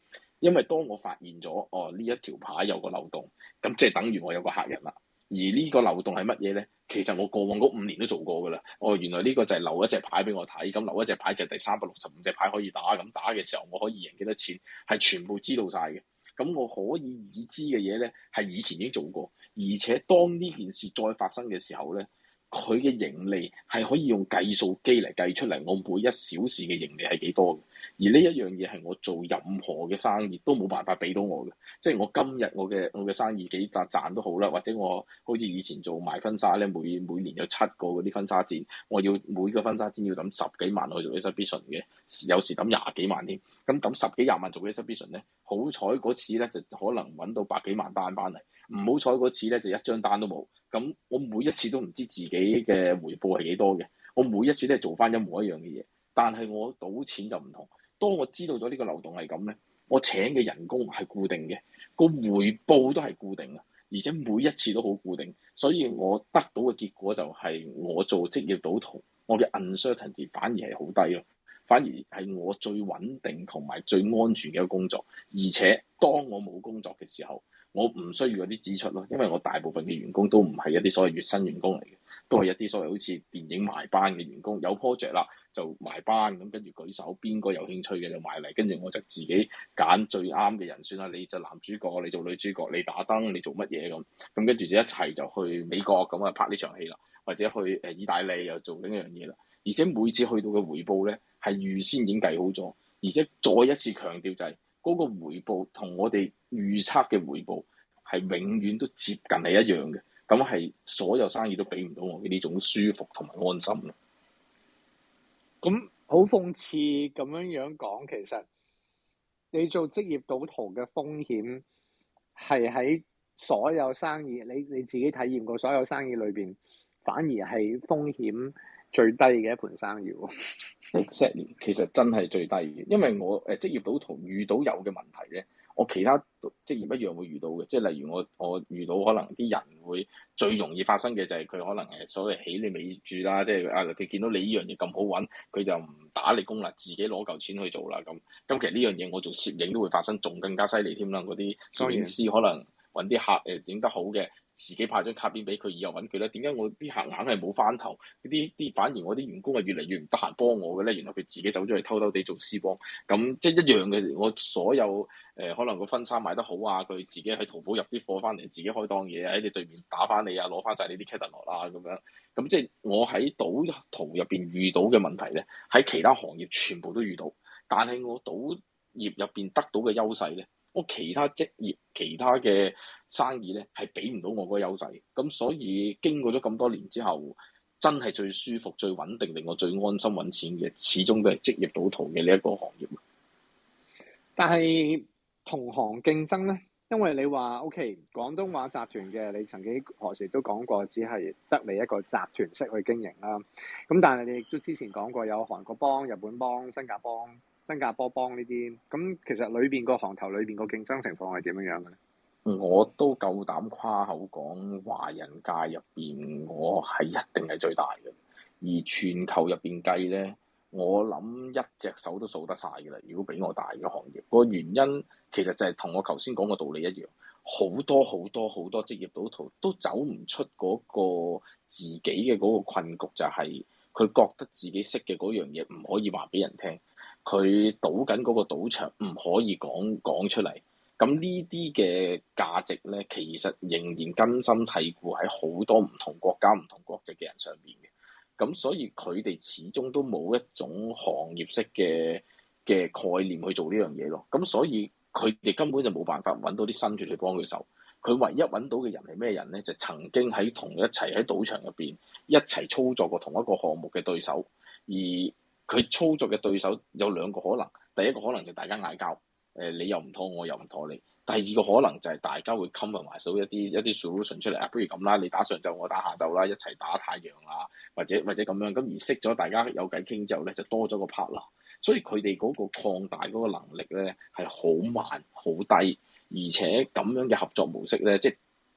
因為當我發現咗呢一條牌有個漏洞，咁即係等於我有個客人啦。而呢個漏洞係乜嘢咧？其實我過往嗰5年都做過㗎啦。原來呢個就係漏一隻牌俾我睇，咁漏一隻牌就係第365隻牌可以打，咁打嘅時候我可以贏幾多錢，係全部知道晒嘅。咁我可以已知嘅嘢咧，係以前已經做過，而且當呢件事再發生嘅時候咧，佢嘅盈利係可以用計數機嚟計出嚟，我每1小時嘅盈利係幾多嘅。而呢一樣嘢係我做任何嘅生意都冇辦法俾到我嘅，即係我今日我嘅生意幾賺都好啦，或者我好似以前做賣婚紗咧，每年有7個嗰啲婚紗展，我要每個婚紗展要抌10幾萬去做 exhibition 嘅，有時抌20幾萬添。咁抌10幾20萬做 exhibition 咧，好彩嗰次咧就可能揾到百幾萬單翻嚟，唔好彩嗰次咧就一張單都冇。咁我每一次都唔知自己嘅回報係幾多嘅，我每一次都係做翻一模一樣嘅嘢，但係我賭錢就唔同。當我知道咗呢個漏洞係咁咧，我請嘅人工係固定嘅，個回報都係固定嘅，而且每一次都好固定，所以我得到嘅結果就係我做職業賭徒，我嘅 uncertainty 反而係好低咯，反而係我最穩定同埋最安全嘅一個工作。而且當我冇工作嘅時候，我唔需要嗰啲支出咯，因為我大部分嘅員工都唔係一啲所謂月薪員工嚟嘅，都係一啲所謂好似電影埋班嘅員工，有 project 啦就埋班，咁跟住舉手，邊個有興趣嘅就埋嚟，跟住我就自己揀最啱嘅人選啦。你就男主角，你做女主角，你打燈，你做乜嘢咁，跟住就一齊就去美國咁啊拍呢場戲啦，或者去意大利又做另一樣嘢啦。而且每次去到嘅回報咧係預先已經計好咗，而且再一次強調就係嗰個回報同我哋預測嘅回報係永遠都接近係一樣嘅，咁係所有生意都俾唔到我嘅呢種舒服同埋安心咯。 咁好諷刺咁樣講，其實你做職業賭徒嘅風險係喺所有生意，你自己體驗過所有生意裏邊，反而係風險最低嘅一盤生意喎。 Exactly，其實真係最低嘅，因為我職業賭徒遇到有嘅問題咧，我其他職業一樣會遇到嘅，即係例如我遇到可能啲人會最容易發生嘅就係佢可能所謂起你尾注啦，即係佢見到你呢樣嘢咁好揾，佢就唔打你工啦，自己攞嚿錢去做啦咁。咁其實呢樣嘢我做攝影都會發生，仲更加犀利添啦。嗰啲攝影師可能揾啲客影得好嘅，自己派張卡片俾佢，以後揾佢咧。點解我啲客硬係冇翻頭？啲反而我啲員工係越嚟越唔得閒幫我嘅咧。原來佢自己走咗去偷偷地做私幫，咁即係一樣嘅。我所有可能個婚紗賣得好啊，佢自己喺淘寶入啲貨翻嚟，自己開檔嘢喺你對面打翻你啊，攞翻晒你啲 catalog 啊咁樣。咁即係我喺賭徒入邊遇到嘅問題咧，喺其他行業全部都遇到，但係我賭業入邊得到嘅優勢咧，我其他職業、其他嘅生意咧係俾唔到我嗰個優勢，咁所以經過咗咁多年之後，真係最舒服、最穩定、令我最安心揾錢嘅，始終都係職業賭徒嘅呢一個行業。但係同行競爭咧，因為你話 OK 廣東話集團嘅，你曾經何時都講過，只係得你一個集團式去經營啦。咁但係你亦都之前講過有韓國幫、日本幫、新加坡幫呢啲，咁其實裏邊個行頭裏邊個競爭情況係點樣樣嘅咧？ 我都夠膽誇口講，華人界入邊我係一定係最大嘅，而全球入邊計咧，我諗一隻手都數得晒嘅啦。如果比我大嘅行業，個原因其實就係同我頭先講嘅道理一樣，好多職業賭徒都走唔出嗰個自己嘅嗰個困局，就係佢覺得自己識嘅嗰樣嘢唔可以話俾人聽，佢賭緊嗰個賭場唔可以講出嚟。咁呢啲嘅價值咧，其實仍然根深蒂固喺好多唔同國家、唔同國籍嘅人上邊嘅。咁所以佢哋始終都冇一種行業式嘅概念去做呢樣嘢咯。咁所以佢哋根本就冇辦法揾到啲新血去幫佢手。佢唯一揾到嘅人係咩人咧？就曾經喺一齊喺賭場入邊一齊操作過同一個項目嘅對手。而佢操作嘅對手有兩個可能，第一個可能就大家嗌交。你又唔妥，我又唔妥你。第二個可能就係大家會 compromise 到一啲 solution 出嚟啊，不如咁啦，你打上晝，我打下晝啦，一齊打太陽啊，或者咁樣，咁而識咗大家有偈傾之後咧，就多咗個 partner。所以佢哋嗰個擴大嗰個能力咧係好慢好低，而且咁樣嘅合作模式咧，即係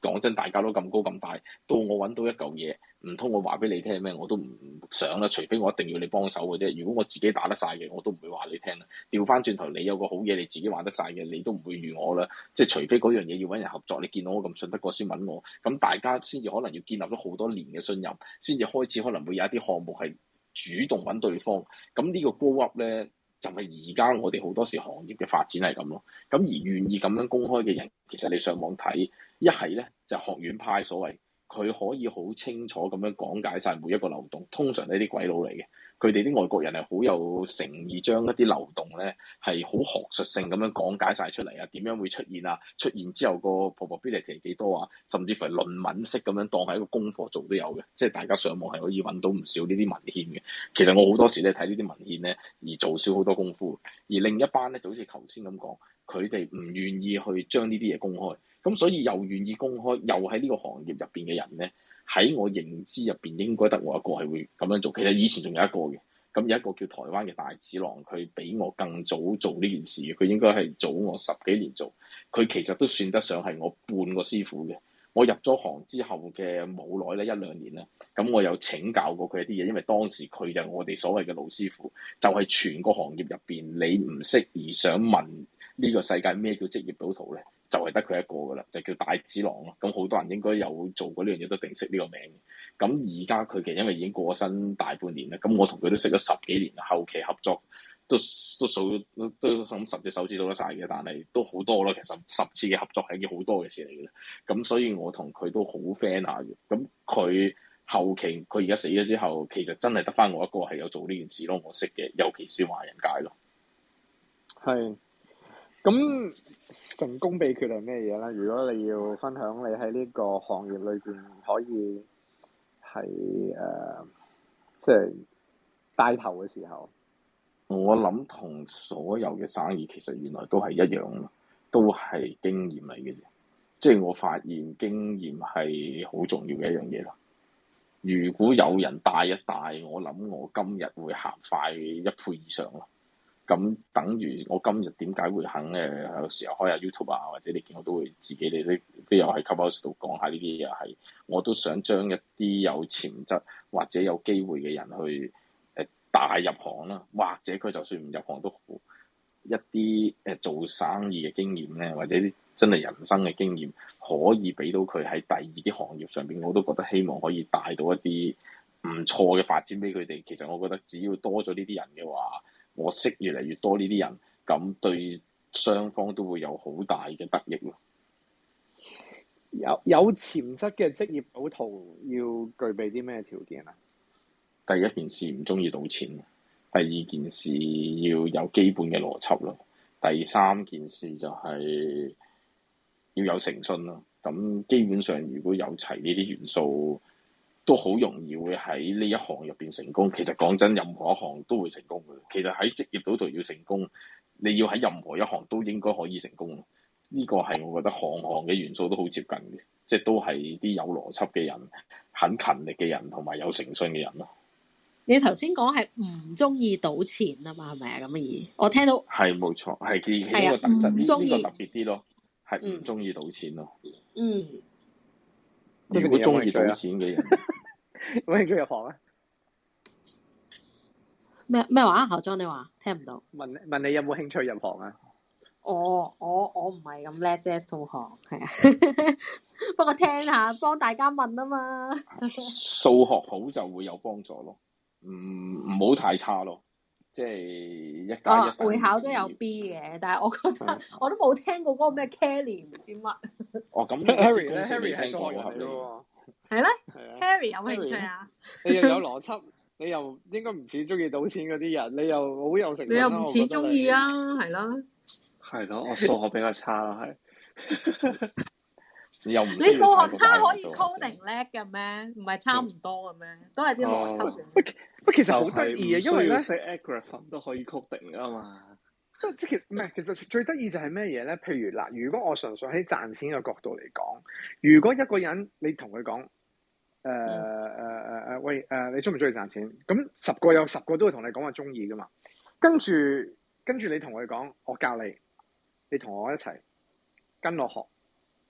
講真，大家都咁高咁大，到我揾到一嚿嘢，唔通我話俾你聽咩？我都唔想啦，除非我一定要你幫手嘅啫。如果我自己打得晒嘅，我都唔會話你聽啦。調翻轉頭，你有個好嘢，你自己玩得晒嘅，你都唔會預我啦。即係除非嗰樣嘢要揾人合作，你見到我咁信得過先揾我，咁大家先至可能要建立咗好多年嘅信任，先至開始可能會有一啲項目係主動揾對方。咁呢個 grow up 咧，就係而家我哋好多時行業嘅發展係咁咯。咁而願意咁樣公開嘅人，其實你上網睇，一係咧就學院派所謂，佢可以好清楚咁樣講解晒每一個漏洞。通常呢啲鬼佬嚟嘅，佢哋啲外國人係好有誠意，將一啲漏洞咧係好學術性咁樣講解晒出嚟啊，點樣會出現啊？出現之後個 probability 幾多啊？甚至乎係論文式咁樣當係一個功課做都有嘅，即係大家上網係可以揾到唔少呢啲文獻嘅。其實我好多時咧睇呢啲文獻咧而做少好多功夫，而另一班咧就好似頭先咁講，佢哋唔願意去將呢啲嘢公開。咁所以又願意公開，又喺呢個行業入邊嘅人咧，喺我認知入邊應該得我一個係會咁樣做。其實以前仲有一個嘅，咁有一個叫台灣嘅大子郎，佢比我更早做呢件事嘅，佢應該係早我10幾年做。佢其實都算得上係我半個師傅嘅。我入咗行之後嘅冇耐咧，1、2年咧，咁我有請教過佢一啲嘢，因為當時佢就係我哋所謂嘅老師傅，就係全個行業入邊你唔識而想問呢個世界咩叫職業賭徒咧，就係得佢一個噶啦，就叫大子郎咯。咁好多人應該有做過呢樣嘢，都定識呢個名。咁而家佢其實因為已經過咗身大半年啦，咁我同佢都識咗10幾年啦，後期合作都數都10隻手指數得晒嘅，但係都好多啦。其實10次嘅合作係一件好多嘅事嚟嘅。咁所以我同佢都好 friend 下嘅。咁佢後期佢而家死咗之後，其實真係得翻我一個係有做呢件事咯，我識嘅，尤其是華人界咯。 係。咁成功秘訣係咩嘢咧？如果你要分享你喺呢個行業裏邊可以係即係帶頭嘅時候， 我諗同所有嘅生意其實原來都係一樣咯，都係經驗嚟嘅啫。即係我發現經驗係好重要嘅一樣嘢咯。如果有人帶一帶，我諗我今日會行快1倍以上咯。咁等於我今日點解會肯有時候開下 YouTube 啊，或者你見我都會自己哋都有喺 Clubhouse 度講下呢啲嘢，係我都想將一啲有潛質或者有機會嘅人去帶入行啦，或者佢就算唔入行都好，一啲做生意嘅經驗咧，或者啲真係人生嘅經驗，可以俾到佢喺第二啲行業上邊，我都覺得希望可以帶到一啲唔錯嘅發展俾佢哋。其實我覺得只要多咗呢啲人嘅話，我識越嚟越多呢啲人，咁對雙方都會有好大嘅得益咯。 有潛質嘅職業賭徒要具備啲咩條件啊？ 第一件事唔中意賭錢，第二件事要有基本嘅邏輯咯，第三件事就係要有誠信咯。咁基本上如果有齊呢啲元素，都好容易會喺呢一行入邊成功。其實講真，任何一行都會成功嘅。其實喺職業賭徒要成功，你要喺任何一行都應該可以成功。呢個係我覺得行嘅元素都好接近嘅，即係都係啲有邏輯嘅人、很勤力嘅人同埋有誠信嘅人咯。 你頭先講係唔中意賭錢啊嘛，係咪啊咁嘅意？我聽到係冇錯，係其中一個特質，呢個特別啲咯，係唔中意賭錢咯。 嗯。 如果中意賭錢嘅人， 有冇興趣入行啊？ 咩話？校長你話聽唔到？ 問你有冇興趣入行啊？ 我唔係咁叻啫，數學係啊。不過聽下，幫大家問啊嘛。 數學好就會有幫助咯，唔好太差咯。即係1加1。 會考都有 B 嘅，但係我覺得我都冇聽過嗰個咩 Kelly 唔知乜。 哦，咁 Harry 咧，Harry 係數學人嚟嘅喎。 係咧，Harry 有冇興趣啊？ 你又有邏輯，你又應該唔似中意賭錢嗰啲人，你又好有誠信。 你又唔似中意啊？係咯。 係咯，我數學比較差啦，係。 你數學差可以 coding 叻嘅咩？唔係差唔多嘅咩？都係啲邏輯嘅。 不其實好得意啊，因為咧寫 algorithm 都可以 coding 啊嘛。 即係唔係？其實最得意就係咩嘢咧？譬如嗱，如果我純粹喺賺錢嘅角度嚟講，如果一個人你同佢講喂你中唔中意賺錢？咁10個有10個都會同你講話中意噶嘛。跟住你同佢講，我教你，你同我一齊跟我學，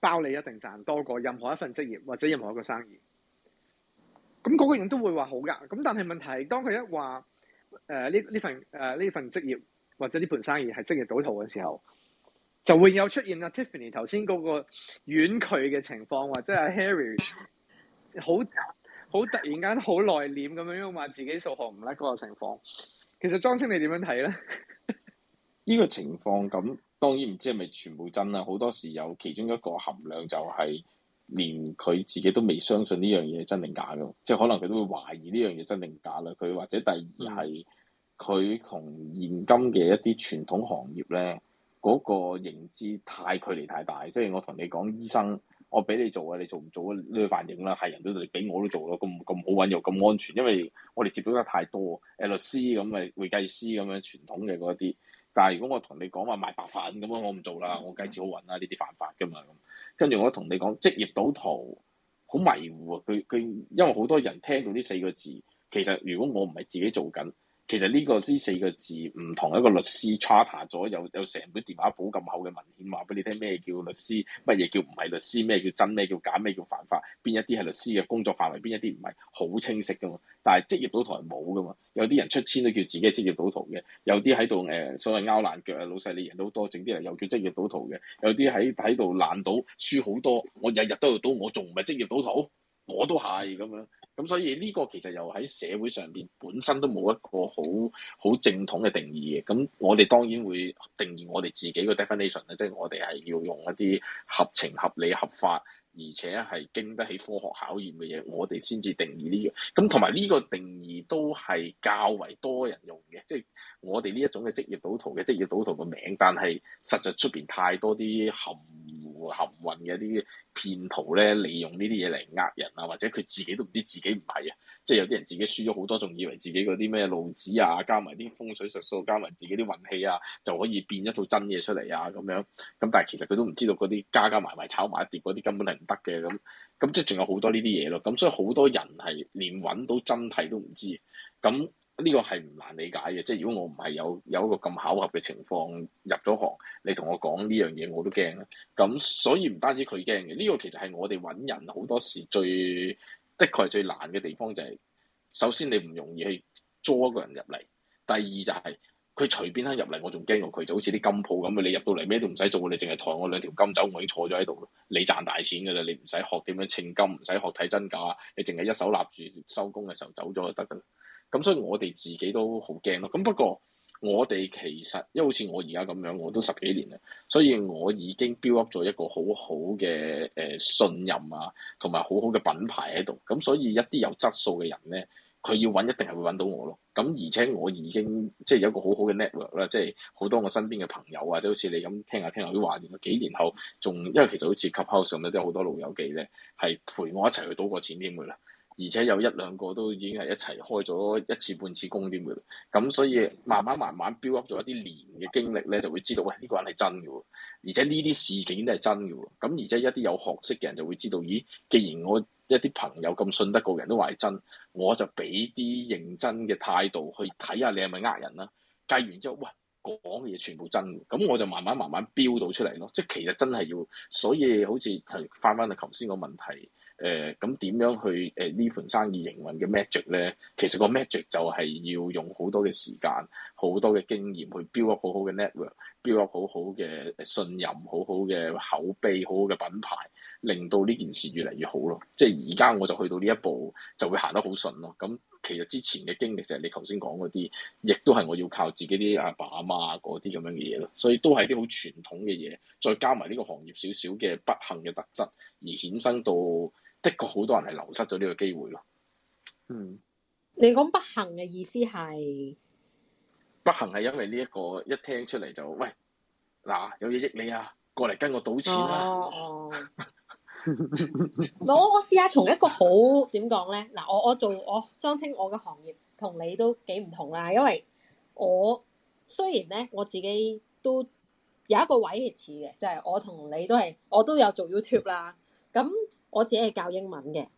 包你一定賺多過任何一份職業或者任何一個生意。咁嗰個人都會話好㗎。咁但係問題係，當佢一話呢份職業或者呢盤生意係職業賭徒嘅時候，就會有出現啊 Tiffany 頭先嗰個婉拒嘅情況，或者係 Harry 好突然間好內斂咁樣話自己數學唔叻嗰個情況。其實莊青你點樣睇咧？ 呢個情況咁當然唔知係咪全部真啦，好多時有其中一個含量就係連佢自己都未相信呢樣嘢真定假嘅，即係可能佢都會懷疑呢樣嘢真定假啦。佢或者第二係佢同現今嘅一啲傳統行業咧嗰個認知太距離太大，即係我同你講醫生，我俾你做啊，你做唔做啊？呢個反應啦，係人都嚟俾我都做咯，咁好揾又咁安全，因為我哋接觸得太多，律師咁咪會計師咁樣傳統嘅嗰啲。但係如果我同你講話賣白粉咁樣，我唔做啦，我計錢好揾啦，呢啲犯法噶嘛咁。跟住我同你講職業賭徒好迷糊啊，佢因為好多人聽到呢四個字，其實如果我唔係自己做緊。其實呢四個字唔同一個律師 charter 咗有成本電話簿咁厚嘅文獻話俾你聽咩叫律師，乜嘢叫唔係律師，咩叫真，咩叫假，咩叫犯法，邊一啲係律師嘅工作範圍，邊一啲唔係，好清晰噶嘛。但係職業賭徒係冇噶嘛，有啲人出千都叫自己係職業賭徒嘅，有啲喺度所謂拗爛腳啊，老細你贏到好多，整啲人又叫職業賭徒嘅，有啲喺度爛賭輸好多，我日日都喺度賭，我仲唔係職業賭徒？我都係咁樣。咁所以呢個其實又喺社會上邊本身都冇一個好正統嘅定義嘅。咁我哋當然會定義我哋自己個 definition 咧，即係我哋係要用一啲合情合理合法，而且係經得起科學考驗嘅嘢，我哋先至定義呢個。咁同埋呢個定義都係較為多人用嘅，即係我哋呢一種嘅職業賭徒嘅職業賭徒個名，但係實際出邊太多啲含混嘅啲騙徒咧，利用呢啲嘢嚟呃人啊，或者佢自己都唔知自己唔係啊，即係有啲人自己輸咗好多，仲以為自己嗰啲咩路子啊，加埋啲風水術數，加埋自己啲運氣啊，就可以變一套真嘢出嚟啊咁樣。咁但係其實佢都唔知道嗰啲加埋炒埋一碟嗰啲根本係唔得嘅。咁即係仲有好多呢啲嘢咯。咁所以好多人係連揾到真諦都唔知。咁呢個係唔難理解嘅，即係如果我唔係有一個咁巧合嘅情況入咗行，你同我講呢樣嘢我都驚啦。咁所以唔單止佢驚嘅，呢個其實係我哋揾人好多時的確係最難嘅地方，就係首先你唔容易去捉一個人入嚟，第二就係佢隨便肯入嚟，我仲驚過佢，就好似啲金鋪咁啊！你入到嚟咩都唔使做，你淨係抬我2條金走，我已經坐咗喺度，你賺大錢㗎啦！你唔使學點樣稱金，唔使學睇真假，你淨係一手立住收工嘅時候走咗就得㗎啦。咁所以我哋自己都好驚咯。咁不過我哋其實，因為好似我而家咁樣，我都10幾年啦，所以我已經 build up 咗一個好好嘅信任啊，同埋好好嘅品牌喺度。咁所以一啲有質素嘅人咧，佢要揾一定係會揾到我咯。咁而且我已經即係有一個好好嘅 network 啦，即係好多我身邊嘅朋友啊，即係好似你咁聽下都話，幾年後仲因為其實好似 Clubhouse 咁咧，都有好多老友記咧係陪我一齊去賭過錢添㗎啦。而且有1-2個都已經係一齊開咗1次半次工添嘅，咁所以慢慢 build up 咗一啲年嘅經歷咧，就會知道喂呢個人係真嘅喎，而且呢啲事件都係真嘅喎，咁而且一啲有學識嘅人就會知道，咦，既然我一啲朋友咁信得過嘅人都話係真，我就俾啲認真嘅態度去睇下你係咪呃人啦，計完之後，喂，講嘅嘢全部真嘅，咁我就慢慢標到出嚟咯，即係其實真係要，所以好似翻去頭先個問題。咁點樣去呢盤生意營運嘅 magic 咧？其實個 magic 就係要用好多嘅時間、好多嘅經驗去 build up 好好嘅 network、build up 好好嘅信任、好好嘅口碑、好好嘅品牌，令到呢件事越嚟越好咯。即係而家我就去到呢一步，就會行得好順咯。咁其實之前嘅經歷就係你頭先講嗰啲，亦都係我要靠自己啲阿爸阿媽嗰啲咁樣嘅嘢咯。所以都係啲好傳統嘅嘢，再加埋呢個行業少少嘅不幸嘅特質，而衍生到。的確好多人係流失咗呢個機會咯。 你講不幸嘅意思係？ 不幸係因為呢一個一聽出嚟就喂嗱有嘢益你啊，過嚟跟我賭錢啦。 我試下從一個好點講咧嗱，我莊青我嘅行業同你都幾唔同啦，因為我雖然咧我自己都有一個位係似嘅，就係我同你都係我都有做 YouTube 啦。咁我自己係教英文嘅，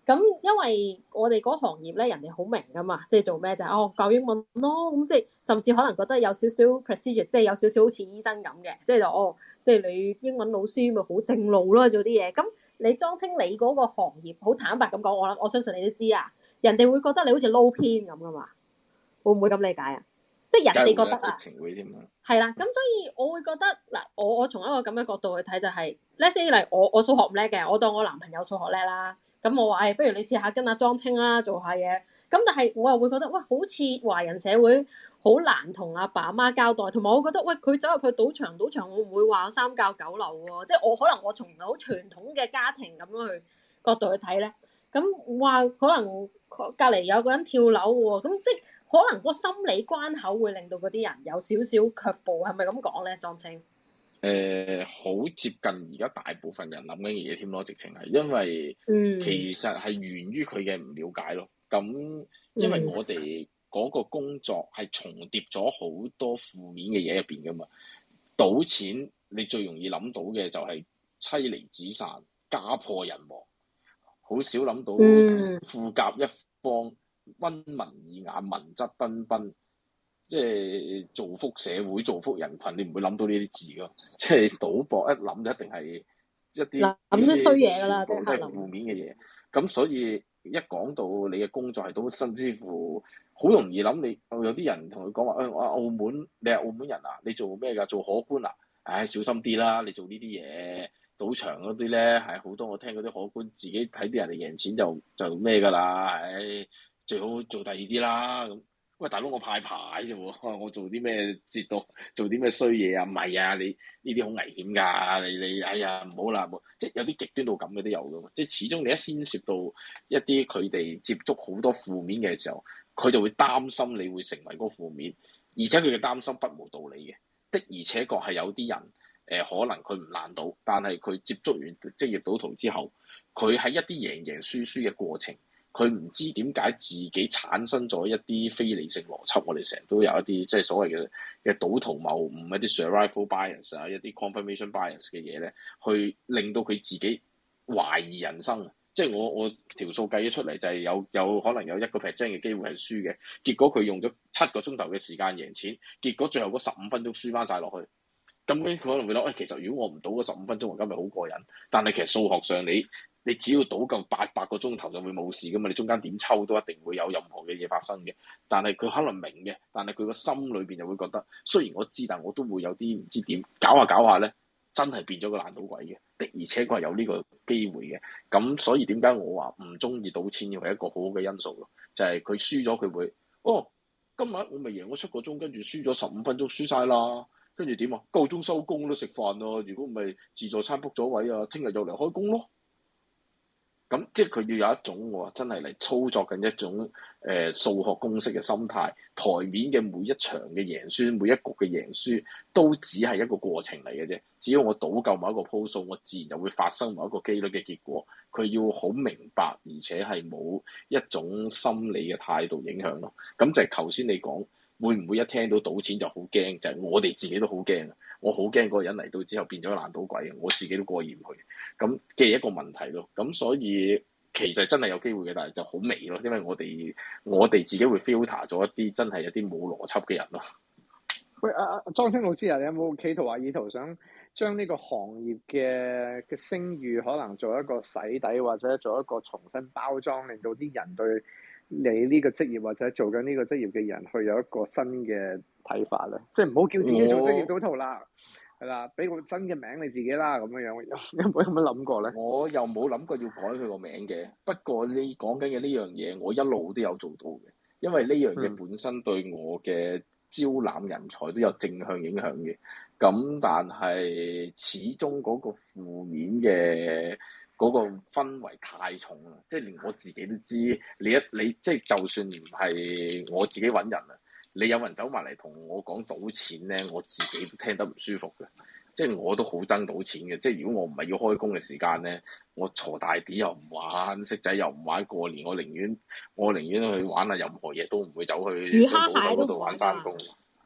咁因為我哋嗰行業咧，人哋好明噶嘛，即係做咩就係教英文咯。咁即係甚至可能覺得有少少 prestigious，即係有少少好似醫生咁嘅，即係即係你英文老師咪好正路咯，做啲嘢。咁你莊青你嗰個行業，好坦白咁講，我相信你都知啊，人哋會覺得你好似撈偏咁噶嘛，會唔會咁理解啊？即係人哋覺得啊，係啦，咁所以我會覺得嗱，我從一個咁嘅角度去睇就係，let's say 嚟我數學唔叻嘅，我當我男朋友數學叻啦，咁我話不如你試下跟阿莊青啦做下嘢，咁但係我又會覺得，喂，好似華人社會好難同阿爸阿媽交代，同埋我覺得，喂，佢走入去賭場會唔會話三教九流喎？即係我可能我從好傳統嘅家庭咁樣去角度去睇咧，咁話可能隔離有個人跳樓喎，咁即係。可能個心理關口會令到嗰啲人有少少卻步，係咪咁講咧？莊青， 好接近而家大部分人諗緊嘅嘢添咯，直情係因為其實係源於佢嘅唔了解咯。咁因為我哋嗰個工作係重疊咗好多負面嘅嘢入邊噶嘛，賭錢你最容易諗到嘅就係妻離子散、家破人亡，好少諗到富甲一方。溫文爾雅、文質彬彬，即係造福社會、造福人群，你唔會諗到呢啲字噶。即係賭博一諗就一定係一啲諗啲衰嘢噶啦， 都係負面嘅嘢。咁所以一講到你嘅工作係賭，甚至乎好容易諗你。有啲人同佢講話，我澳門，你係澳門人啊？你做咩㗎？做荷官啊？唉，小心啲啦！你做呢啲嘢，賭場嗰啲咧係好多。我聽嗰啲荷官自己睇啲人哋贏錢就咩㗎啦，唉。最好做第二啲啦咁。喂，大佬我派牌啫喎，我做啲咩折到做啲咩衰嘢啊？唔係啊，你呢啲好危險㗎，你哎呀唔好啦，即係有啲極端到咁嘅都有㗎嘛。即係始終你一牽涉到一啲佢哋接觸好多負面嘅時候，佢就會擔心你會成為嗰個負面，而且佢嘅擔心不無道理嘅。的而且確係有啲人可能佢唔爛賭，但係佢接觸完職業賭徒之後，佢喺一啲贏贏輸輸嘅過程。佢唔知點解自己產生咗一啲非理性邏輯，我哋成日都有一啲即係所謂嘅賭徒謬誤，一啲 survival bias 啊，一啲 confirmation bias 嘅嘢咧，去令到佢自己懷疑人生。即係我條數計咗出嚟就係有可能有1% 嘅機會係輸嘅，結果佢用咗7個鐘頭嘅時間贏錢，結果最後嗰15分鐘輸翻晒落去。咁佢可能會諗，其實如果我唔賭嗰15分鐘，我今日好過癮。但係其實數學上你只要賭夠800個鐘頭就會冇事噶嘛，你中間點抽都一定會有任何嘅嘢發生嘅。但係佢可能明嘅，但係佢個心裏邊就會覺得，雖然我知，但我都會有啲唔知點搞下咧，真係變咗個爛賭鬼嘅。的而且確係有呢個機會嘅。咁所以點解我話唔中意賭錢嘅係一個好好嘅因素咯，就係佢輸咗佢會，今日我咪贏咗7個鐘，跟住輸咗15分鐘輸晒啦，跟住點啊？夠鐘收工都食飯咯，如果唔係自助餐 book 咗位啊，聽日又嚟開工咯。咁即係佢要有一種真係嚟操作緊一種數學公式嘅心態，台面嘅每一場嘅贏輸，每一局嘅贏輸都只係一個過程嚟嘅啫。只要我賭夠某一個鋪數，我自然就會發生某一個機率嘅結果。佢要好明白，而且係冇一種心理嘅態度影響咯。咁就係頭先你講，會唔會一聽到賭錢就好驚？就係我哋自己都好驚。我好驚嗰個人嚟到之後變咗爛賭鬼，我自己都過意唔去。咁嘅一個問題咯。咁所以其實真係有機會嘅，但係就好微咯，因為我哋自己會 filter 咗一啲真係一啲冇邏輯嘅人咯。 喂，莊青老師啊，你有冇企圖話意圖想將呢個行業嘅聲譽可能做一個洗底，或者做一個重新包裝，令到啲人對你呢個職業或者做緊呢個職業嘅人去有一個新嘅睇法咧？即係唔好叫自己做職業賭徒啦。係啦，俾個新嘅名你自己啦，咁樣有冇咁樣諗過咧？ 我又冇諗過要改佢個名嘅，不過你講緊嘅呢樣嘢，我一路都有做到嘅，因為呢樣嘢本身對我嘅招攬人才都有正向影響嘅。咁但係始終嗰個負面嘅嗰個氛圍太重啦，即係連我自己都知，你即係就算唔係我自己揾人啊。你有人走埋嚟同我講賭錢咧，我自己都聽得唔舒服嘅，即係我都好憎賭錢嘅。即係如果我唔係要開工嘅時間咧，我鋤大啲又唔玩，骰仔又唔玩，過年我寧願去玩下任何嘢，都唔會走去賭場嗰度玩山工。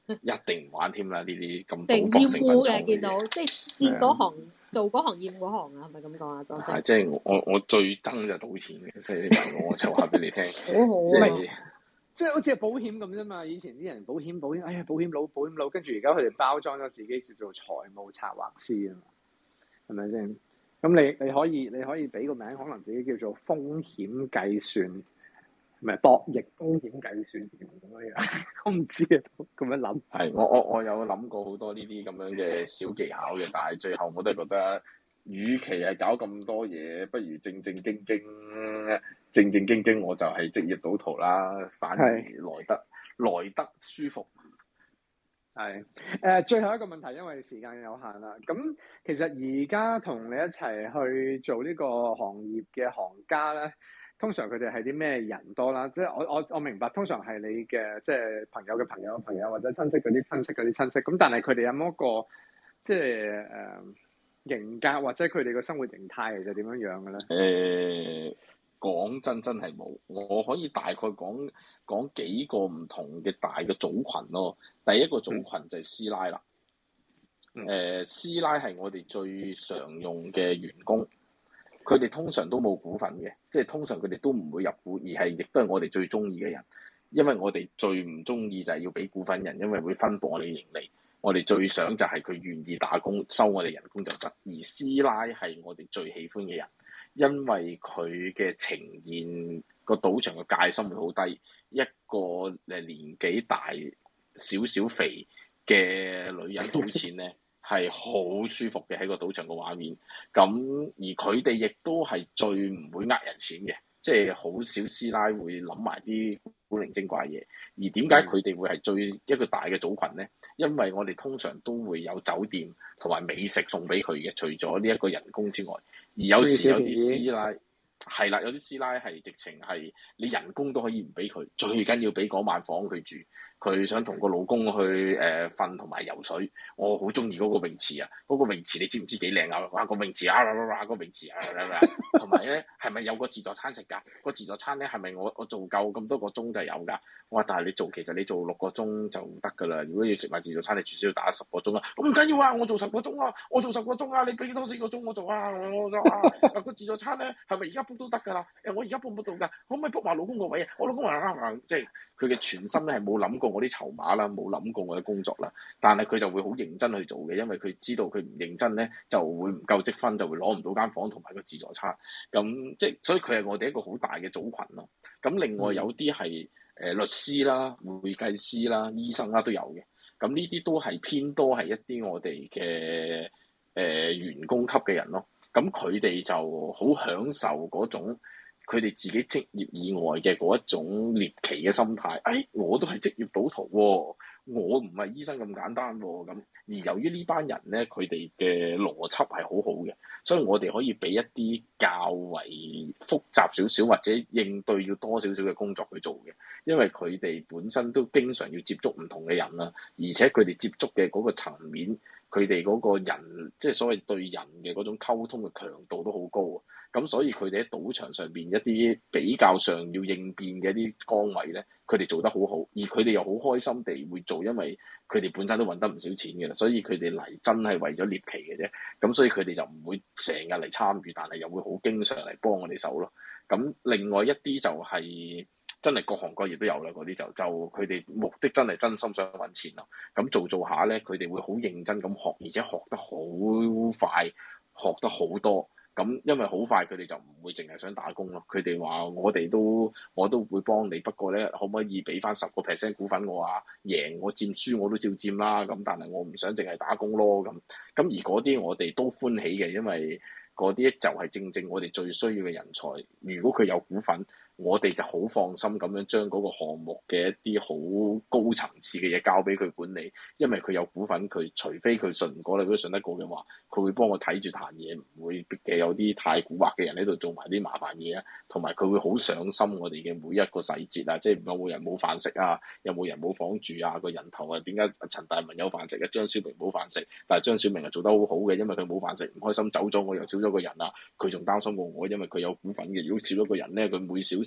一定唔玩添啦！呢啲咁定賭博成分重嘅，見到嘢。 即係見嗰行做嗰行厭嗰行啊，係咪咁講啊？莊姐， 即係我最憎就賭錢嘅，所以你問我就話俾你聽。 好好啊！ 即係好似係保險咁啫嘛。以前啲人保險，哎呀保險佬，跟住而家佢哋包裝咗自己叫做財務策劃師啊嘛，係咪先？咁你可以俾個名，可能自己叫做風險計算，唔係博弈風險計算咁樣。我唔知啊，咁樣諗。 係我有諗過好多呢啲咁樣嘅小技巧嘅，但係最後我都係覺得，與其係搞咁多嘢，不如正正經經，我就係職業賭徒啦，反而來得舒服。 係最後一個問題，因為時間有限啦。咁其實而家同你一齊去做呢個行業嘅行家咧，通常佢哋係啲咩人多啦？即係我明白，通常係你嘅即係朋友嘅朋友或者親戚嗰啲親戚。咁但係佢哋有冇一個即係型格或者佢哋嘅生活形態其實點樣樣嘅咧？ 講真係冇，我可以大概講幾個唔同嘅大嘅組群咯。第一個組群就係師奶啦。師奶係我哋最常用嘅員工，佢哋通常都冇股份嘅，即係通常佢哋都唔會入股，而係亦都係我哋最中意嘅人。因為我哋最唔中意就係要俾股份人，因為會分薄我哋盈利。我哋最想就係佢願意打工收我哋人工就得，而師奶係我哋最喜歡嘅人。因為佢嘅呈現個賭場嘅戒心會好低，一個年紀大少少肥嘅女人賭錢咧係好舒服嘅，喺個賭場嘅畫面。咁而佢哋亦都係最唔會呃人錢嘅，即係好少師奶會諗埋啲古靈精怪嘢。而點解佢哋會係一個大嘅組群咧？因為我哋通常都會有酒店同埋美食送俾佢嘅，除咗呢一個人工之外。而有時有啲師奶係啦，有啲師奶係直情係你人工都可以唔俾佢，最緊要俾嗰晚房佢住。佢想同個老公去瞓同埋游水。我好中意嗰個泳池啊！嗰個泳池你知唔知幾靚啊？哇！個泳池個泳池同埋咧係咪有個自助餐食㗎？個自助餐咧係咪我做夠咁多個鐘就有㗎？我話但係其實你做6個鐘就唔得㗎啦。如果要食埋自助餐，你至少要打10個鐘啊！咁唔緊要啊，我做10個鐘啊，你俾多4個鐘我做啊！個自助餐咧係咪而家 book 都得㗎啦？我而家 book 唔到㗎，可唔可以 book 埋老公個位啊？我老公話即係佢嘅全心咧係冇諗過我啲籌碼啦，冇諗過我嘅工作啦，但係佢就會好認真去做嘅，因為佢知道佢唔認真咧就會唔夠積分，就會攞唔到間房同埋個自助餐。咁即係所以佢係我哋一個好大嘅組群咯。咁另外有啲係律師啦、會計師啦、醫生啦都有嘅。咁呢啲都係偏多係一啲我哋嘅員工級嘅人咯。咁佢哋就好享受嗰種佢哋自己職業以外嘅嗰一種獵奇嘅心態。我都係職業賭徒喎，我唔係醫生咁簡單喎。咁而由於呢班人咧，佢哋嘅邏輯係好好嘅，所以我哋可以俾一啲較為複雜少少或者應對要多少少嘅工作去做嘅，因為佢哋本身都經常要接觸唔同嘅人啦，而且佢哋接觸嘅嗰個層面。佢哋嗰個人，即係所謂對人嘅嗰種溝通嘅強度都好高啊！咁所以佢哋喺賭場上邊一啲比較上要應變嘅一啲崗位咧，佢哋做得好好，而佢哋又好開心地會做，因為佢哋本身都揾得唔少錢嘅啦，所以佢哋嚟真係為咗獵奇嘅啫。咁所以佢哋就唔會成日嚟參與，但係又會好經常嚟幫我哋手咯。咁另外一啲就係、真係各行各業都有啦，嗰啲就佢哋目的真係真心想揾錢咯。咁做下咧，佢哋會好認真咁學，而且學得好快，學得好多。咁因為好快，佢哋就唔會淨係想打工咯。佢哋話我都會幫你，不過咧可唔可以俾翻10% 股份我啊？贏我佔輸我都照佔啦。咁但係我唔想淨係打工咯。咁而嗰啲我哋都歡喜嘅，因為嗰啲就係正正我哋最需要嘅人才。如果佢有股份，我哋就好放心咁樣將嗰個項目嘅一啲好高層次嘅嘢交俾佢管理，因為佢有股份，佢除非佢信唔過你，如果信得過嘅話，佢會幫我睇住壇嘢，唔會嘅有啲太蠱惑嘅人喺度做埋啲麻煩嘢啊，同埋佢會好上心我哋嘅每一個細節啊，即係有冇人冇飯食啊，有冇人冇房住啊，個人頭啊點解陳大文有飯食啊，張小明冇飯食，但係張小明係做得好好嘅，因為佢冇飯食唔開心走咗，我又少咗個人啊，佢仲擔心過我，因為佢有股份嘅，如果少咗個人咧，佢每小時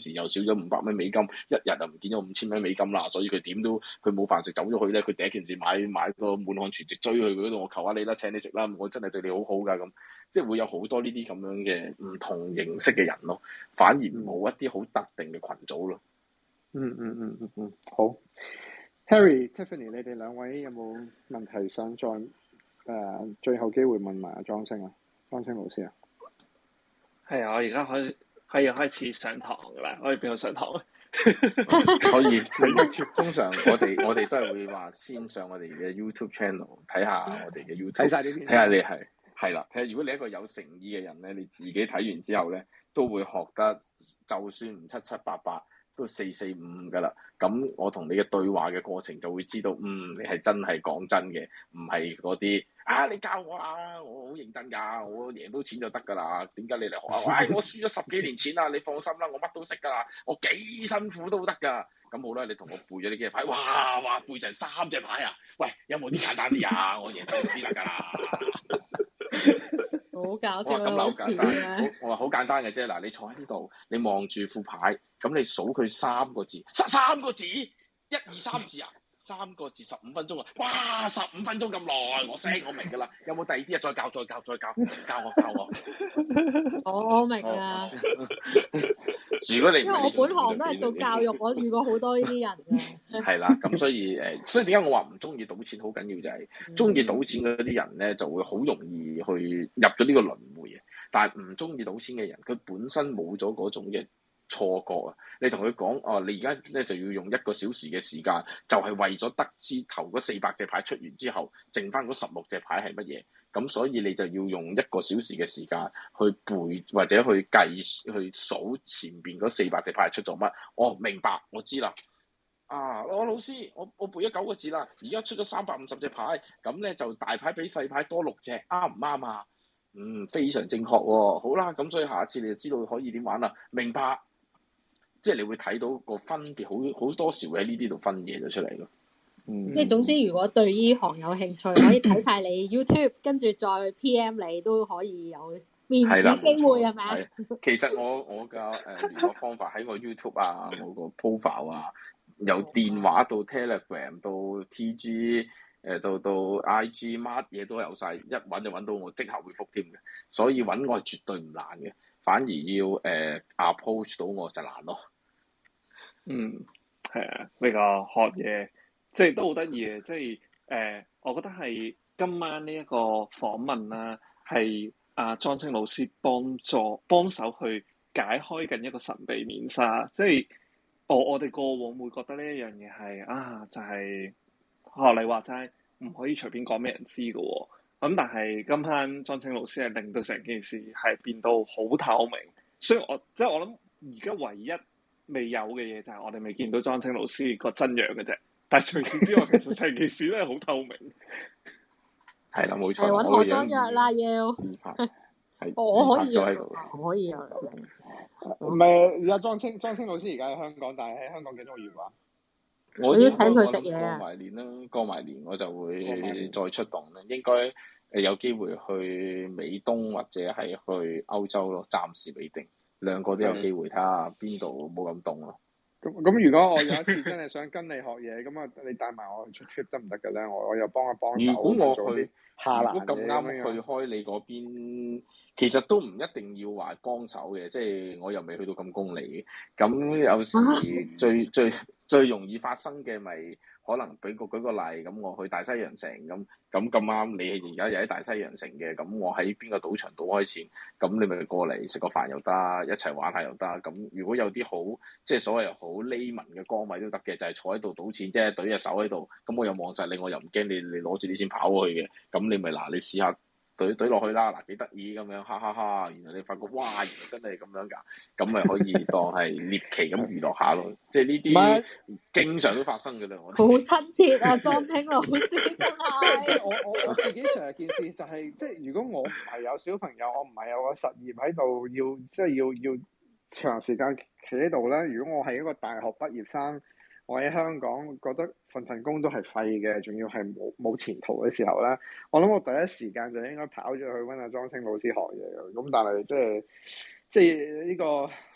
時又少咗500蚊美金，一日就唔見咗5000蚊美金啦，所以佢點都佢冇飯食走咗去咧，佢第一件事買個滿漢全席追去佢嗰度，我求下你啦，請你食啦，我真係對你好好㗎咁，即係會有好多呢啲咁樣嘅唔同形式嘅人咯，反而冇一啲好特定嘅群組咯。 好。Harry、Tiffany， 你哋兩位有冇問題想再最後機會問埋阿莊青啊？莊青老師啊？ 係啊，我而家可以開始上堂㗎啦，可以邊度上堂啊？ 可以通常我哋都係會話先上我哋嘅 YouTube channel 睇下我哋嘅 YouTube， 睇下你係啦，睇下如果你一個有誠意嘅人咧，你自己睇完之後咧，都會學得，就算唔788都445㗎啦。咁我同你嘅對話嘅過程就會知道，你係真係講真嘅，唔係嗰啲你教我啦，我好認真㗎，我贏到錢就得㗎啦。點解你嚟學啊？我輸咗10幾年錢啦，你放心啦，我乜都識㗎啦，我幾辛苦都得㗎。咁好啦，你同我背咗呢幾隻牌，哇背成3隻牌啊！喂，有冇啲簡單啲啊？我贏到啲得㗎啦。 好搞笑啊！ 咁好簡單，我話好簡單嘅啫。嗱，你坐喺呢度，你望住副牌，咁你數佢3個字，3個字，1、2、3字啊，3個字15分鐘啊！哇，15分鐘咁耐，我明㗎啦。有冇第二啲啊？再教我。 我明啊。 如果你因為我本行都係做教育，我遇過好多呢啲人嘅。 係啦，咁所以點解我話唔中意賭錢？好緊要就係中意賭錢嗰啲人咧，就會好容易去入咗呢個輪迴嘅。但係唔中意賭錢嘅人，佢本身冇咗嗰種嘅錯覺啊！你同佢講你而家咧就要用1個小時嘅時間，就係為咗得知頭嗰400隻牌出完之後，剩翻嗰16隻牌係乜嘢。咁所以你就要用1個小時嘅時間去背或者去計去數前邊嗰400隻牌出咗乜。明白，我知啦。我老師，我背咗9個字啦，而家出咗350隻牌，咁咧就大牌比細牌多6隻，啱唔啱啊？非常正確喎。好啦，咁所以下一次你就知道可以點玩啦。明白，即係你會睇到個分別，好多時會喺呢啲度分嘢咗出嚟咯。 即係總之，如果對呢行有興趣，可以睇晒你 YouTube，跟住再 PM 你都可以有面試機會係咪啊？ 其實我嘅聯絡方法喺我 YouTube 啊，我個 profile 啊，由電話到 Telegram 到 TG 到 IG 乜嘢都有晒，一揾就揾到我，即刻回覆添嘅。所以揾我係絕對唔難嘅，反而要approach 到我就難咯。 係啊，呢個學嘢。即係都好得意嘅，即係我覺得係今晚呢一個訪問啦，係阿莊青老師幫手去解開緊一個神秘面紗。即係我哋過往會覺得呢一樣嘢係就係學你話齋，唔可以隨便講俾人知嘅喎。咁但係今晚莊青老師係令到成件事係變到好透明。所以我諗而家唯一未有嘅嘢就係我哋未見到莊青老師個真樣嘅啫。但係除此之外，其實成件事咧好透明。 係啦，冇錯。 揾我裝藥啦，要。我可以啊，可以啊。 唔係，而家莊青老師而家喺香港，但係喺香港幾多個月話？ 我要請佢食嘢啊！過埋年我就會再出動啦。應該有機會去美東或者係去歐洲咯，暫時未定。2個都有機會，睇下邊度冇咁凍咯。 咁如果我有一次真係想跟你學嘢，咁你帶埋我去出 trip 得唔得嘅咧？我又幫一幫手。 如果我去， 如果咁啱去開你嗰邊，其實都唔一定要話幫手嘅，即係我又未去到咁功利嘅。咁有時最容易發生嘅咪可能舉個例，咁我去大西洋城咁啱，你而家又喺大西洋城嘅，咁我喺邊個賭場賭開錢，咁你咪過嚟食個飯又得，一齊玩下又得。咁如果有啲好即係所謂好匿文嘅崗位都得嘅，就係坐喺度賭錢啫，懟隻手喺度，咁我又望實你，我又唔驚你攞住啲錢跑過去嘅，咁你咪你試下懟落去啦，幾得意咁樣，哈哈哈！原來你發覺哇，原來真係咁樣㗎，咁咪可以當係獵奇咁娛樂下咯。即係呢啲經常都發生㗎啦。好親切啊，莊青老師真係。 即係我自己成日件事就係，即係如果我唔係有小朋友，我唔係有個實業喺度，要長時間企喺度咧。如果我係一個大學畢業生，我喺香港覺得份工都係廢嘅，仲要係冇前途嘅時候咧，我諗我第一時間就應該跑咗去揾阿莊青老師學嘢嘅。咁但係即係呢個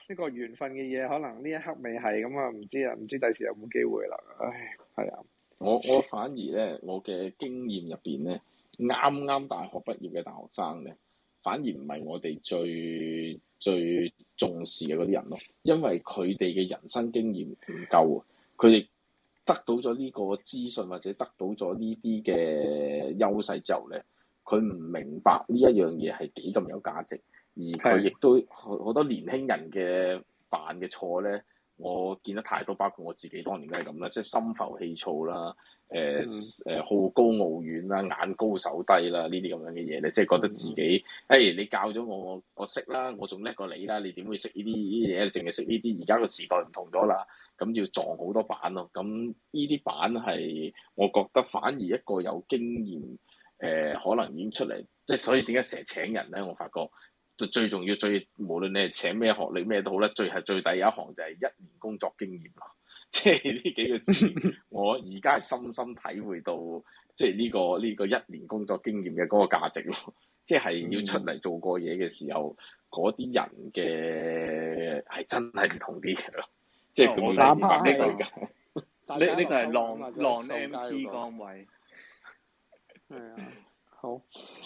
呢個緣分嘅嘢，可能呢一刻未係咁啊，唔知第時有冇機會啦。唉，係啊。 我反而咧，我嘅經驗入邊咧，啱啱大學畢業嘅大學生咧，反而唔係我哋最重視嘅嗰啲人咯，因為佢哋嘅人生經驗唔夠啊，佢哋得到咗呢個資訊或者得到咗呢啲嘅優勢之後咧，佢唔明白呢一樣嘢係幾咁有價值，而佢亦都好多年輕人嘅犯嘅錯咧。我見得太多，包括我自己當年都係咁啦，即係心浮氣躁啦，好高騖遠啦，眼高手低啦，呢啲咁樣嘅嘢咧，即係覺得自己，你教咗我識啦，我仲叻過你啦，你點會識呢啲嘢？淨係識呢啲，而家個時代唔同咗啦，咁要撞好多板咯。咁呢啲板係我覺得反而一個有經驗，可能已經出嚟，即係所以點解成日請人咧？我發覺。最重要，無論你係請咩學歷咩都好咧，最低一行就係1年工作經驗咯。即係呢幾個字，我而家係深深體會到，即係呢個1年工作經驗嘅嗰個價值咯。即係要出嚟做過嘢嘅時候，嗰啲人嘅係真係唔同啲嘅咯。即係佢冇明白呢世界。 呢個係浪 MP 崗位。 係啊，好。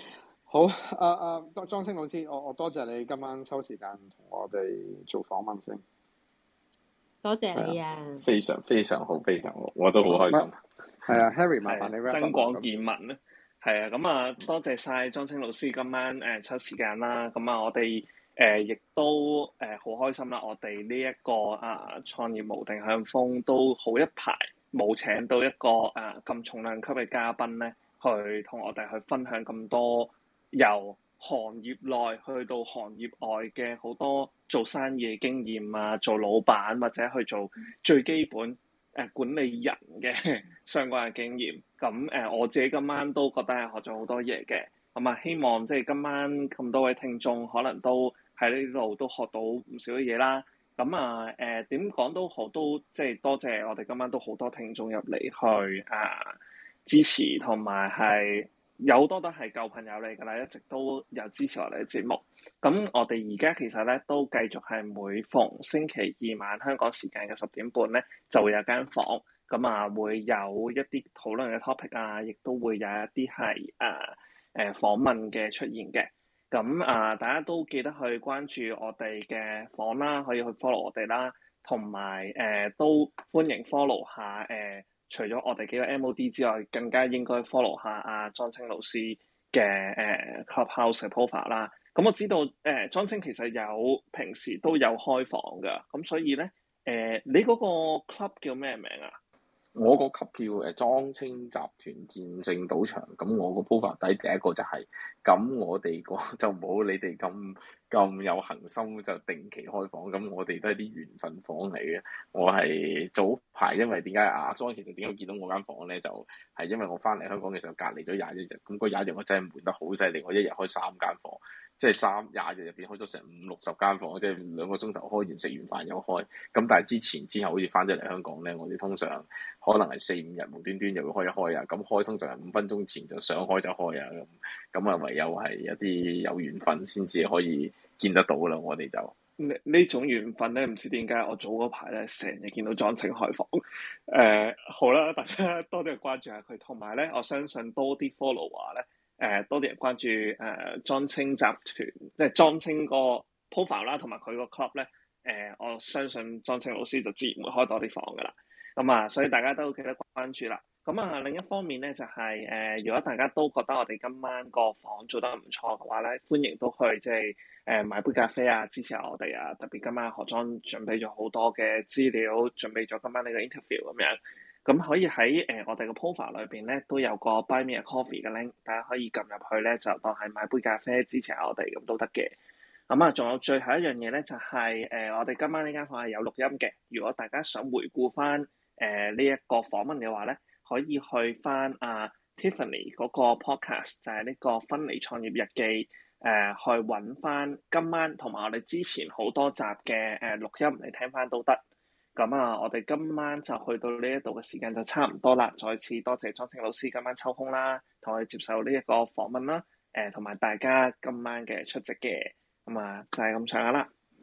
莊青老師，我多謝你今晚抽時間同我哋做訪問先。 多謝你啊！ 非常非常好，非常好，我都好開心。 係啊 ，Harry，麻煩你增廣見聞咧。係啊，咁啊，多謝晒莊青老師今晚抽時間啦。咁啊，我哋亦都好開心啦。我哋呢一個創業無定向瘋都好一排冇請到一個咁重量級嘅嘉賓咧，去同我哋去分享咁多。由行業內去到行業外嘅好多做生意嘅經驗啊，做老闆或者去做最基本管理人嘅相關嘅經驗。咁我自己今晚都覺得係學咗好多嘢嘅。咁啊，希望即係今晚咁多位聽眾可能都喺呢度都學到唔少嘅嘢啦。咁啊點講都好，都即係多謝我哋今晚都好多聽眾入嚟去支持同埋係。有好多都係舊朋友嚟㗎啦，一直都有支持我哋嘅節目。咁我哋而家其實咧都繼續係每逢星期二晚香港時間嘅10點半咧，就會有間房。咁啊，會有一啲討論嘅 topic 啊，亦都會有一啲係訪問嘅出現嘅。咁大家都記得去關注我哋嘅房啦，可以去 follow 我哋啦，同埋都歡迎 follow 下除咗我哋幾個 MOD 之外，更加應該 follow 下阿莊青老師嘅Clubhouse 嘅 profile 啦。咁我知道莊青其實平時都有開房㗎，咁所以咧你嗰個 club 叫咩名啊？ 我個級叫莊青集團戰勝賭場，咁我個 profile 底第一個就係，咁我哋個就冇你哋咁有恆心就定期開房，咁我哋都係啲緣分房嚟嘅。我係早排因為點解莊其實點解見到我間房咧，就係因為我翻嚟香港嘅時候隔離咗21日，咁嗰21日我真係悶得好犀利，我一日開3間房。即係20日入邊開咗成50-60間房，即係2個鐘頭開完，食完飯又開。咁但係之後好似翻咗嚟香港咧，我哋通常可能係4-5日無端端又會開一開啊。咁開通常係5分鐘前就想開就開啊。咁唯有係一啲有緣分先至可以見得到啦。我哋就呢種緣分咧，唔知點解我早嗰排咧成日見到莊青開房。好啦，大家多啲關注下佢，同埋咧我相信多啲 follower 咧。多啲人關注莊青集團，即係莊青個 profile 啦，同埋佢個 club 咧。我相信莊青老師就自然會開多啲房噶啦。咁所以大家都記得關注啦。咁另一方面咧，就係如果大家都覺得我哋今晚個房做得唔錯嘅話咧，歡迎都去即係買杯咖啡啊，支持下我哋啊。特別今晚何莊準備咗好多嘅資料，準備咗今晚呢個 interview 咁樣。咁可以喺我哋個 profile 裏邊咧，都有個 Buy Me a Coffee 嘅 link，大家可以撳入去咧，就當係買杯咖啡支持下我哋咁都得嘅。仲有最後一樣嘢咧，就係我哋今晚呢間房係有錄音嘅。如果大家想回顧翻呢一個訪問嘅話咧，可以去翻Tiffany 嗰個 podcast，就係呢個分離創業日記，去揾翻今晚同埋我哋之前好多集嘅錄音嚟聽翻都得。我哋今晚就去到呢一度嘅時間就差唔多啦。再次多謝莊青老師今晚抽空啦，同我哋接受呢一個訪問啦。同埋大家今晚嘅出席嘅，就係咁上下啦。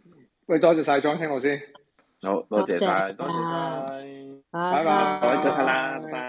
喂，多謝晒莊青老師， 好，多謝晒， 多謝多謝晒。 拜拜。 好，早唞啦，拜拜。